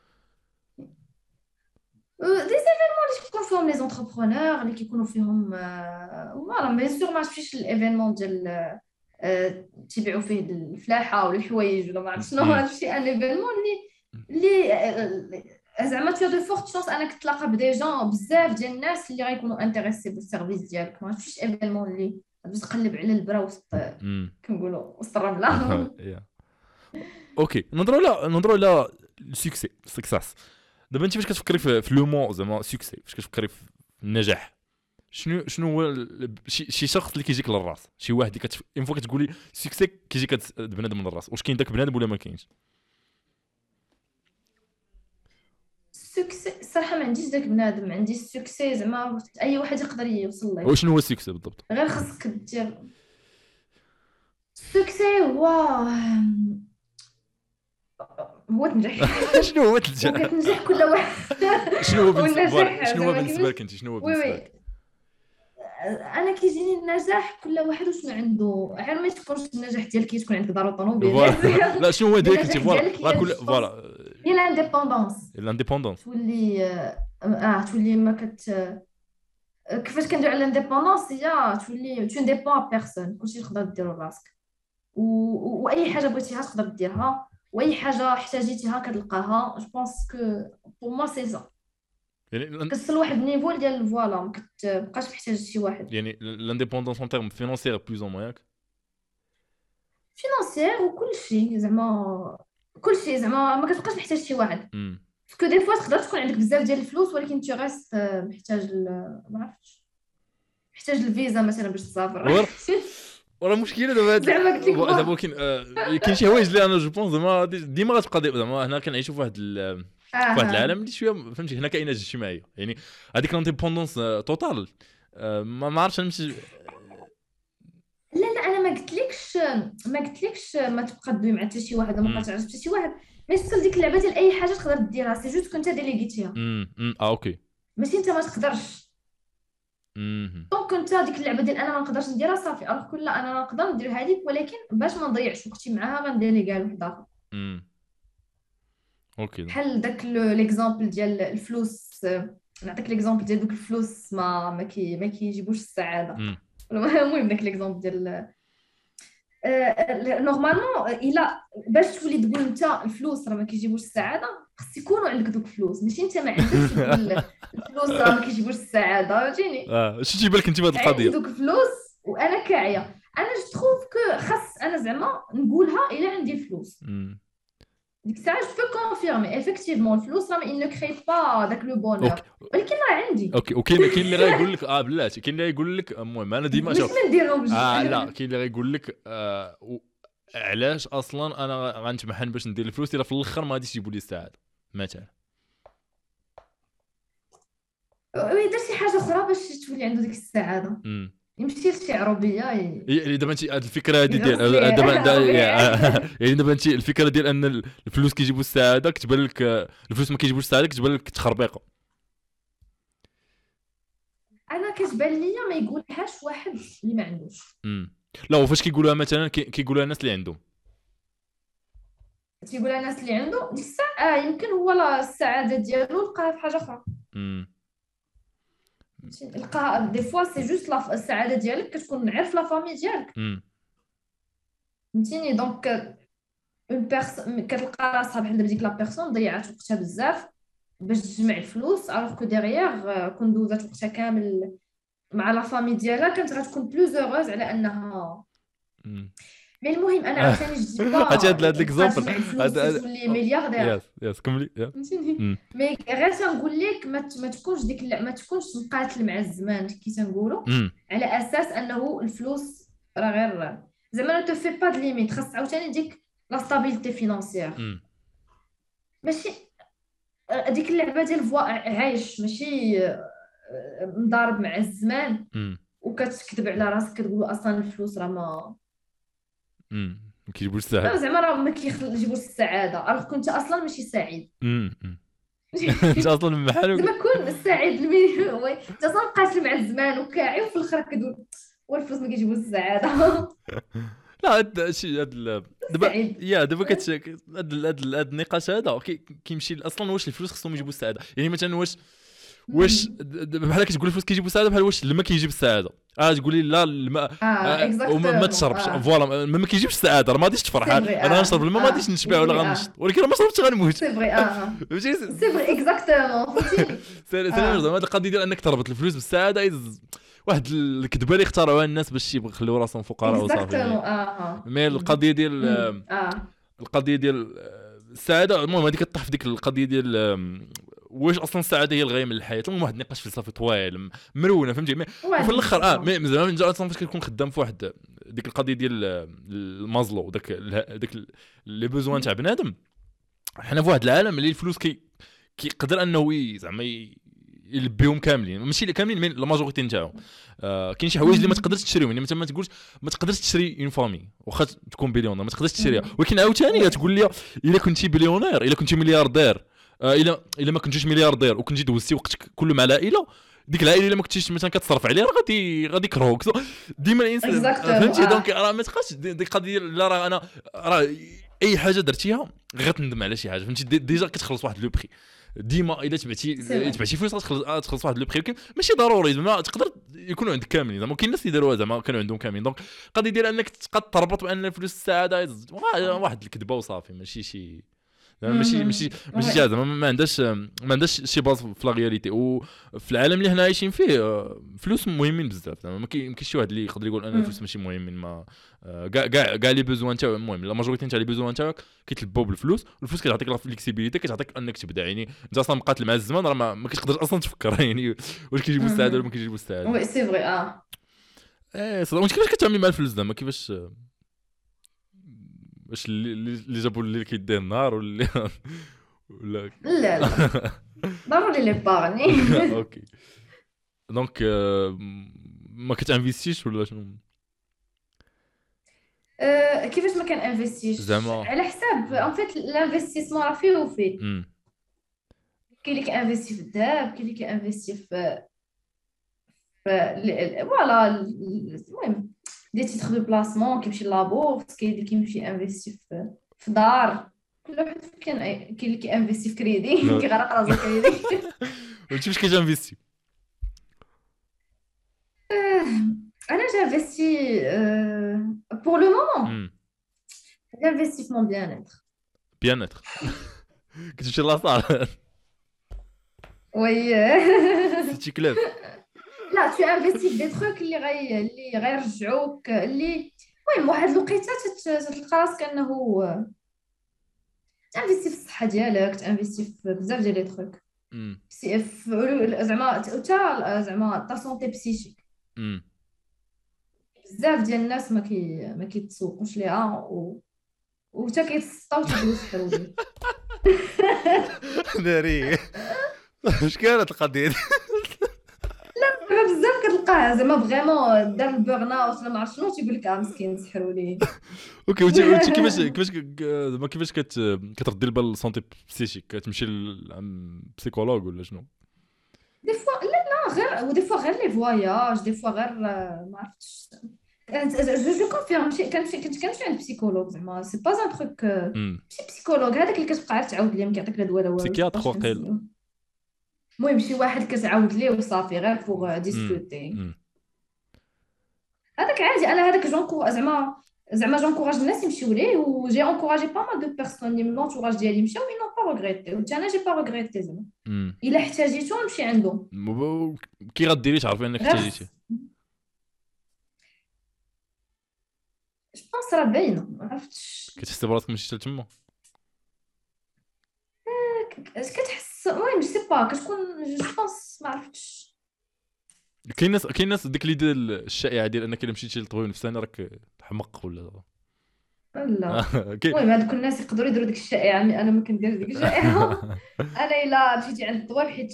دي زيفينمون اللي كيكونوا فيهم لي زونتربرونور اللي كيكونوا فيهم فوالا بيان سور ما مشيتش الايفينمون ديال تيبيعوا فيه الفلاحه ولا الحوايج ولا ما عرفت شنو هذا الشيء ان ايفينمون اللي زعما تو دو فورت شانس انك تلاقى بدي جون بزاف ديال الناس اللي غيكونوا انتريسي بالسيرفيس ديالك ما مشيتش ايفينمون اللي باش تقلب على البرا وسط كنقولوا وسط الرمله. اوكي نضروا على السكساس دابا انت فاش كتفكري في لو مون زعما سكسي فاش كتفكري في النجاح شنو هو شي شخص اللي كيجيك للراس شي واحد اللي اون فوا كتقولي سكسي كيجيك بنادم من الراس واش كاين داك بنادم ولا ما كاينش؟ السكسي صراحه ما عنديش داك بنادم عندي السكسي زعما اي واحد يقدر يوصل له. وشنو هو السكسي بالضبط؟ غير خاصك دير السكسي هو تنجح. شنو هو تنجح؟ كتنجح كل واحد. شنو هو بالنسبه لك انت شنو هو بالنسبه لك؟ انا كيجيني النجاح كل واحد وشنو عنده غير ما تكونش النجاح ديالك تكون عندك دار وطوموبيل. لا شنو هو ديالك انت فوالا كل فوالا هي الانديبوندونس تولي ما كيفاش كنديروا على الانديبوندونس هي تولي تو ديبون بيرسون كلشي تقدر ديرو راسك واي حاجه بغيتيها تقدر ديرها واي حاجه احتاجيتيها كتلقاها. جو بونس كو بور موا سي سا يعني كتصل واحد النيفو ديال فوالا ما كتبقاش محتاج شي واحد. يعني لانديبوندونس اون تيرم فينانسيير بلوز او موان فينانسيير وكلشي زعما كلشي زعما ما كتبقاش محتاج شي واحد باسكو دي فوا تقدر تكون عندك بزاف ديال الفلوس ولكن تي غاست محتاج ما عرفتش محتاج الفيزا مثلا باش تسافر. ولا مشكله دابا دابا كاين شي حوايج اللي انا جو بونس زعما ديما غتبقى زعما هنا كنعيشوا في واحد العالم اللي شويه فهمتي هنا كاينه اجتماعيه يعني هذيك لانديبوندونس توتال ما عرفتش نمشي. لا انا ما قلتلكش ما تبقى تدوي مع حتى شي واحد ما تعرف حتى شي واحد ما يوصل ديك اللعبه ديال اي حاجه تقدر ديرها سي جوست كنت ديليغيتيها اوكي ماشي انت ما تقدرش دونك كنت ديك اللعبه ديال انا ما نقدرش نديرها صافي الوغ كل انا نقدر ندير هذيك ولكن باش ما نضيعش وقتي معاها غنديري كاع لواحد اخر. اوكي بحال داك ليكزامبل ديال الفلوس نعطيك ليكزامبل ديال دوك الفلوس ما كيجيبوش السعاده. المهم داك ليكزامبل ديال نورمالمون الا باش تولي تقول انت الفلوس راه ما كيجيبوش السعاده خص يكونوا عندك دوك الفلوس ماشي انت ما عندكش الفلوس راه ما كيجيبوش السعاده فهمتيني. اش تجيب لك انت بهذه القضيه دوك الفلوس وانا كاعيه انا جو تروف كو خاص انا زعما نقولها الا عندي الفلوس ديك الساعه جو بو كونفيرمي افيكتيفمون الفلوس راه ما كري با داك لو بونور ولكن راه عندي. اوكي وكاين اللي غايقول لك بلاتي كاين اللي غايقول لك المهم انا ديما شوف ما نديرهمش لا كاين اللي غايقول لك علاش اصلا انا غنتمحن باش ندير الفلوس الا في الاخر ما غاديش يجيبوا لي السعاده مثلا يدير شي حاجه اخرى باش تولي عنده ديك السعاده يمشي لشي عربيه يعني دابا انت هذه الفكره هذه ديال دابا يعني دابا انت الفكره ديال ان الفلوس كيجيبوا السعاده كتبان لك الفلوس ما كيجيبوش السعاده كتبان لك تخربيقه. انا كتبان ليا ما يقولهاش واحد اللي ما عندوش لا وفاش كيقولوها مثلا كيقولوها الناس اللي عندهم تيقول الناس اللي عنده ديك الساعه يمكن هو السعاده ديالو لقاها في حاجه اخرى. امم لقاها دي فوا سي جوست السعاده ديالك كتكون عارف لا فامي ديالك، امم فهمتيني. دونك اون بيرسون كتلقى راسها بحال ديك لا بيرسون ضيعت وقتها بزاف باش تجمع الفلوس، الوغ كو ديغيير كون دوزات وقتها كامل مع لا فامي ديالها كانت غتكون بلوز هوروز على انها. امم مي المهم انا عاوتاني جو دي با هادي هاد بقى ليكزامبل تجمع الفلوس تولي ملياردير، يس كملي فهمتيني. امم مي غير تنقول لك ما تكونش ديك ما تكونش مقاتل مع الزمان كي تنقولوا، امم على اساس انه الفلوس راه غير زعما نو تو في با د ليميت. خاص عاوتاني ديك لا ستابيليتي فينانسيير، امم ماشي هذيك اللعبه ديال فوا عايش، ماشي مضارب مع الزمان وكتكذب على راسك كتقول اصلا الفلوس راه ما كيجيبوش السعاده. زعما راه ما كيجيبوش السعاده، راه كنت اصلا ماشي سعيد. انت اصلا بحالك. زعما كون سعيد وي انت اصلا قاتل مع الزمان وكاعي وفي الاخر كتقول والفلوس ما كيجيبوش السعاده. لا هاد شي دابا سعيد. دابا هاد النقاش هذا كيمشي اصلا واش الفلوس خصهم يجيبوا السعاده. يعني مثلا واش بحال كتقول الفلوس كيجيبوا السعاده، بحال واش الماء كيجيب السعاده. تقولي لا الماء وما تشربش فوالا ما كيجيبش السعاده، راه ما غاديش تفرح. انا نشرب الماء ما غاديش نشبع ولا غنشط، ولكن ما شربتش غنموت. سي فري فهمتي سي فري اكزاكتومون فهمتي. زعما هاد القضيه ديال انك تربط الفلوس بالسعاده واحد الكذبه اللي اخترعوها الناس باش يخليو راسهم فقراء وصافي. مي القضيه ديال القضيه ديال السعاده المهم هذيك كطيح في ديك القضيه ديال واش اصلا السعاده هي الغايه من الحياه. المهم واحد النقاش فلسفي طويل مرونه فهمتي. وفي الاخر زعما اصلا فاش كتكون خدام في واحد ديك القضيه ديال المازلو داك لي بوزوان تاع بنادم. حنا في واحد العالم اللي الفلوس كيقدر انه زعما يلبيهم كاملين، ماشي كاملين مي لا ماجوريتي نتاعهم. كاين شي حوايج اللي ما تقدرش تشريهم. يعني مثلا ما تقولش ما تقدرش تشري اون فامي واخا تكون بليونير ما تقدرش تشريها. ولكن عاوتاني تقول لي الا كنتي بليونير الا كنتي ملياردير الا ما كنتيش ملياردير وكنتي دوزتي وقتك كله مع العائله، ديك العائله الا ما كنتيش مثلا كتصرف عليها راه غادي يكرهوك ديما الانسان فهمتي. دونك راه ما تبقاش ديك القضيه لا راه انا راه اي حاجه درتيها غتندم على شي حاجه فهمتي. ديجا كتخلص واحد لو بري ديما الا تبعتي فلوس تخلص واحد لو بري. ولكن ماشي ضروري زعما تقدر يكونوا عندك كاملين. زعما كاين الناس اللي داروها زعما كانوا عندهم كاملين. دونك القضيه ديال انك تبقى تربط بان الفلوس السعاده واحد الكذبه وصافي. ماشي شي ماشي شي زعما ما عندهاش شي باز في لا رياليتي. وفي العالم اللي حنا عايشين فيه فلوس مهمين بزاف. زعما ما كاينش شي واحد اللي يقدر يقول ان الفلوس ماشي مهمين. ما كاع لي بوزوان تاعو المهم لا ماجوريتي تاع لي بوزوان تاعك كيتلبوا بالفلوس. والفلوس كتعطيك لا فليكسيبيليتي كتعطيك انك تبدا. يعني انت اصلا مقاتل مع الزمان راه ما كتقدرش اصلا تفكر يعني واش كيجيبوا السعاده ولا ما كيجيبوا السعاده. وي سي فري صراحه كيفاش كتعاملي مع الفلوس زعما كيفاش واش اللي جابوا اللي كيديه النهار ولا لا ضروري لي بارني. اوكي دونك ما كتانفيستيش ولا شنو؟ كيفاش ما كان انفستيش زعما على حساب ان فيت الانفستيسمون راه فيه وفيه. كاين اللي كينفيستي في الذهب، كاين اللي كينفيستي في فوالا المهم دي تيتر دو بلاسمون كيمشي لابورس، كاين اللي كيمشي انفيستي في دار. كل واحد كاين اللي كينفيستي في كريدي كيغرق راسو كريدي. وانت واش كتنفيستي؟ انا جانفيستي بور لو مومون جانفيستي في مون بيان اتر. كتمشي لاصال وي سيتي كلاب. لا تو انفيستي في دي تروك اللي غيرجعوك اللي المهم واحد الوقيته تلقى راسك انه تانفيستي في الصحه ديالك، تانفيستي في بزاف ديال لي تروك زعما تا زعما تا سونتي بسيشيك. بزاف ديال الناس ما كيتسوقوش ليها وتا كيتسطاو تيدوز حروبي. ناري واش كانت القضيه دي؟ لا بزاف كتلقاه زعما فريمون دار البورن اوت ولا ما عرفت شنو تيقول لك مسكين سحروا لي. اوكي وانت كيفاش كتردي البال للسونتي بسيشيك؟ كتمشي للبسيكولوج ولا شنو؟ دي فوا لا غير ودي فوا غير لي فواياج، دي فوا غير ما عرفتش جو كونفيرم شي كنمشي عند بسيكولوج زعما سي با ان تروك امم ماشي بسيكولوج هذاك اللي كتبقى عاد تعاود ليه ما كيعطيك لا دواء لا والو بسيكياتر مابقاش واقيلا. كنسميو. المهم شي واحد كتعاود ليه وصافي غير بوغ امم ديسكوتي. امم هذاك عادي انا هذاك جونكو زعما جونكوراج الناس يمشيو ليه وجي انكوراجي با مال دو بيرسون اللي من لونتوراج ديالي مشاو مي نون با ريغريتي وحتى انا جي با ريغريتي زعما امم الا احتاجيتو نمشي عندهم كي غديري تعرفي انك غير احتاجيتي؟ جو بونس راه باينه ما عرفتش كتحسي براسك مشيتي لتما؟ كتحس المهم جو سي با كتكون جو بونس ما عرفتش. كاين ناس ديك اللي ديال الشائعه ديال انك الا مشيتي للطبيب النفساني راك حمق ولا لا كاين. المهم هذوك الناس يقدروا يديروا ديك الشائعه انا ما كنديرش ديك الشائعه. انا الا مشيتي عند الدواء حيت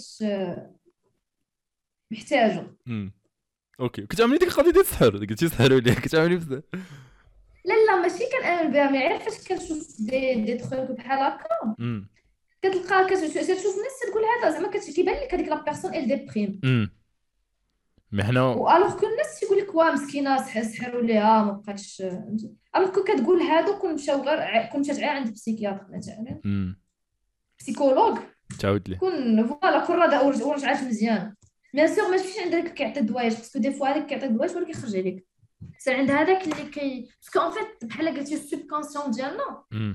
محتاجه. امم اوكي، كتعملي ديك القضيه ديال السحر، قلتي سحروا لي كتعملي بزاف. لا ماشي كنامن بها مي عارف فاش كنشوف دي تخوك بحال هكا امم كتلقى كتشوف الناس تقول هذا زعما كيبان لك هذيك لا بيرسون ال ديبريم امم مي حنا والوغ كو الناس تيقول لك واه مسكينه سحروا ليها ما بقاتش الوغ كو كتقول هادو كون مشاو غير كون مشات غير عند بسيكياتر مثلا امم بسيكولوج تعاود لي. كون فوالا كون راه ورجعات مزيان بيان سور ما تمشيش عند داك كيعطي الدوايج باسكو دي فوا هذاك كيعطي الدوايج ولا كيخرج عليك سير عند هذاك اللي باسكو اون فيت بحال قلتي السوب كونسيون ديالنا امم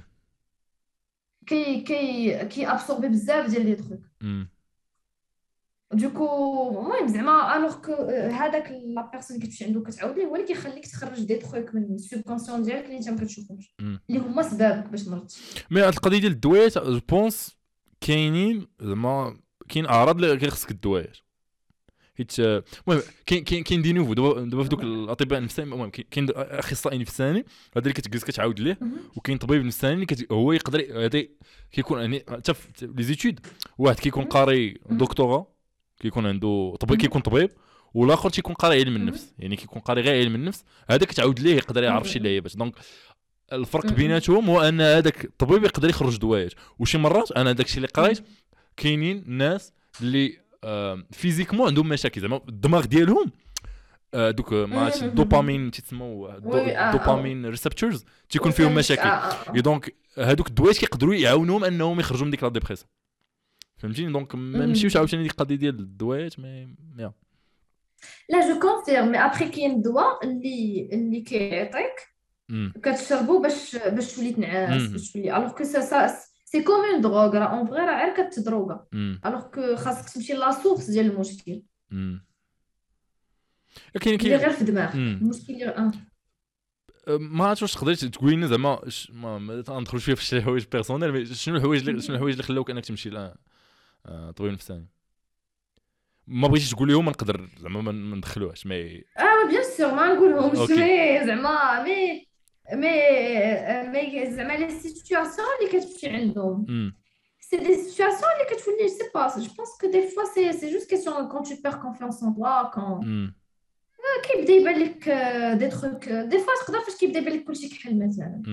كي ابسوربي بزاف ديال لي تروك امم دوكو المهم زعما الوغ كو هذاك لا بيرسون اللي كتمشي عنده كتعاود ليه هو اللي كيخليك تخرج دي تروك من السوب كونسيون ديالك اللي انت ما كتشوفهمش اللي هما سبابك باش مرضتي. مي هاد القضيه ديال الدوايات جو بونس كاينين زعما كاين اعراض اللي خصك الدوايات حيت المهم كاين دي نوفو دابا في دوك الاطباء النفسانيين. المهم كاين اخصائي نفساني هذا اللي كتجلس كتعاود ليه، وكاين طبيب نفساني اللي هو يقدر هذا كيكون يعني حتى في لي زيتود واحد كيكون قاري دكتوراه كيكون عنده طبيب كيكون طبيب، والاخر تيكون قاري علم النفس يعني كيكون قاري غير علم النفس. هذاك تعاود ليه يقدر يعرف شي لعيبات. دونك الفرق بيناتهم هو ان هذاك الطبيب يقدر يخرج دوايات، وشي مرات انا داكشي اللي قريت كاينين ناس اللي فيزيكمون عندهم مشاكل زعما الدماغ ديالهم دوك ما عرفتش الدوبامين تيسموا الدوبامين ريسبتورز تيكون فيهم مشاكل. دونك هذوك الدوايات كيقدروا يعاونوهم انهم يخرجوا من ديك لا ديبريسيون، فهمتيني؟ دونك ما نمشيوش عاوتاني ديك القضيه ديال الدوايات يا لا جو كونفيرم مي ابخي كاين الدواء اللي كيعطيك كتشربو باش تولي تنعس باش تولي الوغ كو سي كوم اون دروغ راه اون فغي راه غير كتدروغا الوغ كو خاصك تمشي لا سورس ديال المشكل اللي غير في الدماغ المشكل اللي ما عرفتش واش تقدري تقولي لنا زعما ما ندخلوا شويه في شي حوايج بيرسونيل، مي شنو الحوايج اللي خلاوك انك تمشي طبيب نفساني؟ ما بغيتيش تقوليهم نقدر زعما ما ندخلوهاش مي بيان سور ما نقولهمش مي زعما مي زعما لي سيتوياسيون اللي كتمشي عندهم سي دي سيتوياسيون اللي كتولي سي با جو بونس كو دي فوا سي جوست كيسيون كون تو بير كونفيونس ان توا كون كيبدا يبان لك دي تروك دي فوا تقدر فاش كيبدا يبان لك كلشي كحل مثلا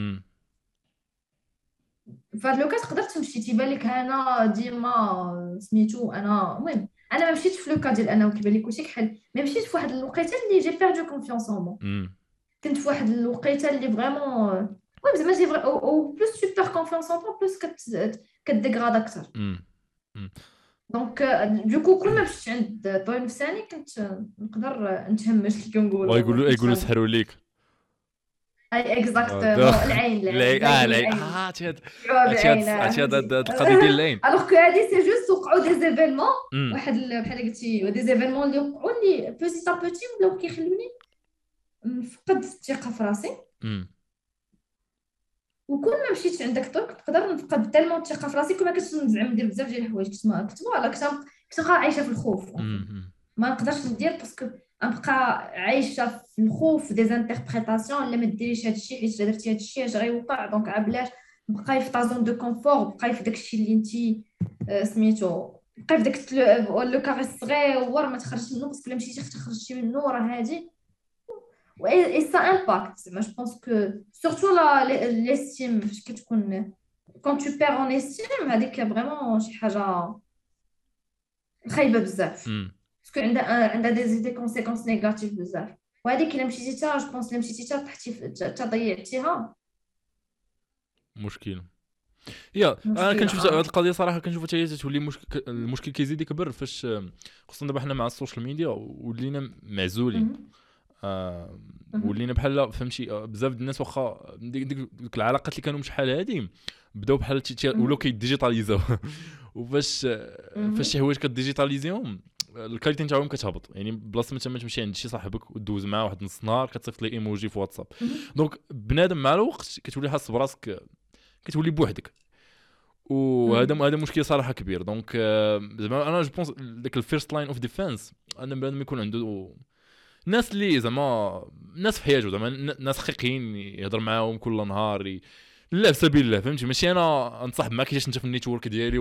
فهاد لوكا تقدر تمشي تيبان لك انا ديما سميتو انا المهم انا ما مشيتش في لوكا ديال انا وكيبان لي كلشي كحل مي مشيت في واحد الوقيته اللي جي بيردو كونفيونس ان مون كنت في واحد الوقيته اللي فريمون المهم زعما جي او بلوس تو بير كونفيونس ان بلوس كتديغراد اكثر دونك دوكو كل ما مشيت عند طبيب نفساني كنت نقدر نتهمش كي كنقولوا يقولوا سحروا ليك اي اكزاكتومون العين هاد القضيه ديال العين الوغ كو هادي سي جوست وقعوا دي زيفينمون واحد بحال قلتي دي زيفينمون اللي وقعوا لي بوتي ا بوتي ولاو كيخلوني نفقد الثقه في راسي وكل ما مشيت عند دكتور نقدر نفقد تالمون الثقه في راسي كما كنزعم ندير بزاف ديال الحوايج كنت عايشه في الخوف ما نقدرش ندير باسكو نبقى عايشه في الخوف دي زانتربريتاسيون لا ما ديريش هذا الشيء حيت درتي هذا الشيء اش غيوقع دونك عبلاش بقاي في طازون دو كونفور بقاي في داك الشيء اللي انت سميتو بقاي في داك لو كاري الصغير ما تخرجش منه باسكو الا مشيتي خرجتي منه راه هادي et ça impacte moi je pense que surtout l'estime فاش كتكون quand tu perds en estime هذيك فريمون شي حاجه خايبه بزاف باسكو عندها دي كونسيكونس نيجاتيف بزاف وهذيك الا مشيتي تا جو بونس الا مشيتي تا طحتي تا ضيعتيها مشكل. يا انا مشكله. كنشوف هذه القضيه صراحه، كنشوف حتى هي تولي مشكل، المشكل كيزيد يكبر فاش خصوصا دابا حنا مع السوشيال ميديا ولينا معزولين. ولينا بحال فهمتي بزاف د الناس واخا ديك العلاقات اللي كانوا شحال هادي بداو بحال ولاو كيديجيتاليزاو وفاش شي حوايج كديجيتاليزيهم الكاليتي نتاعهم كتهبط. يعني بلاصه ما تمشي عند شي صاحبك ودوز معاه واحد نص نهار كتصيفط ليه ايموجي في واتساب، دونك بنادم مع الوقت كتولي حاس براسك كتولي بوحدك، وهذا مشكل صراحه كبير. دونك زعما انا جو بونس داك الفيرست لاين اوف ديفنس ان بنادم يكون عنده ناس اللي زعما ناس في حياته، زعما ناس حقيقيين يهضر معاهم كل نهار لا في سبيل الله، فهمتي؟ ماشي انا انصاحب معاك كيفاش انت في النيتورك ديالي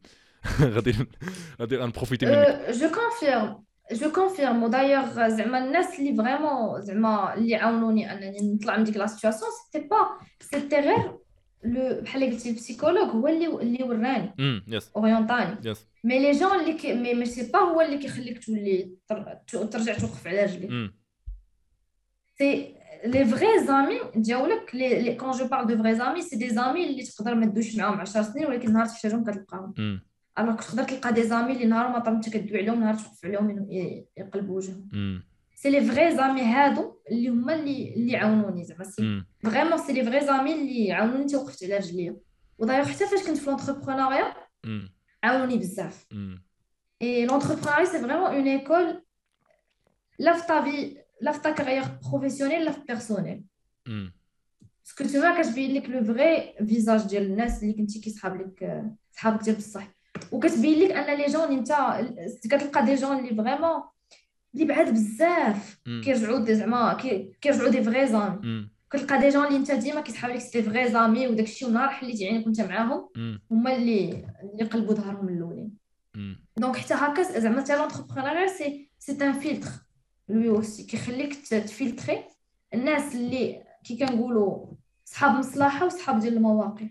غادي نبروفيتي منك. جو كونفيرم ودايوغ زعما الناس اللي فريمون زعما اللي عاونوني انني نطلع من ديك لا سيتوياسيون سيتي غير لو بحال قلتي البسيكولوج هو اللي وراني يس اورينتاني. يس مي لي جون اللي مي سي با هو اللي كيخليك تولي ترجع توقف على رجليك. سي لي فري زامي ديالك لي كون جو بارل دو فري زامي سي دي زامي اللي تقدر ما تدوش معاهم 10 سنين ولكن نهار تحتاجهم كتلقاهم. الوغ تقدر تلقى دي زامي اللي نهار ما طاب انت كدوي عليهم نهار توقف عليهم يقلبوا وجههم. سي لي فري زامي هادو اللي هما اللي عاونوني زعما سي فريمون سي لي فري زامي اللي عاونوني حتى وقفت على رجليا. ودايوغ حتى فاش كنت في لونتربرونيا عاونوني بزاف. اي لونتربرونيا سي فريمون اون ايكول لا في طافي لا في تا كارير بروفيسيونيل لا في بيرسونيل. باسكو تما كتبين لك لو فري فيزاج ديال الناس اللي كنتي كيصحاب لك صحابك ديال بصح، وكتبين لك ان لي جون انت كتلقى دي جون اللي فريمون اللي بعاد بزاف كيرجعوا زعما كيرجعوا دي فري زامي. كتلقى دي جون اللي انت ديما كيسحاب لك سي فري زامي وداكشي ونهار حليتي عينك وانت معاهم هما اللي قلبوا ظهرهم الاولين. دونك حتى هكا زعما حتى لونتربرونيا سي ان فلتر لوي اوسي كيخليك تفلتري الناس اللي كي كنقولوا صحاب مصلحه وصحاب ديال المواقف.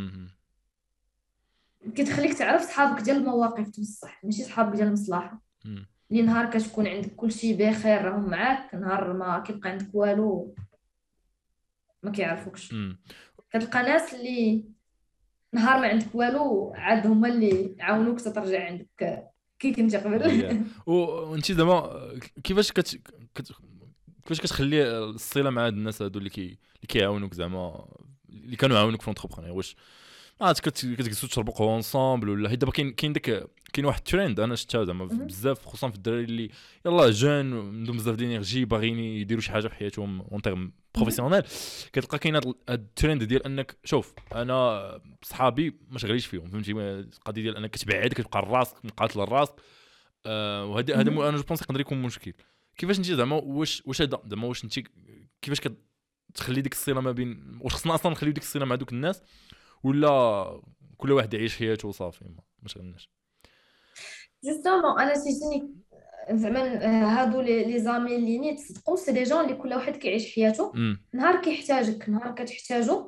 كتخليك تعرف صحابك ديال المواقف بصح ماشي صحابك ديال المصلحه اللي نهار كتكون عندك كلشي بخير راهم معاك نهار ما كيبقى عندك والو ما كيعرفوكش. كتلقى ناس اللي نهار ما عندك والو عاد هما اللي عاونوك ترجع عندك كي كنتي قبل. وانت زعما كيفاش كيفاش كتخلي الصله مع هاد الناس هادو اللي كيعاونوك زعما اللي كانوا عاونوك في لونتربرونيا؟ واش كتجلسوا تشربوا قهوه انصامبل ولا حيت دابا كاين واحد الترند انا شفتها زعما بزاف خصوصا في الدراري اللي يلاه جون عندهم بزاف ديال الانرجي باغيين يديروا شي حاجه في حياتهم اون تيرم بروفيسيونيل. كتلقى كاين هاد الترند ديال انك شوف انا صحابي ما شغليش فيهم، فهمتي؟ القضيه ديال انك كتبعد كتبقى راسك مقاتل الراس. وهذا انا جو بونس يقدر يكون مشكل. كيفاش انت زعما واش هذا زعما واش انت كيفاش كتخلي ديك الصله ما بين واش خصنا اصلا نخليو ديك الصله مع دوك الناس ولا كل واحد يعيش حياته وصافي ما شغلناش؟ جوستومون انا تيجيني زعما هادو لي زامي اللي نيت صدقوا سي دي جون اللي كل واحد كيعيش حياته نهار كيحتاجك نهار كتحتاجو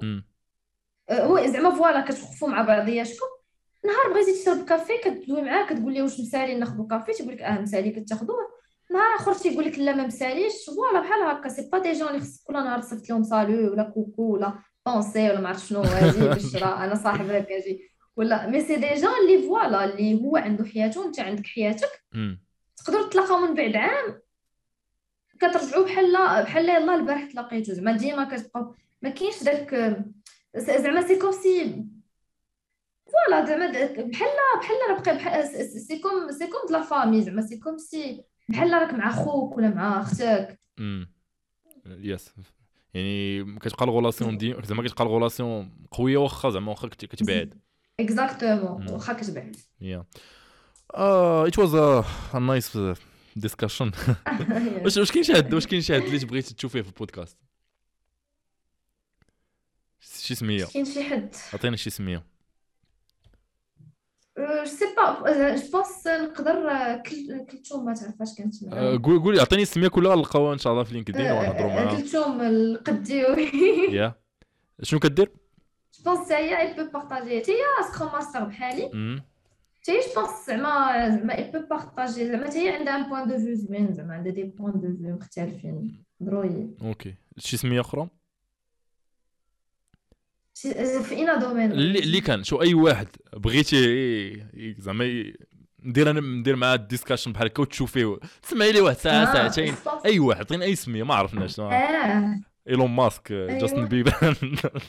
هو زعما فوالا كتوقفوا مع بعضياتكم. نهار بغيتي تشرب كافي كتدوي معاه كتقول ليه واش مسالي ناخذ كافي تيقول لك مسالي كتاخذوه. نهار اخر تيقول لك لا ما مساليش. فوالا بحال هكا سي با دي جون اللي خصك كل نهار تصيفط لهم سالو ولا كوكو ولا بونسي ولا ما عرفت شنو اجي بشرا انا صاحبك اجي ولا مي سي دي جون اللي فوالا اللي هو عنده حياته وانت عندك حياتك. تقدروا تلاقاو من بعد عام كترجعوا بحال يلاه البارح تلاقيتو زعما ديما كتبقاو ما كاينش داك زعما سي كوم سي فوالا زعما بحال راه بقى سي كوم د لا فامي زعما سي كوم سي بحال راك مع خوك ولا مع اختك. يس يعني كتبقى الغولاسيون ديما زعما كتبقى الغولاسيون قويه واخا زعما واخا كتبعد. اكزاكتومون واخا كتبعد. it was a nice discussion. واش كاين شي حد اللي بغيتي تشوفيه في البودكاست؟ شي سميه؟ كاين شي حد عطينا شي سميه. جو سي با جو بونس نقدر كلثوم ما تعرفاش كانت معايا. قولي عطيني السميه كلها نلقاوها ان شاء الله في لينكدين ونهضروا معاها. كلثوم القديوي. يا شنو كدير؟ جو بونس هي اي بو بارطاجي هي سكروم ماستر بحالي. تي جو بونس زعما اي بو بارطاجي زعما هي عندها ان بوين دو فيو زوين زعما عندها دي بوين دو فيو مختلفين درويد. اوكي شي سميه اخرى في اين دومين اللي كان شو اي واحد بغيتي زعما ندير معاه ديسكاشن بحال هكا وتشوفيه تسمعي لي واحد ساعه ساعتين اي واحد عطينا اي سميه ما عرفناش ايلون ماسك جاستن بيبر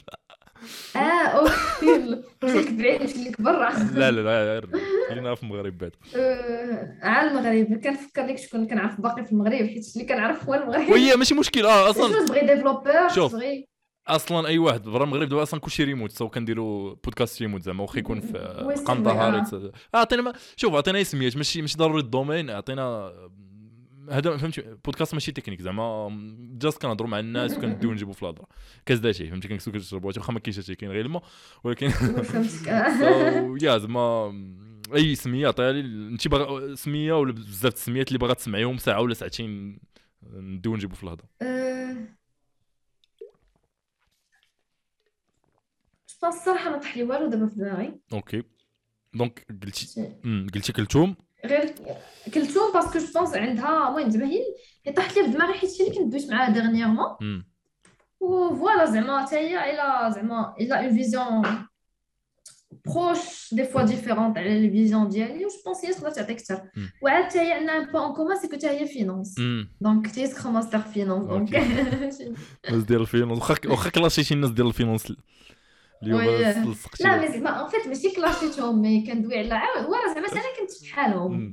اوكي مشيك بعيد مشي لك برا لا غير خلينا في المغرب بعد على المغرب كنفكر لك شكون كنعرف باقي في المغرب حيت اللي كنعرف هو المغرب وهي ماشي مشكل اصلا شنو تبغي ديفلوبور شوف تبغي اصلا اي واحد برا المغرب دابا اصلا كلشي ريموت سو كنديروا بودكاست ريموت زعما واخا يكون في قندهار عطينا شوف عطينا اسميات ماشي ضروري الدومين عطينا هذا فهمتي بودكاست ماشي تكنيك زعما جاست كنهضروا مع الناس وكنديو نجيبوا في الهضره كاز داشي فهمتي كنكسو كتشربوا واخا ما كاينش هادشي كاين غير الماء ولكن يا زعما اي سميه عطيها لي انت باغا سميه ولا بزاف السميات اللي باغا تسمعيهم ساعه ولا ساعتين نديو نجيبوا في الهضره الصراحه ما طاح لي والو دابا في دماغي اوكي دونك قلتي كلثوم غير كلثوم باسكو جو بونس عندها المهم زعما هي طاحت لي في دماغي حيت شي اللي كنت دويت معاها ديرنييرمون وفوالا زعما حتى هي الا اون فيزيون بروش دي فوا ديفيرونت على لي فيزيون ديالي و جو بونس هي تقدر تعطيك اكثر وعاد حتى هي عندنا ان بوين ان كومون سي كو حتى هي فينانس دونك حتى هي سكرام ماستر فينانس دونك الناس ديال الفينانس واخا كلاشي شي الناس ديال الفينانس اليوم لا مي زعما ان فيت ماشي كلاشيتهم مي كندوي على ولا زعما انا كنت بحالهم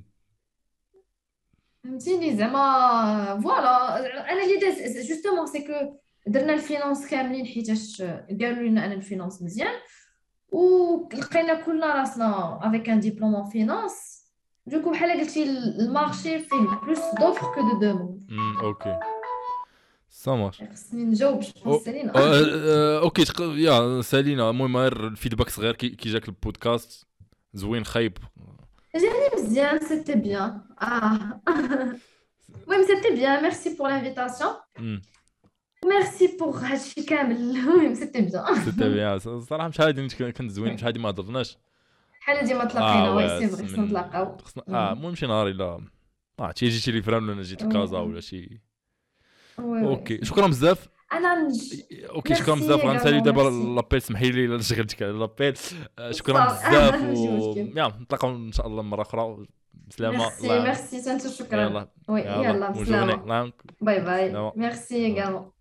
فهمتيني زعما فوالا انا اللي داز جوستومون سي كو درنا الفينانس كاملين حيتاش قالوا لنا انا الفينانس مزيان ولقينا كلنا راسنا افيك ان ديبلوم ان فينانس دوكو بحال قلتي المارشي فيه بلوس دوفر كو دو دوموند اوكي سامر خصني نجاوب سالينا اوكي يا سالينا المهم غير الفيدباك صغير كي جاك البودكاست زوين خايب جاني مزيان سيتي بيان المهم سيتي بيان ميرسي بور لانفيتاسيون ميرسي بور هادشي كامل المهم سيتي بيان الصراحه مش هادي كنت زوين مش هادي ما هضرناش بحال ديما تلاقينا وي سي فري خصنا نتلاقاو المهم شي نهار الا جيتي لي فران ولا جيت لكازا ولا شي اوكي شكرا بزاف اوكي شكرا بزاف غنسالي دابا لابيل سمحي لي الا شغلتك على لابيل شكرا بزاف يلا نتلاقاو ان شاء الله مره اخرى بسلامه ميرسي سانتو شكرا يلا بسلامه باي باي ميرسي également